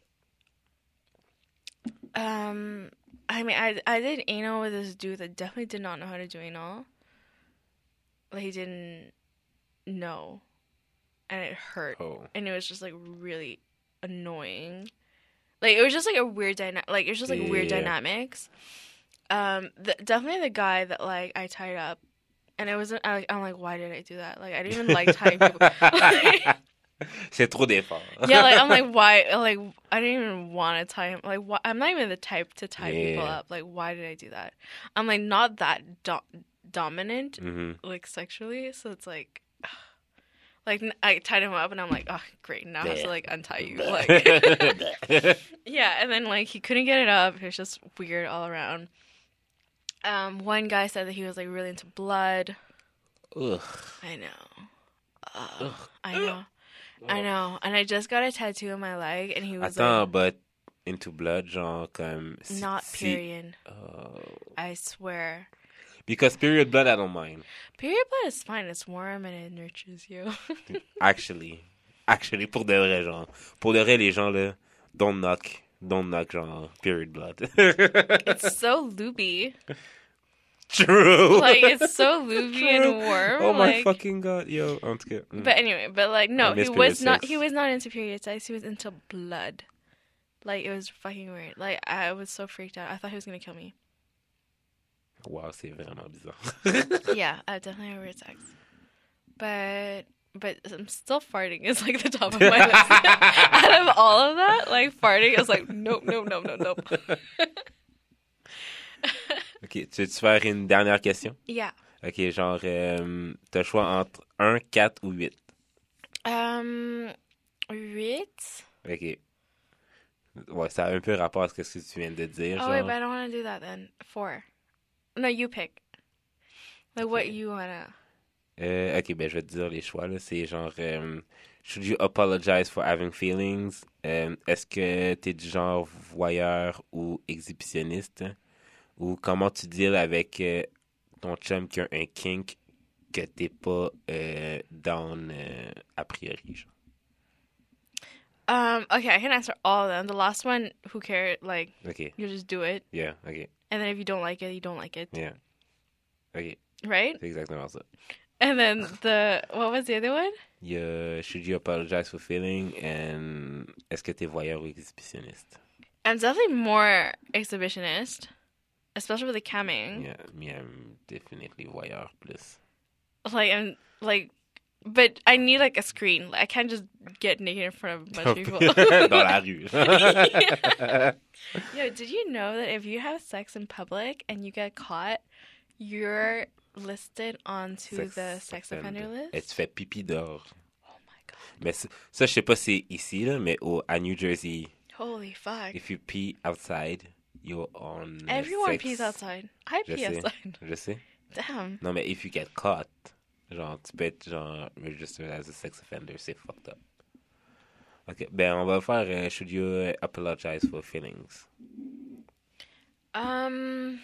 um, I mean, I I did anal with this dude that definitely did not know how to do anal. Like he didn't know, and it hurt, Oh. and it was just like really annoying. Like it was just like a weird dynamic. Like it was just like weird Yeah. dynamics. Um, the, definitely the guy that like I tied up, and it wasn't. I, I'm like, why did I do that? Like I didn't even like tying people. C'est trop d'efforts. Yeah, like I'm like, why? Like I didn't even want to tie him. Like why, I'm not even the type to tie people Yeah. up. Like why did I do that? I'm like not that do- dominant, Mhm. like sexually. So it's like, like n- I tied him up, and I'm like, oh great, now I have to like untie you. Like yeah, and then like he couldn't get it up. It was just weird all around. Um, one guy said that he was like really into blood. Ugh. I know. Ugh. I know. I know. And I just got a tattoo on my leg, and he was Attends, like, but into blood, genre comme si- not si- period. Oh. I swear. Because period blood, I don't mind. Period blood is fine. It's warm and it nurtures you. Actually. Actually, pour de vrai, genre. Pour de vrai, les gens, là, don't knock. Don't knock, genre, period blood. It's so looby. True. Like, it's so looby and warm. Oh my like, fucking god, yo. En tout cas. mm. But anyway, but like, no, I miss he period was not. sex. He was not into period sex. He was into blood. Like, it was fucking weird. Like, I was so freaked out. I thought he was gonna kill me. Wow, c'est vraiment bizarre. Yeah, I definitely have weird sex. But but I'm still farting is like the top of my list. Out of all of that, like farting is like nope, nope, nope, nope, nope. Ok, tu veux-tu faire une dernière question? Yeah. Ok, genre, euh, t'as le choix entre un, quatre ou huit. Um, huit. Ok. Ouais, ça a un peu rapport à ce que tu viens de dire. Oh genre. wait, but I don't want to do that then. Four. No, you pick. Like what Okay. you wanna. Euh, ok, ben je vais te dire les choix. Là. C'est genre, euh, should you apologize for having feelings? Euh, Est-ce que t'es du genre voyeur ou exhibitionniste? Ou comment tu deals avec euh, ton chum qui a un kink que t'es pas euh, down euh, a priori? Genre. Um, okay, I can answer all of them. The last one, who cares? Like, Ok, you just do it. yeah, ok, And then if you don't like it, you don't like it. yeah. Ok, Right? c'est exactement ça. And then the, what was the other one? Il y a should you apologize for feeling and est-ce que t'es voyeur ou exhibitionniste? I'm definitely more exhibitionist, especially with the camming. Yeah, me, I'm definitely voyeur plus. Like, I'm like, but I need like a screen. Like, I can't just get naked in front of a bunch of people. Dans la rue. Yo, did you know that if you have sex in public and you get caught, you're listed onto Sex the sex offender list? Et tu fais pipi dehors. Oh my god. Mais ça, ça, je sais pas si c'est ici, là, mais au, à New Jersey, Holy fuck. if you pee outside, you're on uh, Everyone sex. pees outside. I Je pee sais, outside. je sais. Damn. Non, mais if you get caught, genre, tu peux être, genre, registered as a sex offender, c'est fucked up. Ok, ben, on va faire euh, should you uh, apologize for feelings? Um.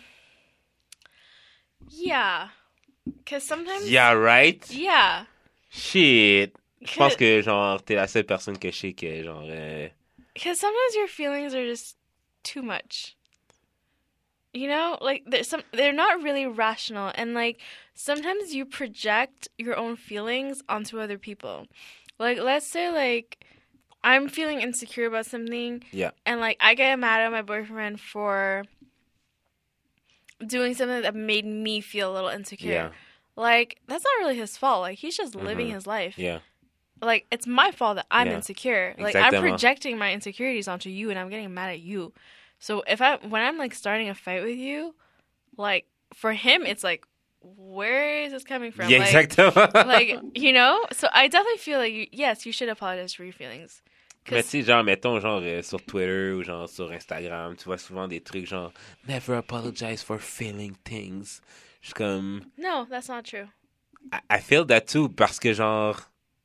Yeah. Because sometimes. Yeah, right? Yeah. Shit! Je pense que, genre, t'es la seule personne que je sais que, genre, euh, Because sometimes your feelings are just too much. You know, like there's some they're not really rational, and like sometimes you project your own feelings onto other people. Like let's say like I'm feeling insecure about something, yeah, and like I get mad at my boyfriend for doing something that made me feel a little insecure. yeah, Like that's not really his fault. Like he's just living Mhm. his life. yeah. Like it's my fault that I'm Yeah. insecure. Like I'm Exactement. projecting my insecurities onto you, and I'm getting mad at you. So if I when I'm like starting a fight with you, like for him it's like, where is this coming from? Yeah, like, exactement. like you know. So I definitely feel like you, yes, you should apologize for your feelings. Mais 'Cause- tu sais, genre, mettons, genre, euh, sur Twitter ou genre sur Instagram, tu vois souvent des trucs genre « Never apologize for feeling things ». Je suis comme... no, that's not true. I, I feel that too, parce que genre...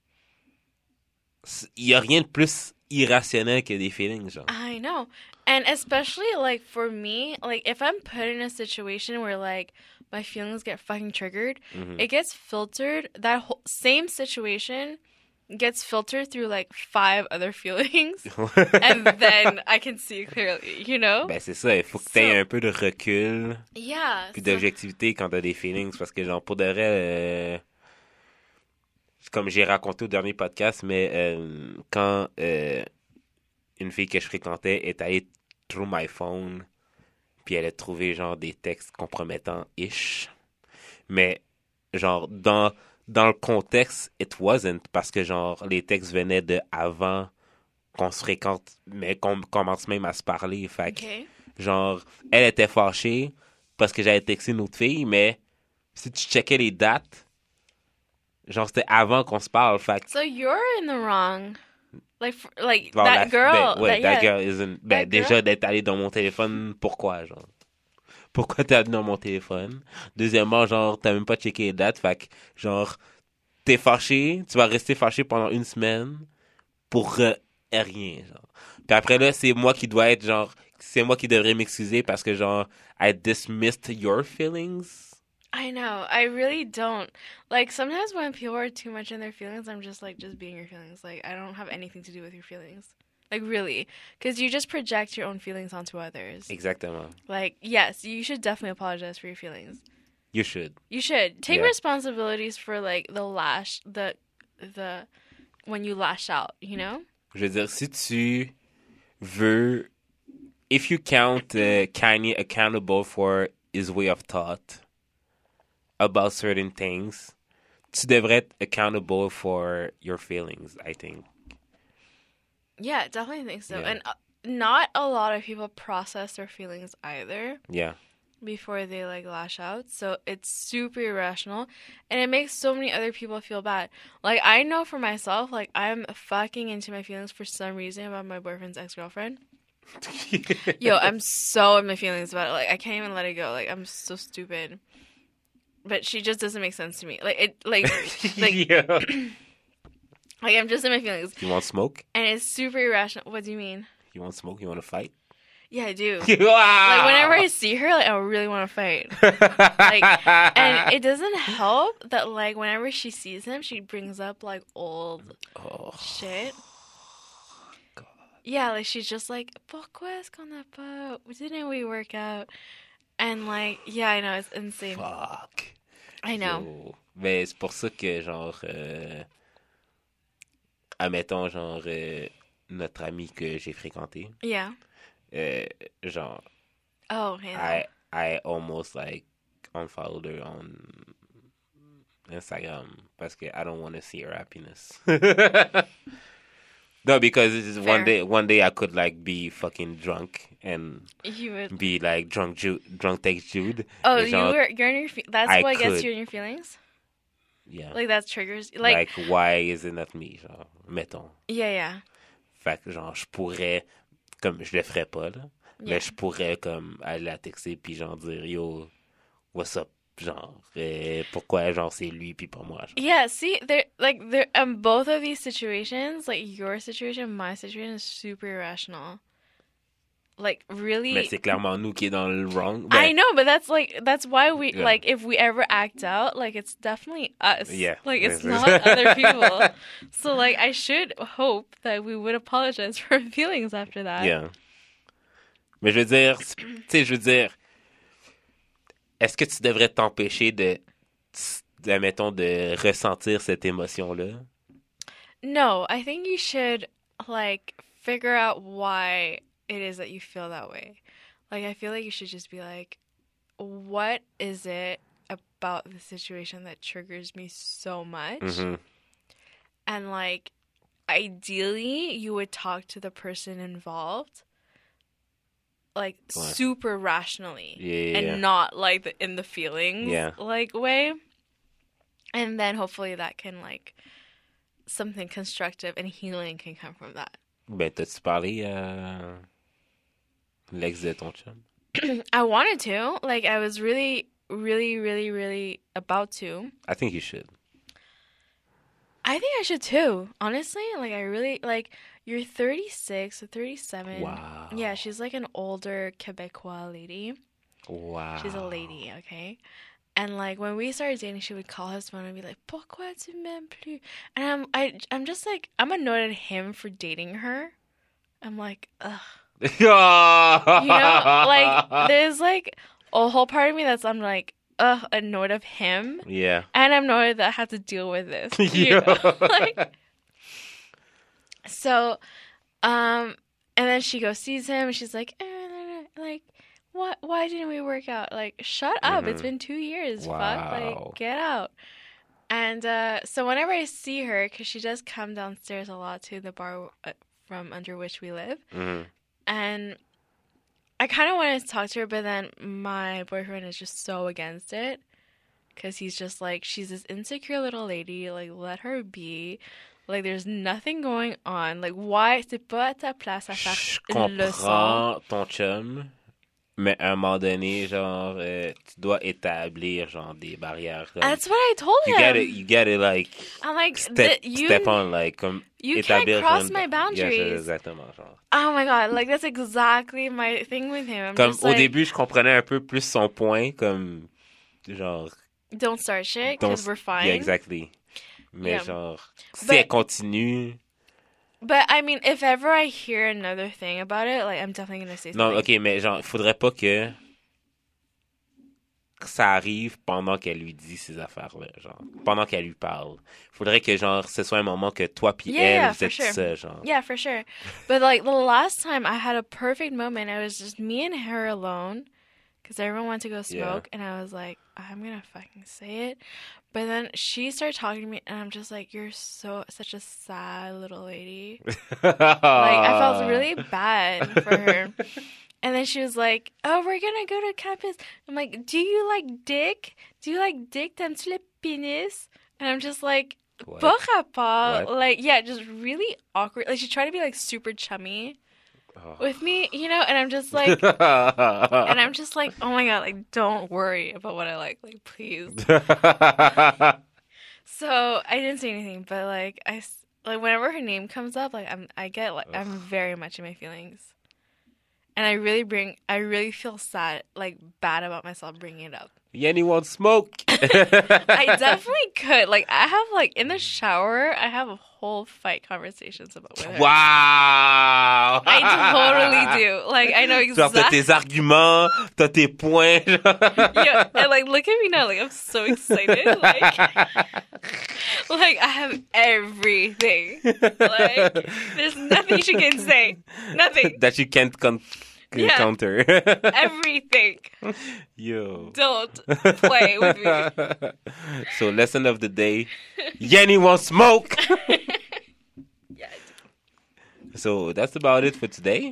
Il y a rien de plus irrationnel que des feelings, genre. I know. And especially like for me, like if I'm put in a situation where like my feelings get fucking triggered, Mhm. it gets filtered. That whole same situation gets filtered through like five other feelings, and then I can see clearly, you know? Ben c'est ça, il faut que tu aies So- un peu de recul Yeah. puis so- d'objectivité quand t'as des feelings, parce que genre, pour de vrai... euh, comme j'ai raconté au dernier podcast, mais euh, quand euh, une fille que je fréquentais est allée through my phone, puis elle a trouvé genre des textes compromettants-ish, mais genre dans dans le contexte, it wasn't, parce que genre les textes venaient de avant qu'on se fréquente, mais qu'on commence même à se parler, fait que, Okay. genre elle était fâchée parce que j'avais texté une autre fille, mais si tu checkais les dates, genre, c'était avant qu'on se parle, fait que... So you're in the wrong. Like, for, like Bon, that la- girl. Ben, ouais, that, that yeah. girl isn't... Ben, That girl- déjà, d'être allé dans mon téléphone, pourquoi, genre? pourquoi t'as dans mon téléphone? Deuxièmement, genre, t'as même pas checké les dates, fait que, genre, t'es fâché, tu vas rester fâché pendant une semaine pour euh, rien, genre. Puis après là, c'est moi qui dois être, genre, c'est moi qui devrais m'excuser parce que, genre, I dismissed your feelings. I know. I really don't. Like, sometimes when people are too much in their feelings, I'm just like, just be in your feelings. Like, I don't have anything to do with your feelings. Like, really. Because you just project your own feelings onto others. Exactement. Like, yes, you should definitely apologize for your feelings. You should. You should. Take Yeah. responsibilities for, like, the lash, the, the, when you lash out, you know? Je veux dire, si tu veux, if you count uh, Kanye accountable for his way of thought about certain things, tu devrais être accountable for your feelings, I think. Yeah, definitely think so. Yeah. And uh, not a lot of people process their feelings either Yeah. before they like lash out. So it's super irrational and it makes so many other people feel bad. Like I know for myself, like I'm fucking into my feelings for some reason about my boyfriend's ex-girlfriend. Yo, I'm so in my feelings about it. Like I can't even let it go. Like I'm so stupid. But she just doesn't make sense to me. Like it like like Yeah. like I'm just in my feelings. You want smoke? And it's super irrational. What do you mean? You want smoke? You want to fight? Yeah, I do. Like Like whenever I see her, like I really want to fight. Like, and it doesn't help that like whenever she sees him, she brings up like old oh. shit. God. Yeah, like she's just like, pourquoi est-ce qu'on n'a pas? Didn't we work out? And like, yeah, I know it's insane. Fuck. I know. Yo. Mais c'est pour ça que genre, euh, admettons genre euh, notre ami que j'ai fréquenté, Yeah. euh, genre. Oh, yeah. I I almost like unfollowed her on Instagram parce que I don't want to see her happiness. No, because it's one Fair. day one day I could like be fucking drunk and You would. be like drunk Jude, drunk text Jude. Oh, Et you genre, were. You're in your. Fe- that's I what gets could. you in your feelings. yeah. Like that triggers. Like, Like, why is it not me, genre, mettons. yeah, yeah. Fait que genre je pourrais, comme je le ferais pas là, Yeah. mais je pourrais comme aller la texter puis genre dire yo, what's up, genre euh, pourquoi genre c'est lui puis pas moi. Genre. Yeah, see, there, like, there, um, both of these situations, like your situation, my situation, is super irrational. Like, really. Mais c'est clairement nous qui est dans le wrong. I Ben, know, but that's like that's why we Yeah. like if we ever act out, like it's definitely us. Yeah. Like it's Yes. not other people. So like I should hope that we would apologize for our feelings after that. yeah. Mais je veux dire, tu sais, je veux dire, est-ce que tu devrais t'empêcher de, de, mettons, de ressentir cette émotion-là? No, I think you should like figure out why it is that you feel that way. Like I feel like you should just be like, what is it about the situation that triggers me so much? Mhm. And like ideally you would talk to the person involved like Ouais. super rationally Yeah, yeah, and yeah. not like the, in the feelings Yeah. like way. And then hopefully that can like something constructive and healing can come from that. Ben, t'as-tu parlé à l'ex de ton chum? I wanted to. Like I was really really really really about to. I think you should. I think I should too. Honestly, like I really like you're thirty-six or thirty-seven. Wow. Yeah, she's like an older Quebecois lady. Wow. She's a lady, okay? And like when we started dating, she would call his phone and be like, "Pourquoi tu m'aimes plus?" And I'm I I'm just like I'm annoyed at him for dating her. I'm like, ugh. you know, You know, like there's like a whole part of me that's I'm like, ugh, annoyed of him. Yeah. And I'm annoyed that I have to deal with this. You Yeah. know? Like, so, um, and then she goes sees him, and she's like, eh, like, what? Why didn't we work out? Like, shut up! It's Mhm. been two years. Fuck, Wow. like, get out. And uh, so whenever I see her, because she does come downstairs a lot to the bar uh, from under which we live, Mhm. and I kind of wanted to talk to her, but then my boyfriend is just so against it. Because he's just like, she's this insecure little lady, like, let her be. Like, there's nothing going on. Like, why? C'est pas à ta place à faire Je une leçon. comprends ton chum, Mais à un moment donné, genre, euh, tu dois établir, genre, des barrières. Comme, That's what I told you him. gotta, you gotta, like, I'm like, step, the, you, step on, like, comme, you can't établir cross une- my Yeah, boundaries. exactement, genre. Oh my god, like that's exactly my thing with him. I'm Comme, just au like, début, je comprenais un peu plus son point, comme, genre, don't start shit don't- because we're fine. yeah, exactly. Mais Yeah. genre, si But- elle continue... But I mean, if ever I hear another thing about it, like I'm definitely gonna say something. Non, ok, mais genre, il faudrait pas que que ça arrive pendant qu'elle lui dit ces affaires-là, genre, pendant qu'elle lui parle. Faudrait que, genre, ce soit un moment que toi puis Yeah, elle, yeah, vous for êtes sure. ça, genre. Yeah, for sure. But like the last time I had a perfect moment, it was just me and her alone because everyone went to go smoke, and I was like, I'm gonna fucking say it. But then she started talking to me, and I'm just like, you're so such a sad little lady. Like I felt really bad for her. And then she was like, oh, we're gonna go to campus. I'm like, do you like dick? Do you like dick? T'aimes-tu le pénis? And I'm just like, What? pas rapport. What? Like, yeah, just really awkward. Like, she tried to be like super chummy Oh. with me, you know? And I'm just like, and I'm just like, oh my god, like, don't worry about what I like. Like, please. So I didn't say anything, but like, I, s- like, whenever her name comes up, like, I'm, I get, like, I'm very much in my feelings. And I really bring, I really feel sad, like, bad about myself bringing it up. Yanni wants smoke. I definitely could. Like, I have, like, in the shower, I have a whole fight conversations about with her. Wow! I totally do. Like, I know Genre, t'as exactly. tes arguments, t'as tes points. Yeah, and like, look at me now. Like, I'm so excited. Like, like I have everything. Like, there's nothing she can say. Nothing. That you can't con- Yeah. counter. Everything. Yo. Don't play with me. So, lesson of the day. Yanni wants smoke. Yeah. So, that's about it for today.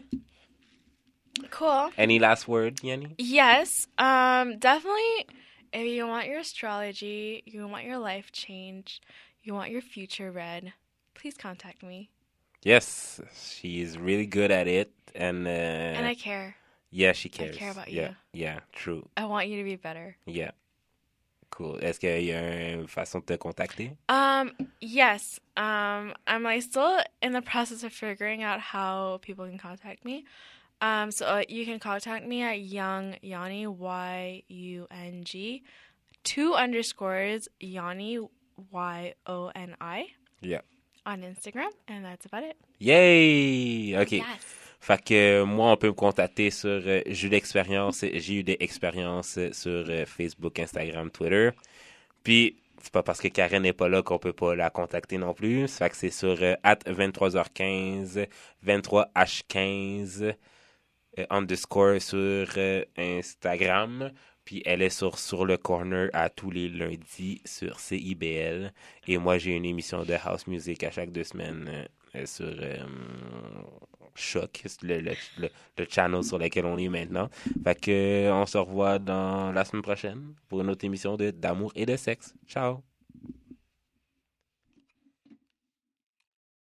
Cool. Any last word, Yanni? Yes. Um. Definitely. If you want your astrology, you want your life change, you want your future read, please contact me. Yes, she is really good at it. And, uh, And I care. yeah, she cares. care about yeah, you. Yeah, true. I want you to be better. Yeah. Cool. Est-ce qu'il y a une façon de te contacter? Um, yes. Um, I'm like still in the process of figuring out how people can contact me. Um, so uh, you can contact me at Young Yanni, Y U N G, two underscores Yanni, Y O N I. Yeah. On Instagram, and that's about it. Yay! OK. Yes. Fait que euh, moi, on peut me contacter sur euh, j'ai eu d'expérience, j'ai eu des expériences sur euh, Facebook, Instagram, Twitter. Puis, c'est pas parce que Karen n'est pas là qu'on peut pas la contacter non plus. Ça fait que c'est sur euh, at vingt-trois heures quinze, vingt-trois H quinze, euh, underscore sur euh, Instagram. Puis elle est sur Sur le Corner à tous les lundis sur C I B L. Et moi, j'ai une émission de house music à chaque deux semaines euh, sur euh, Choc, le, le, le, le channel sur lequel on est maintenant. Fait que euh, on se revoit dans la semaine prochaine pour une autre émission de D'amour et de sexe. Ciao!